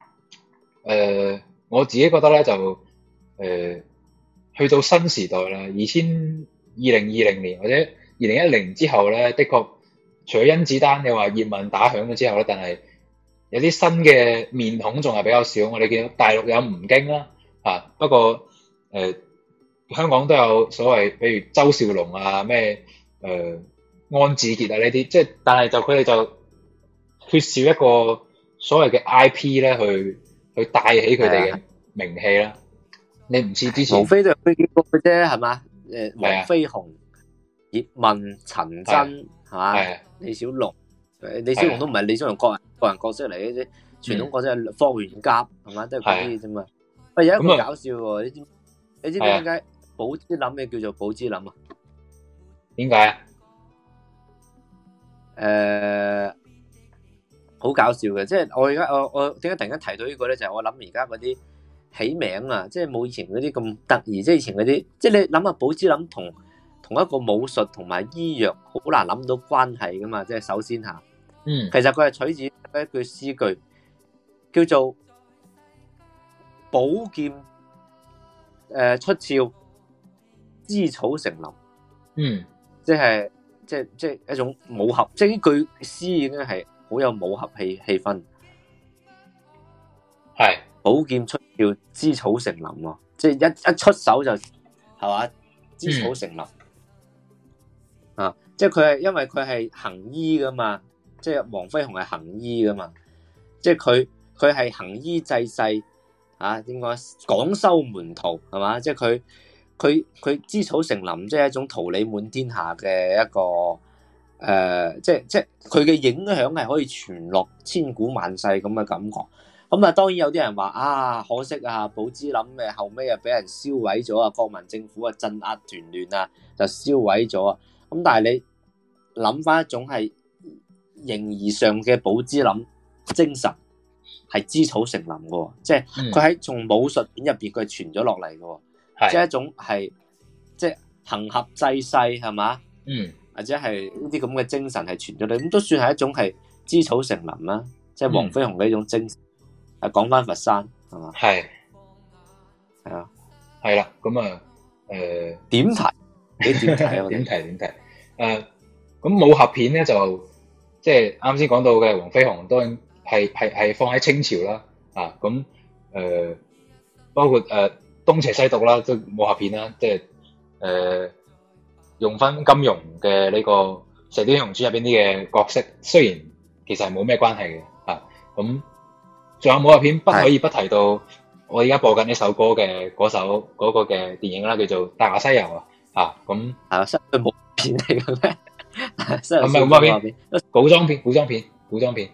[SPEAKER 4] 我自己覺得咧就去到新時代啦，2020年或者2010之後咧，的確除咗甄子丹你話葉問打響咗之後咧，但係有啲新嘅面孔仲係比較少。我哋見到大陸有吳京啦，不過香港都有所謂，比如周兆龍啊，咩安志傑啊呢啲，即係但係就佢哋就缺少一個所謂嘅 IP 咧，去帶起佢哋嘅名氣啦。你唔似之前，無非都係佢幾個嘅啫，係嘛？黃飛鴻、葉問、陳真係嘛？李小龍，李小龍都唔係李小龍個人角色嚟嘅啫，傳統角色係霍元甲係嘛？都係嗰啲啫嘛。喂，有一個搞笑喎，你知唔知點解寶芝林嘅叫做寶芝林啊？點解啊？好搞笑嘅，即係我而家我點解突然間提到呢個咧？就係我諗而家嗰啲起名啊，即係冇以前嗰啲咁得意，即係以前嗰啲，即係你諗下寶芝林同一個武術同埋醫藥好難諗到關係噶嘛？即係首先吓，其實佢係取自一句詩句，叫做寶劍出鞘，枝草成林。即係一種武俠，即係呢句詩已經係好有武俠氣氛。係寶劍出鞘，枝草成林喎，即係一出手就係嘛，枝草成林。即係佢係因為佢係行醫噶嘛，即係黃飛鴻係行醫噶嘛，即係佢係行醫濟世點講？廣收門徒係嘛，即係佢枝草成林，即係一種桃李滿天下嘅一個即係佢嘅影響係可以傳落千古萬世咁嘅感覺。咁啊，當然有啲人話可惜啊，寶芝林後尾啊俾人燒毀咗啊，國民政府啊鎮壓團亂啊，就燒毀咗啊。咁但係你諗翻一種係形而上嘅寶芝林精神，係枝草成林嘅，即係佢喺從武術片入邊佢係傳咗落嚟嘅，即係一種係即係行俠濟世係嘛，或者係呢啲咁嘅精神係傳咗嚟，咁都算係一種係枝草成林啦，即係黃飛鴻嘅一種精神。講翻佛山係嘛，係啊，係啦，咁啊，
[SPEAKER 3] 點睇？你點睇啊？
[SPEAKER 4] 點睇？咁武俠片咧就即係啱先講到嘅黃飛鴻，當然係放喺清朝啦。咁包括東邪西毒啦，即係武俠片啦，即係用翻金庸嘅呢個《射雕英雄傳》入邊啲嘅角色，雖然其實係冇咩關係嘅。咁仲有武俠片不可以不提到我而家播緊呢首歌嘅嗰個嘅電影啦，叫做《大話西遊》啊。咁
[SPEAKER 3] 係啊，西遊冇片嚟嘅咩？
[SPEAKER 4] 唔係武俠片，古裝片。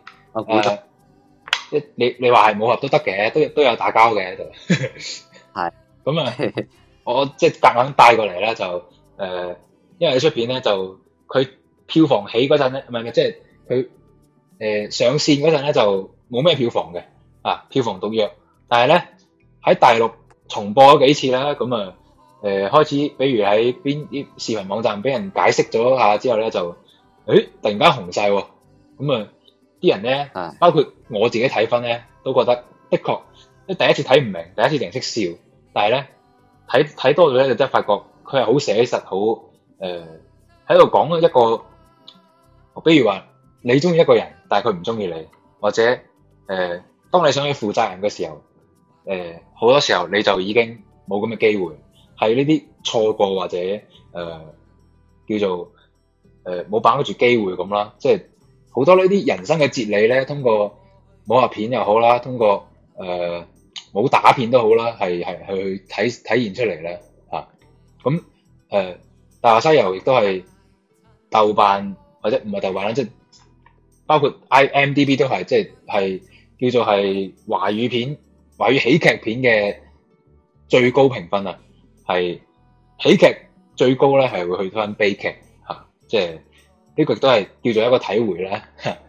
[SPEAKER 4] 你話係武俠都得嘅，都有打交嘅喺度。
[SPEAKER 3] 係
[SPEAKER 4] 咁啊，我即係夾硬帶過嚟咧，就因為呢出片咧就佢票房起嗰陣咧，唔係即係佢上線嗰陣咧就冇咩票房嘅，票房毒藥。但係咧喺大陸重播咗幾次啦，咁啊開始，比如喺邊啲視頻網站俾人解釋咗下之後咧，就突然間紅晒喎，咁啊啲人咧，包括我自己睇分咧，都覺得的確，第一次睇唔明，第一次淨係識笑，但係咧睇多咗咧，就真係發覺佢係好寫實，好喺度講一個，比如話你中意一個人，但係佢唔中意你，或者當你想去負責任嘅時候，好多時候你就已經冇咁嘅機會，係呢啲錯過或者叫做冇把握住機會咁啦，即係好多呢啲人生嘅哲理咧，通過武俠片又好啦，通過武打片都好啦，係去體現出嚟咧嚇。咁大話西遊亦都係豆瓣或者唔係豆瓣啦，即係包括 IMDB 都係，即係叫做係華語喜劇片嘅最高評分啊，係喜劇最高咧係會去翻悲劇嚇，即係呢個亦都係叫做一個體會啦。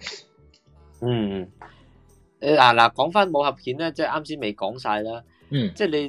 [SPEAKER 3] 嗱，講翻武俠片咧，即係啱先未講晒啦。即係你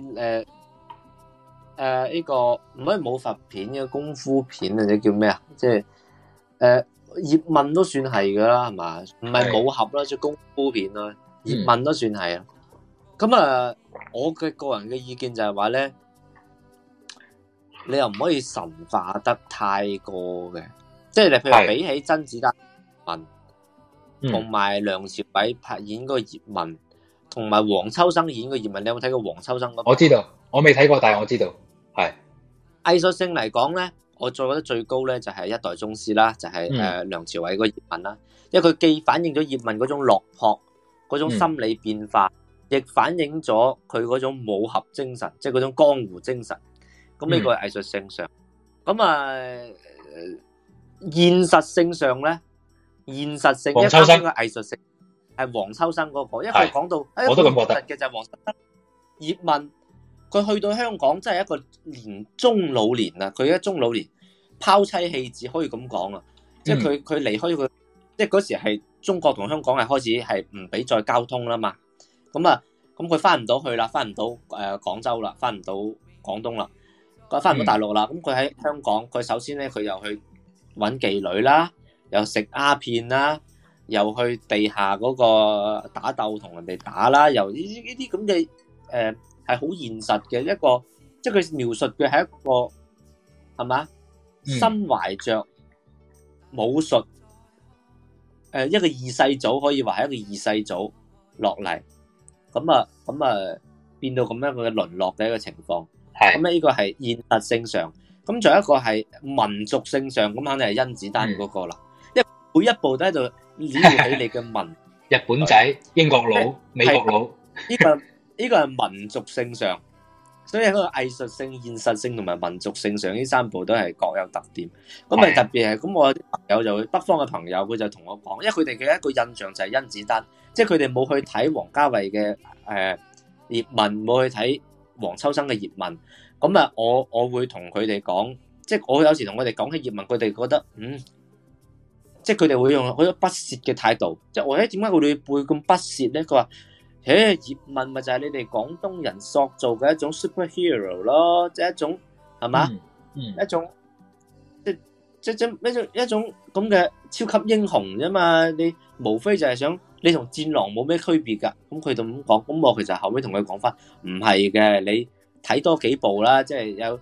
[SPEAKER 3] 呢個唔可以武俠片嘅功夫片或者叫咩啊？即係葉問都算係噶啦，係嘛？唔係武俠啦，即係功夫片啦。葉問都算係啊。咁我嘅個人嘅意見就係話咧，你又唔可以神化得太過嘅，即係你譬如比起甄子丹同埋梁朝偉拍演嗰個葉問，同埋黃秋生演個葉問，你有冇睇過黃秋生嗰？
[SPEAKER 4] 我知道，我未睇過，但係我知道，係
[SPEAKER 3] 藝術性嚟講咧，我再覺得最高咧就係一代宗師啦，就係梁朝偉個葉問啦，因為佢既反映咗葉問嗰種落魄，嗰種心理變化，亦反映咗佢嗰種武俠精神，即係嗰種江湖精神。咁呢個係藝術性上，咁現實性上咧。現實性，
[SPEAKER 4] 黃秋生
[SPEAKER 3] 嘅藝術性係黃秋生嗰個，因為佢講到，
[SPEAKER 4] 我都咁覺得
[SPEAKER 3] 嘅就係黃秋生葉問，佢去到香港真係一個中老年啦，佢一中老年拋妻棄子可以咁講啊，即係佢離開佢，即係嗰時係中國同香港係開始係唔俾再交通啦嘛，咁佢翻唔到去啦，翻唔到廣州啦，翻唔到廣東啦，佢翻唔到大陸啦，咁佢喺香港，佢首先咧佢又去揾妓女啦。又食鴉片啦，又去地下嗰個打鬥同人哋打啦，又呢啲咁嘅係好現實嘅一個，即係佢描述嘅係一個係嘛，身懷着武術一個二世祖，可以話係一個二世祖落嚟，咁變到咁樣嘅淪落嘅一個情況，咁咧呢個係現實性上，咁仲有一個係民族性上，咁肯定係甄子丹嗰個啦。每一步都喺度撩起你嘅民，
[SPEAKER 4] 日本仔、英國佬、美國佬，
[SPEAKER 3] 呢個係民族性上，所以喺個藝術性、現實性同埋民族性上呢三部都係各有特點。咁特別係咁，我有啲朋友就北方嘅朋友，佢就同我講，因為佢哋嘅一個印象就係甄子丹，即係佢哋冇去睇王家衛嘅葉問，冇去睇黃秋生嘅葉問。咁我會同佢哋講，即係我有時同佢哋講起葉問，佢哋覺得即係佢哋會用好多不屑嘅態度，即係我點解佢哋會咁不屑咧？佢話：葉問咪就係你哋廣東人塑造嘅一種 superhero 咯，即係一種係嘛？一種一種咁嘅超級英雄啫嘛！你無非就係想你同戰狼冇咩區別㗎。咁佢就咁講，咁我其實後尾同佢講翻，唔係嘅，你睇多幾部啦，即係有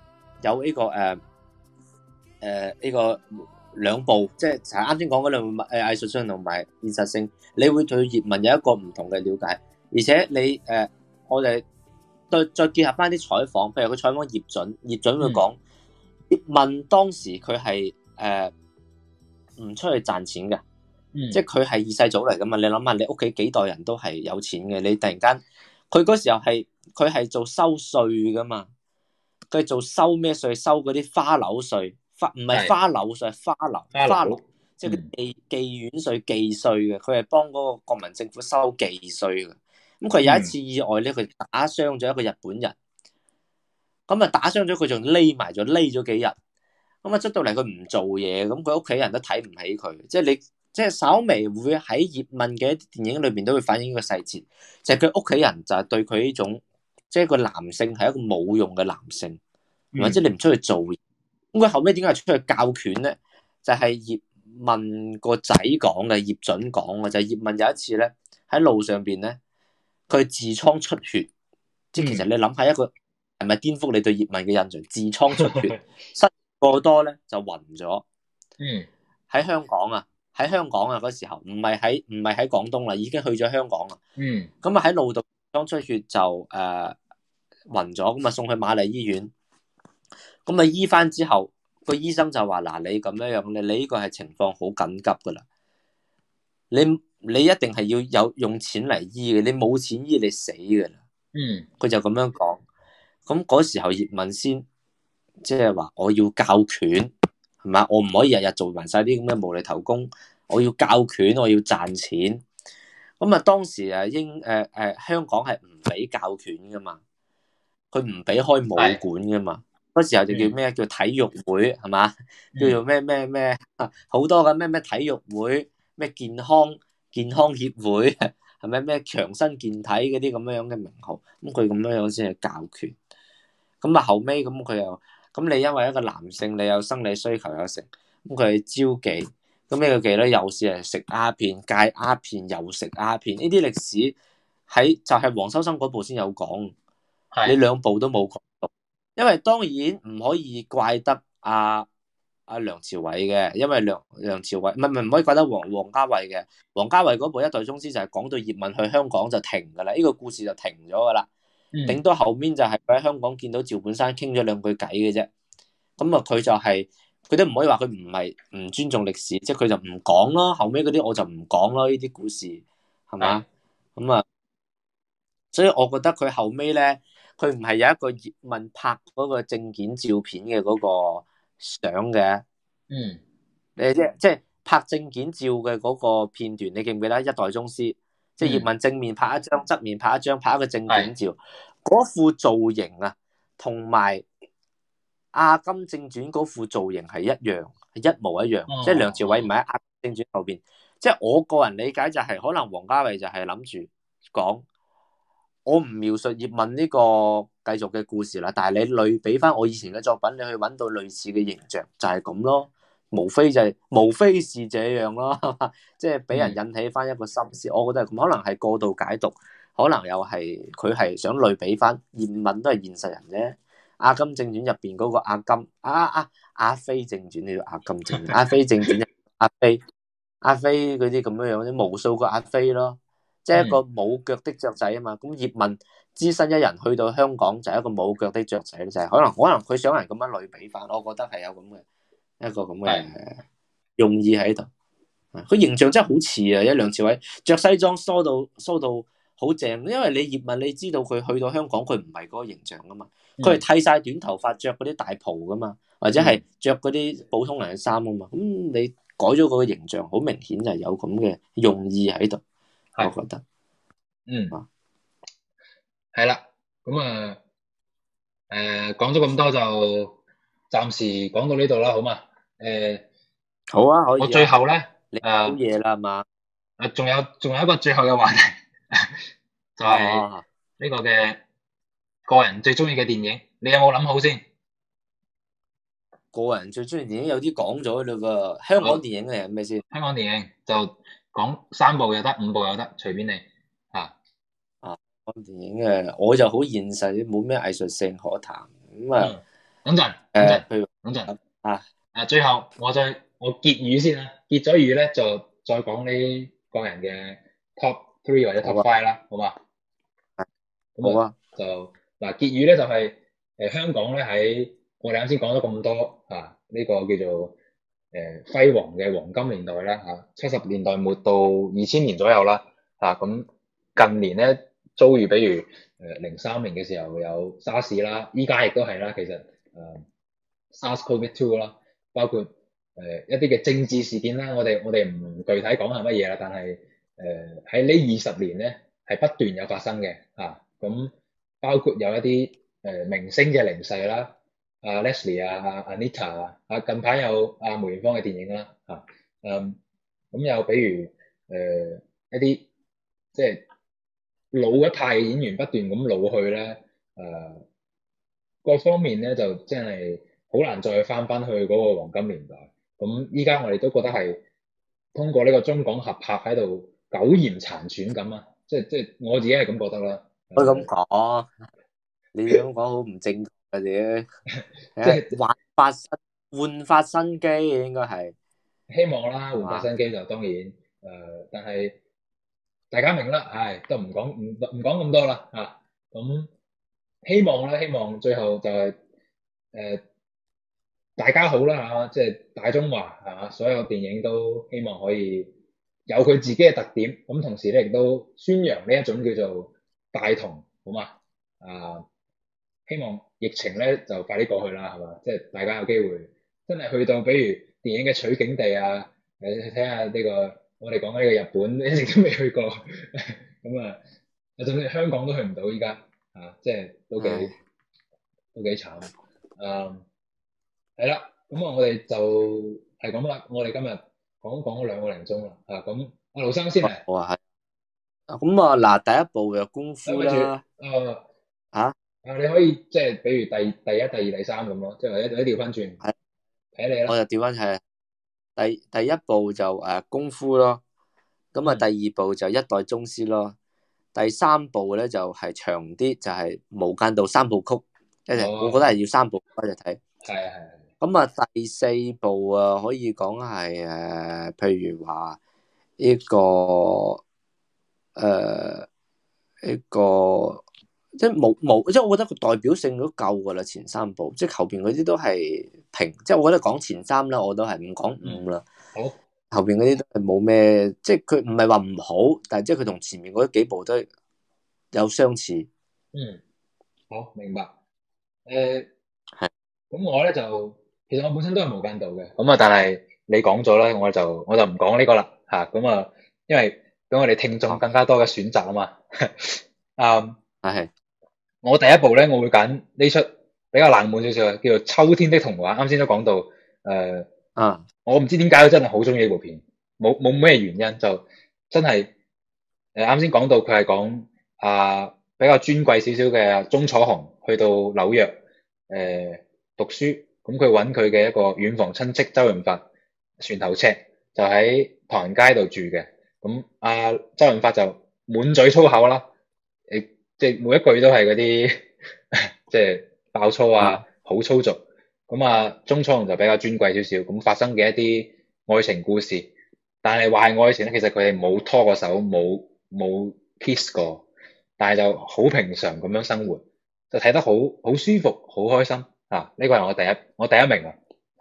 [SPEAKER 3] 有呢個呢個兩部，即係啱先講嗰兩部藝術性同埋現實性，你會對葉問有一個唔同嘅了解，而且你我哋再結合翻啲採訪，譬如佢採訪葉準會講葉問當時佢係唔出去賺錢嘅，即係佢係二世祖嚟噶嘛，你諗下你屋企幾代人都係有錢嘅，你突然間佢嗰時候佢係做收稅噶嘛，佢做收咩稅？收嗰啲花樓稅，唔係花樓稅，係花樓，即係妓院稅、妓稅嘅，佢係幫嗰個國民政府收妓稅嘅。咁佢有一次意外咧，佢打傷咗一個日本人，咁啊打傷咗佢仲匿咗幾日，咁啊出到嚟佢唔做嘢，咁佢屋企人都睇唔起佢，即係稍微會喺葉問嘅電影裏邊都會反映呢個細節，就係佢屋企人就係對佢呢種，即係個男性係一個冇用嘅男性，或者你唔出去做嘢，咁佢後尾點解出去教拳咧？就係葉問個仔講嘅，葉準講嘅，就係葉問有一次咧喺路上邊咧。佢痔瘡出血，即係其實你諗下一個係咪顛覆你對葉問嘅印象？痔瘡出血，失過多咧就暈咗。喺香港啊嗰時候，唔係喺廣東啦，已經去咗香港啦。咁啊喺路度痔瘡出血就暈咗，咁啊送去瑪麗醫院。咁啊醫翻之後，個醫生就話：嗱，你咁樣你呢個係情況好緊急噶啦，你一定係要有用錢嚟醫嘅，你冇錢醫你死噶啦。佢就咁樣講。咁嗰時候葉問先即係話我要教拳，係嘛？我唔可以日日做埋晒啲咁嘅無厘頭工，我要教拳，我要賺錢。咁啊當時香港係唔俾教拳噶嘛，佢唔俾開武館噶嘛。嗰時候就叫咩？叫體育會係嘛？叫做咩好多嘅咩體育會，咩健康協會，係咪咩強身健體嗰啲咁樣嘅名號？咁佢咁樣先係教拳。咁啊後尾咁佢又咁你因為一個男性，你有生理需求有成，咁佢係招妓。咁呢個妓咧又係食鴉片、戒鴉片又食鴉片。呢啲歷史喺就係黃秋生嗰部先有講，你兩部都冇講到。因為當然唔可以怪得阿梁朝偉嘅，因為梁朝偉唔可以怪得王家衛嘅。王家衛嗰部《一代宗師》就係講到葉問去香港就停噶啦，呢個故事就停咗噶啦。頂多後面就係佢喺香港見到趙本山傾咗兩句偈嘅啫。咁啊佢都唔可以話佢唔係唔尊重歷史，即係佢就唔講咯。後尾嗰啲我就唔講咯，呢啲故事係嘛？咁啊，所以我覺得佢後尾咧。佢唔係有一個葉問拍嗰個證件照片嘅嗰個相嘅，即係拍證件照嘅嗰個片段，你記唔記得《一代宗師》？即係葉問正面拍一張，側面拍一張，拍一個證件照，嗰副造型啊，同埋《阿甘正傳》嗰副造型係一樣，係一模一樣。即係梁朝偉唔係喺《阿甘正傳》後邊，即係我個人理解就係可能王家衛就係諗住講。我唔描述葉問呢個繼續嘅故事啦，但係你類比翻我以前嘅作品，你去揾到類似嘅形象，就係咁咯，無非是這樣咯，即係俾人引起翻一個心思。我覺得係咁，可能係過度解讀，可能又係佢係想類比翻葉問都係現實人啫。阿甘正傳入邊嗰個阿甘阿飛正傳呢個阿甘正傳，阿飛正傳阿飛嗰啲咁樣樣，無數個阿飛咯。即係一個冇腳的雀仔啊嘛，咁葉問只身一人去到香港就係一個冇腳的雀仔，就係可能佢想人咁樣類比翻，我覺得係有咁嘅一個咁嘅用意喺度。佢形象真係好似啊，一梁朝偉着西裝梳到好正，因為你葉問你知道佢去到香港佢唔係嗰個形象噶嘛，佢係剃晒短頭髮着嗰啲大袍噶嘛，或者係着嗰啲普通人嘅衫啊嘛，咁你改咗嗰個形象，好明顯就係有咁嘅用意喺度。我覺得，
[SPEAKER 4] 係啦，咁講咗咁多就暫時講到呢度啦，好嘛？
[SPEAKER 3] 好啊，可以。
[SPEAKER 4] 我最後咧，
[SPEAKER 3] 好夜啦嘛，
[SPEAKER 4] 仲有一個最後嘅話題，就係呢個嘅個人最中意嘅電影，你有冇諗好先？
[SPEAKER 3] 個人最中意電影有啲講咗嘞噃，香港電影嚟係咩先？
[SPEAKER 4] 香港電影就。講3部又得，5部又得，隨便你
[SPEAKER 3] 講電影嘅我就好現實，冇咩藝術性可談咁啊。 譬如
[SPEAKER 4] 等陣
[SPEAKER 3] 啊，
[SPEAKER 4] 最後我結語先啦，結咗語咧就再講呢個人嘅 top 3或者 top 5啦，好嘛？咁
[SPEAKER 3] 好啊，
[SPEAKER 4] 就嗱結語咧就係香港咧喺我哋啱先講咗咁多呢個叫做輝煌嘅黃金年代啦70年代末到2000年左右啦咁近年咧遭遇比如03年嘅時候有沙士啦，依家亦都係啦，其實SARS-CoV-2 啦，包括一啲嘅政治事件啦，我哋唔具體講係乜嘢啦，但係喺呢20年咧係不斷有發生嘅咁包括有一啲明星嘅離世啦，Leslie Anita 近排有梅艷芳嘅電影啦咁有比如一啲即係老一派嘅演員不斷咁老去咧各方面咧就真係好難再翻去嗰個黃金年代。咁依家我哋都覺得係通過呢個中港合拍喺度苟延殘喘咁啊！即係我自己係咁覺得啦。
[SPEAKER 3] 可以咁講，你咁講好唔正確嘅啫。即係煥發新機，應該係
[SPEAKER 4] 希望啦，煥發新機就當然但係大家明啦，都唔講咁多啦咁希望最後就係大家好啦即係大中華所有電影都希望可以有佢自己嘅特點，咁同時咧亦都宣揚呢一種叫做大同，好嘛希望疫情咧就快啲過去啦，係嘛？即係大家有機會真係去到，比如電影嘅取景地你睇下呢個我哋講緊呢個日本，一直都未去過，咁甚至香港都去唔到依家即係都幾慘係啦，咁我哋就係咁啦。我哋今日講咗2個零鐘啦咁阿盧生先嚟。
[SPEAKER 3] 好啊，係咁嗱，第一部就功夫啦。
[SPEAKER 4] 你可以即係比如第一、第二、第三咁咯，即係或者調翻轉，睇你啦。
[SPEAKER 3] 我就調翻係第一部就功夫咯，咁第二部就一代宗師咯，第三部咧就係長啲，就係無間道3部曲，我覺得係要3部一齊睇。
[SPEAKER 4] 係。
[SPEAKER 3] 咁第四部可以講係譬如話呢個即係冇，即係我覺得個代表性都夠噶啦，前3部，即係後邊嗰啲都係平，即係我覺得講前3啦，我都係唔講5啦。
[SPEAKER 4] 好，
[SPEAKER 3] 後邊嗰啲都係冇咩，即係佢唔係話唔好，但係即係佢同前面嗰幾部都有相似。
[SPEAKER 4] 好明白。係。咁我咧就其實我本身都係無間道嘅，咁但係你講咗咧，我就唔講呢個啦咁因為俾我哋聽眾更加多嘅選擇啊嘛。
[SPEAKER 3] 係。
[SPEAKER 4] 我第一部咧，我會揀呢出比較冷門少少嘅，叫做《秋天的童話》。啱先都講到我唔知點解我真係好中意呢部片，冇咩原因，就真係啱先講到佢係講比較尊貴少少嘅鐘楚紅去到紐約讀書，咁佢揾佢嘅一個遠房親戚周潤發船頭尺就喺唐人街度住嘅，咁周潤發就滿嘴粗口啦，即係每一句都係嗰啲即係爆粗好粗俗，咁鐘楚紅就比較尊貴少少，咁發生嘅一啲愛情故事，但係話係愛情咧，其實佢哋冇拖過手，冇 kiss 過，但係就好平常咁樣生活，就睇得好舒服，好開心呢個係我第一名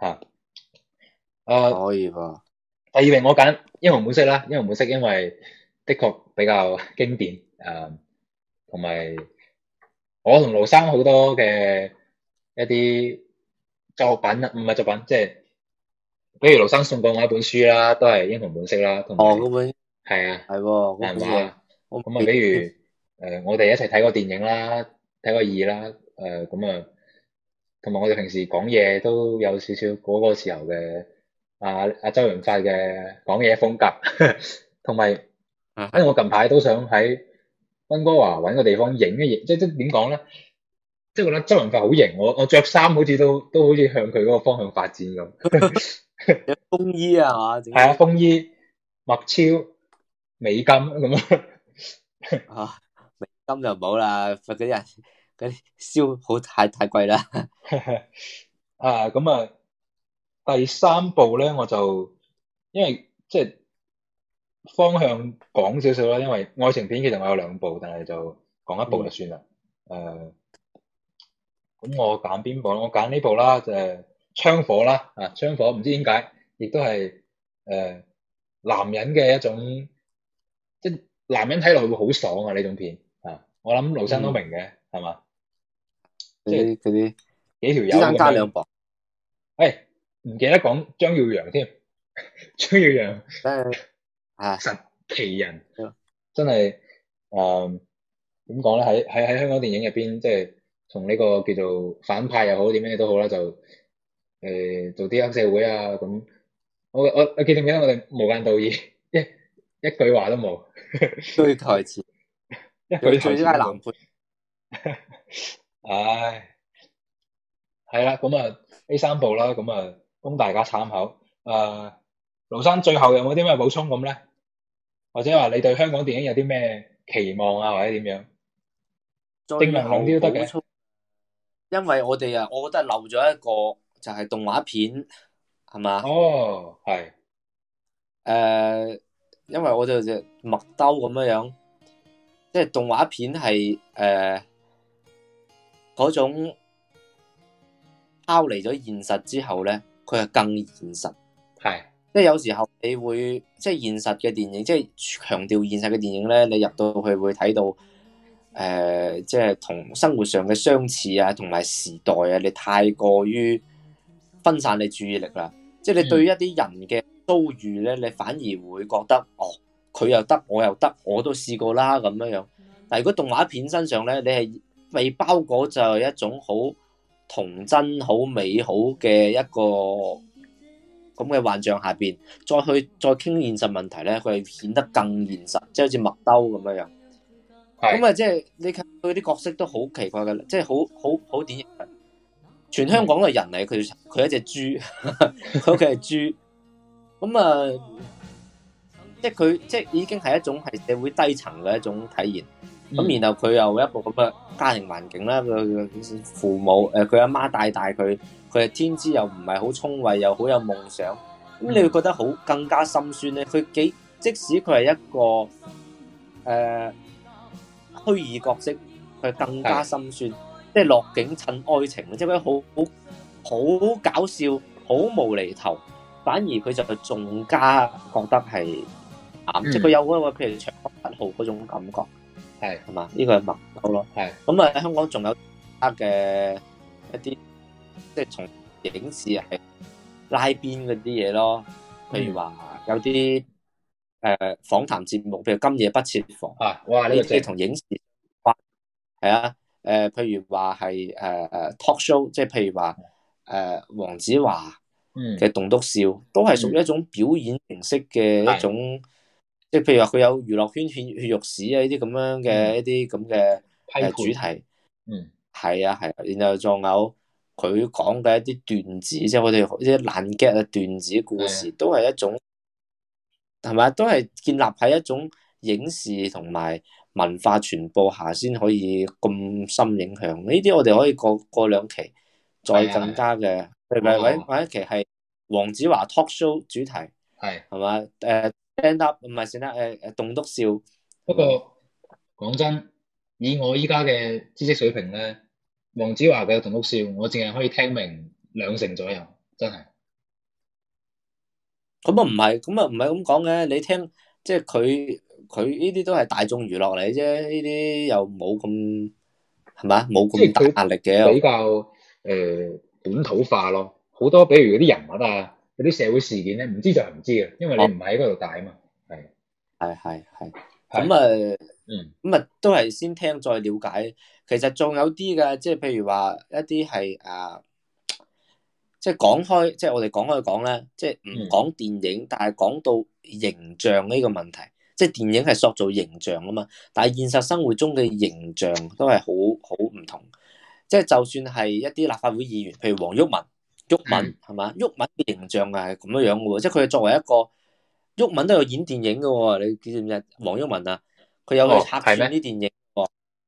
[SPEAKER 3] 可以噃。
[SPEAKER 4] 第二名我揀英雄本色啦，英雄本色因為的確比較經典同埋我同盧生好多嘅一啲作品唔係作品，即係比如盧生送過我一本書啦，都係英雄本色啦，同埋
[SPEAKER 3] 嗰本
[SPEAKER 4] 係
[SPEAKER 3] 係喎，漫畫
[SPEAKER 4] 咁比如我哋一齊睇過電影啦，睇過2啦咁同埋我哋平時講嘢都有少少嗰個時候嘅周潤發嘅講嘢風格，同埋因為我近排都想喺溫哥華揾個地方影一影，即係點講咧？即係覺得周潤發好型，我着衫好似都好似向佢嗰個方向發展咁。
[SPEAKER 3] 風衣係嘛？
[SPEAKER 4] 係風衣、墨超、美金咁
[SPEAKER 3] 美金就冇啦，嗰啲嗰啲燒好太貴啦。
[SPEAKER 4] 啊，咁啊，第三部咧我就因為即係方向講少少啦，因為愛情片其實我有兩部，但係就講一部就算啦。咁我揀邊部？我揀呢部啦，就係槍火啦。啊，槍火唔知點解，亦都係男人嘅一種，即係男人睇落會好爽啊呢種片啊！我諗盧生都明嘅，係嘛？即係
[SPEAKER 3] 嗰啲
[SPEAKER 4] 幾條友
[SPEAKER 3] 子彈加兩磅。
[SPEAKER 4] 唔記得講張耀揚添，張耀揚
[SPEAKER 3] 啊，
[SPEAKER 4] 神奇人，真係點講咧？喺香港電影入邊，即係同呢個叫做反派又好，點樣都好啦，就做啲黑社會啊咁。我記唔記得我哋無間道義一句話都冇，
[SPEAKER 3] 堆台詞，
[SPEAKER 4] 一句台詞
[SPEAKER 3] 最佳男配。
[SPEAKER 4] 唉，係啦，咁啊呢三部啦，咁啊供大家參考。盧生最後有冇啲咩補充咁咧？或者話你對香港電影有啲咩期望啊，或者點樣？正能量啲都得嘅。
[SPEAKER 3] 因為我哋我覺得漏咗一個就係動畫片，係嘛？
[SPEAKER 4] 哦，係。
[SPEAKER 3] 因為我哋就麥兜咁樣，即係動畫片係嗰種拋離咗現實之後咧，佢係更現實。
[SPEAKER 4] 係。
[SPEAKER 3] 即係有時候你會即係現實嘅電影，即係強調現實嘅電影咧，你入到去會睇到即係同生活上嘅相似啊，同埋時代啊，你太過於分散你注意力啦。即係你對於一啲人嘅遭遇咧，你反而會覺得佢又得，我又得，我都試過啦咁樣。但係如果動畫片身上咧，你係被包裹就係一種好童真、好美好嘅一個咁嘅幻象下邊，再傾現實問題咧，佢係顯得更現實，即係好似麥兜咁樣。咁啊，即係你睇佢啲角色都好奇怪嘅，即係好典型。全香港嘅人嚟，佢一隻豬，佢屋企係豬。咁啊，即係佢即係已經係一種係社會低層嘅一種體驗。咁然後佢又一部咁嘅家庭環境啦，佢父母佢阿媽帶大佢，佢係天資又唔係好聰慧，又好有夢想。咁你會覺得更加心酸咧。佢即使佢係一個虛擬角色，佢更加心酸。即係落景襯愛情，即係佢好搞笑，好無厘頭，反而佢就仲加覺得係即係佢有嗰個譬如長江7號嗰種感覺，係嘛？呢個係麥兜咯。係咁啊！香港仲有其他嘅一啲即係從影視係拉邊嗰啲嘢咯，譬如話有啲訪談節目，譬如今夜不設防哇！呢啲同影視係啊。譬如話係talk show， 即係譬如話黃子華嘅棟篤笑，都係屬於一種表演形式嘅一種，即係譬如話佢有娛樂圈血肉史啊呢啲咁樣嘅一啲咁嘅主題，係啊，然後仲有佢講嘅一啲段子，即係我哋啲爛 gag 啊段子故事，都係一種係咪？都係建立喺一種影視同埋文化傳播下先可以咁深影響，呢啲我哋可以過兩期再更加嘅，或者一期係黃子華 talk show 主題，係嘛？stand up 唔係先啦，棟篤笑。不過
[SPEAKER 4] 講真，以我依家嘅知識水平咧，黃子華嘅棟篤笑我淨係可以聽明20%左右，真係。
[SPEAKER 3] 咁啊唔係咁講嘅，你聽即係佢呢啲都係大眾娛樂嚟啫，呢啲又冇咁係嘛，冇咁大壓力嘅，
[SPEAKER 4] 比較本土化咯。好多比如嗰啲人物啊，嗰啲社會事件咧，唔知就係唔知嘅，因為你唔喺嗰度大啊嘛。係。咁啊都係先聽再了解。其實仲有啲嘅，即係譬如話一啲係即係講開，即係我哋講開講咧，即係唔講電影，但係講到形象呢個問題，即係電影係塑造形象啊嘛，但係現實生活中嘅形象都係好唔同。即係就算係一啲立法會議員，譬如黃毓民係嘛，毓民嘅形象係咁樣嘅喎，即係佢作為一個毓民都有演電影嘅喎，你知唔知？黃毓民啊，佢有去客串啲電影喎，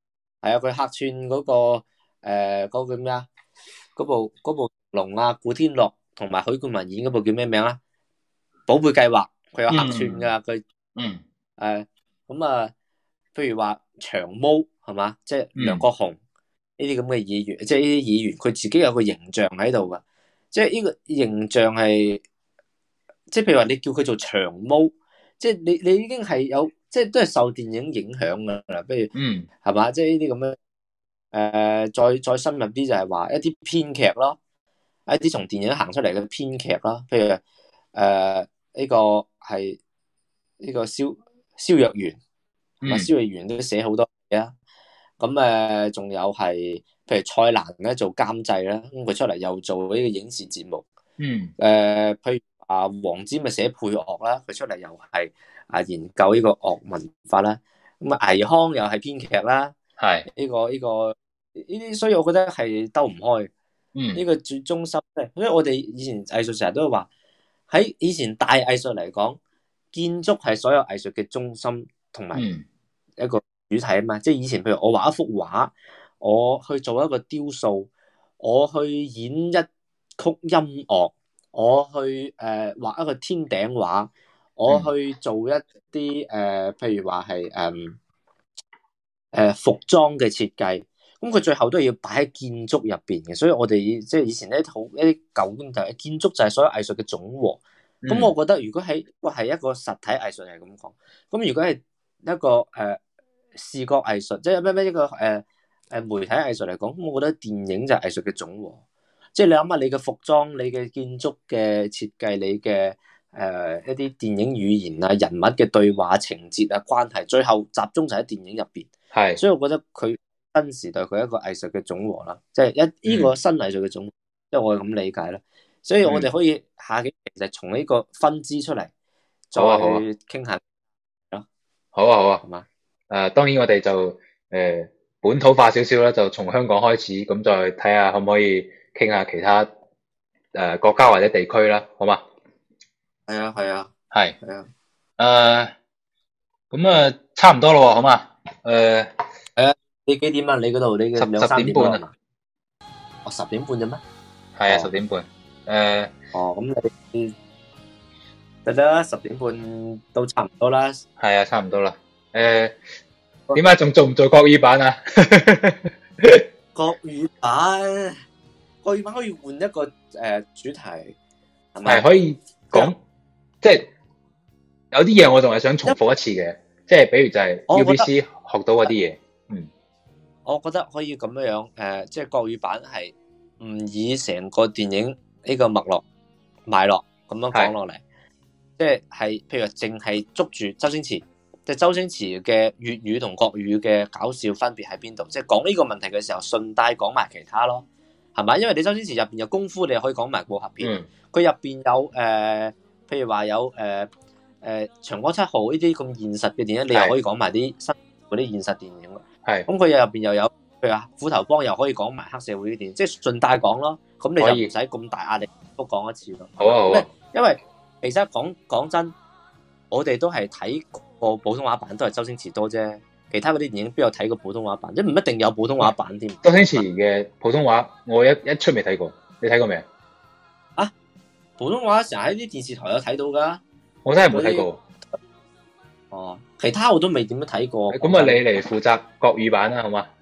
[SPEAKER 3] 係啊，佢客串嗰個嗰個叫咩啊？嗰部龍啊，古天樂同埋許冠文演嗰部叫咩名啊？寶貝計劃，佢有客串噶，佢咁啊，譬如話長毛係嘛，即係梁國雄呢啲咁嘅演員，即係呢啲演員，佢自己有個形象喺度噶，即係呢個形象係，即係譬如話你叫佢做長毛，即係你已經係有，即係都係受電影影響噶啦，譬如係嘛，即係呢啲咁樣。再深入啲就係話一啲編劇咯，一啲從電影行出嚟嘅編劇咯，譬如呢個係呢個蕭若元，蕭若元都寫好多嘢啊。咁仲有係譬如蔡瀾咧做監製啦，咁佢出嚟又做呢個影視節目。譬如黃霑咪寫配樂啦，佢出嚟又係研究呢個樂文化啦。咁倪匡又係編劇啦，係呢個。呢啲，所以我覺得係兜唔開。呢個最中心咧，因為我哋以前藝術成日都話，喺以前大藝術嚟講，建築係所有藝術嘅中心同埋一個主體啊嘛。即係以前譬如我畫一幅畫，我去做一個雕塑，我去演一曲音樂，我去畫一個天頂畫，我去做一啲譬如話係服裝嘅設計。咁佢最後都係要擺喺建築入邊嘅，所以我哋即係以前咧好一啲舊觀就係建築就係所有藝術嘅總和。咁我覺得如果係一個實體藝術係咁講，咁如果係一個視覺藝術，即係咩一個媒體藝術嚟講，咁我覺得電影就係藝術嘅總和。即係你諗下你嘅服裝、你嘅建築嘅設計、你嘅一啲電影語言啊、人物嘅對話、情節啊、關係，最後集中就喺電影入邊。係，所以我覺得佢。新時代佢一個藝術嘅總和啦，即係呢個新藝術嘅總和，即係我係咁理解啦。所以我哋可以下幾期就從呢個分支出嚟，再傾下咯。
[SPEAKER 4] 好啊，係嘛？當然我哋就本土化少少啦，就從香港開始，咁再睇下可唔可以傾下其他國家或者地區啦，好嘛？
[SPEAKER 3] 係啊，
[SPEAKER 4] 係啊，咁差唔多咯，好嘛？
[SPEAKER 3] 你幾點啊？你嗰度你嘅
[SPEAKER 4] 10點半啊？
[SPEAKER 3] 我10點半啫咩？
[SPEAKER 4] 係啊，10點半。
[SPEAKER 3] 咁你得啦，10點半都差唔多啦。
[SPEAKER 4] 係啊，差唔多啦。點解仲做唔做國語版啊？
[SPEAKER 3] 國語版可以換一個主題，
[SPEAKER 4] 係可以講，即係有啲嘢我仲係想重複一次嘅，即係比如就係 UBC 學到嗰啲嘢。
[SPEAKER 3] 我覺得可以咁樣即係國語版係唔以成個電影呢個脈絡咁樣講落嚟，即係譬如淨係捉住周星馳，即係周星馳嘅粵語同國語嘅搞笑分別喺邊度？即係講呢個問題嘅時候，順帶講埋其他咯，係咪？因為你周星馳入邊有功夫，你又可以講埋武俠片，佢入邊有譬如話有長江七號呢啲咁現實嘅電影，你又可以講埋啲新嗰啲現實電影。係，咁佢入邊又有，譬如話虎頭幫又可以講埋黑社會啲電影，即係順帶講咯。咁你就唔使咁大壓力都講一次咯。好啊，因為其實講真，我哋都係睇過普通話版，都係周星馳多啫。其他嗰啲電影邊有睇過普通話版？即唔一定有普通話版添。
[SPEAKER 4] 周星馳嘅普通話我一出未睇過，你睇過未
[SPEAKER 3] 啊？普通話成日喺啲電視台有睇到噶。
[SPEAKER 4] 我真係冇睇過。
[SPEAKER 3] 其他我都未點樣睇過。
[SPEAKER 4] 咁啊，你嚟負責國語版啦，好嘛？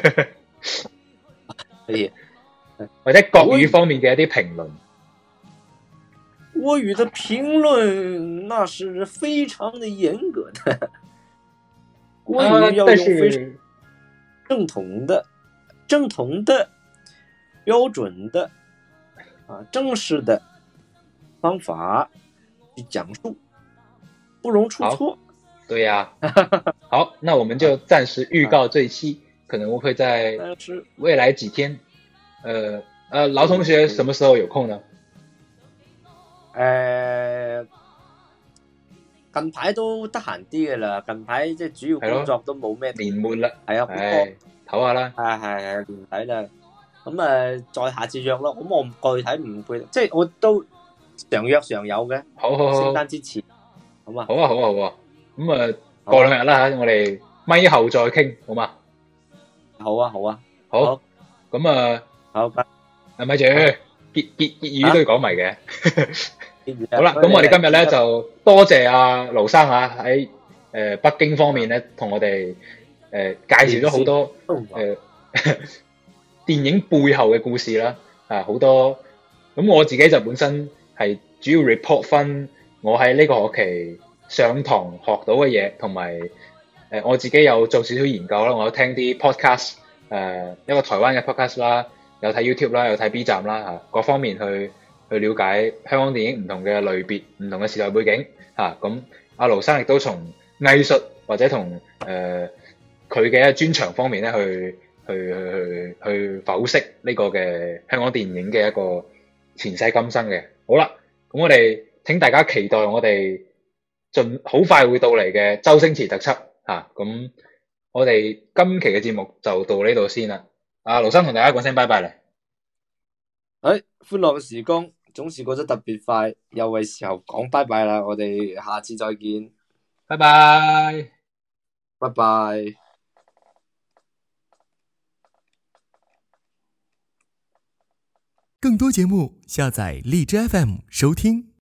[SPEAKER 3] 可以，
[SPEAKER 4] 或者國語方面嘅一啲評論。
[SPEAKER 3] 國語的評論那是非常的嚴格的，國語要用非常正統的、標準的、正式的方法去講述，不容出錯。
[SPEAKER 4] 對呀，好，那我們就暫時預告這一期可能會在未來幾天。勞同學什麼時候有空呢？
[SPEAKER 3] 近排都得閒啲嘅啦，近排即係主要工作都冇咩。
[SPEAKER 4] 年末啦，
[SPEAKER 3] 係啊，
[SPEAKER 4] 唞下啦。
[SPEAKER 3] 係年底啦，咁再下次約咯。咁我具體唔會，即係我都常約常有嘅。好，聖誕之前，好嘛？
[SPEAKER 4] 好啊。咁過2日啦吓，我哋咪後再傾，好嘛？
[SPEAKER 3] 好啊，好啊，
[SPEAKER 4] 好，咁啊，
[SPEAKER 3] 好，
[SPEAKER 4] 咪住結語都要講埋嘅。好啦，咁
[SPEAKER 3] 你
[SPEAKER 4] 我哋今日咧就多謝阿盧生喺北京方面咧，同我哋介紹咗好多電影背後嘅故事啦，好多。咁我自己就本身係主要 report 翻我喺呢個學期上堂學到嘅嘢，同埋我自己有做少少研究啦，我有聽啲 podcast，一個台灣嘅 podcast 啦，有睇 YouTube 啦，有睇 B 站啦，各方面去了解香港電影唔同嘅類別、唔同嘅時代背景嚇。咁阿盧生亦都從藝術或者同佢嘅專長方面咧去剖析呢個嘅香港電影嘅一個前世今生嘅。好啦，咁我哋請大家期待我哋好快會到嚟嘅周星馳特輯嚇。咁我哋今期嘅節目就到呢度先啦。阿盧生同大家講聲拜拜啦。
[SPEAKER 3] 歡樂嘅時光總是過得特別快，又係時候講拜拜啦。我哋下次再見，
[SPEAKER 4] 拜拜，
[SPEAKER 3] 拜拜。
[SPEAKER 5] 更多節目下載荔枝 FM 收聽。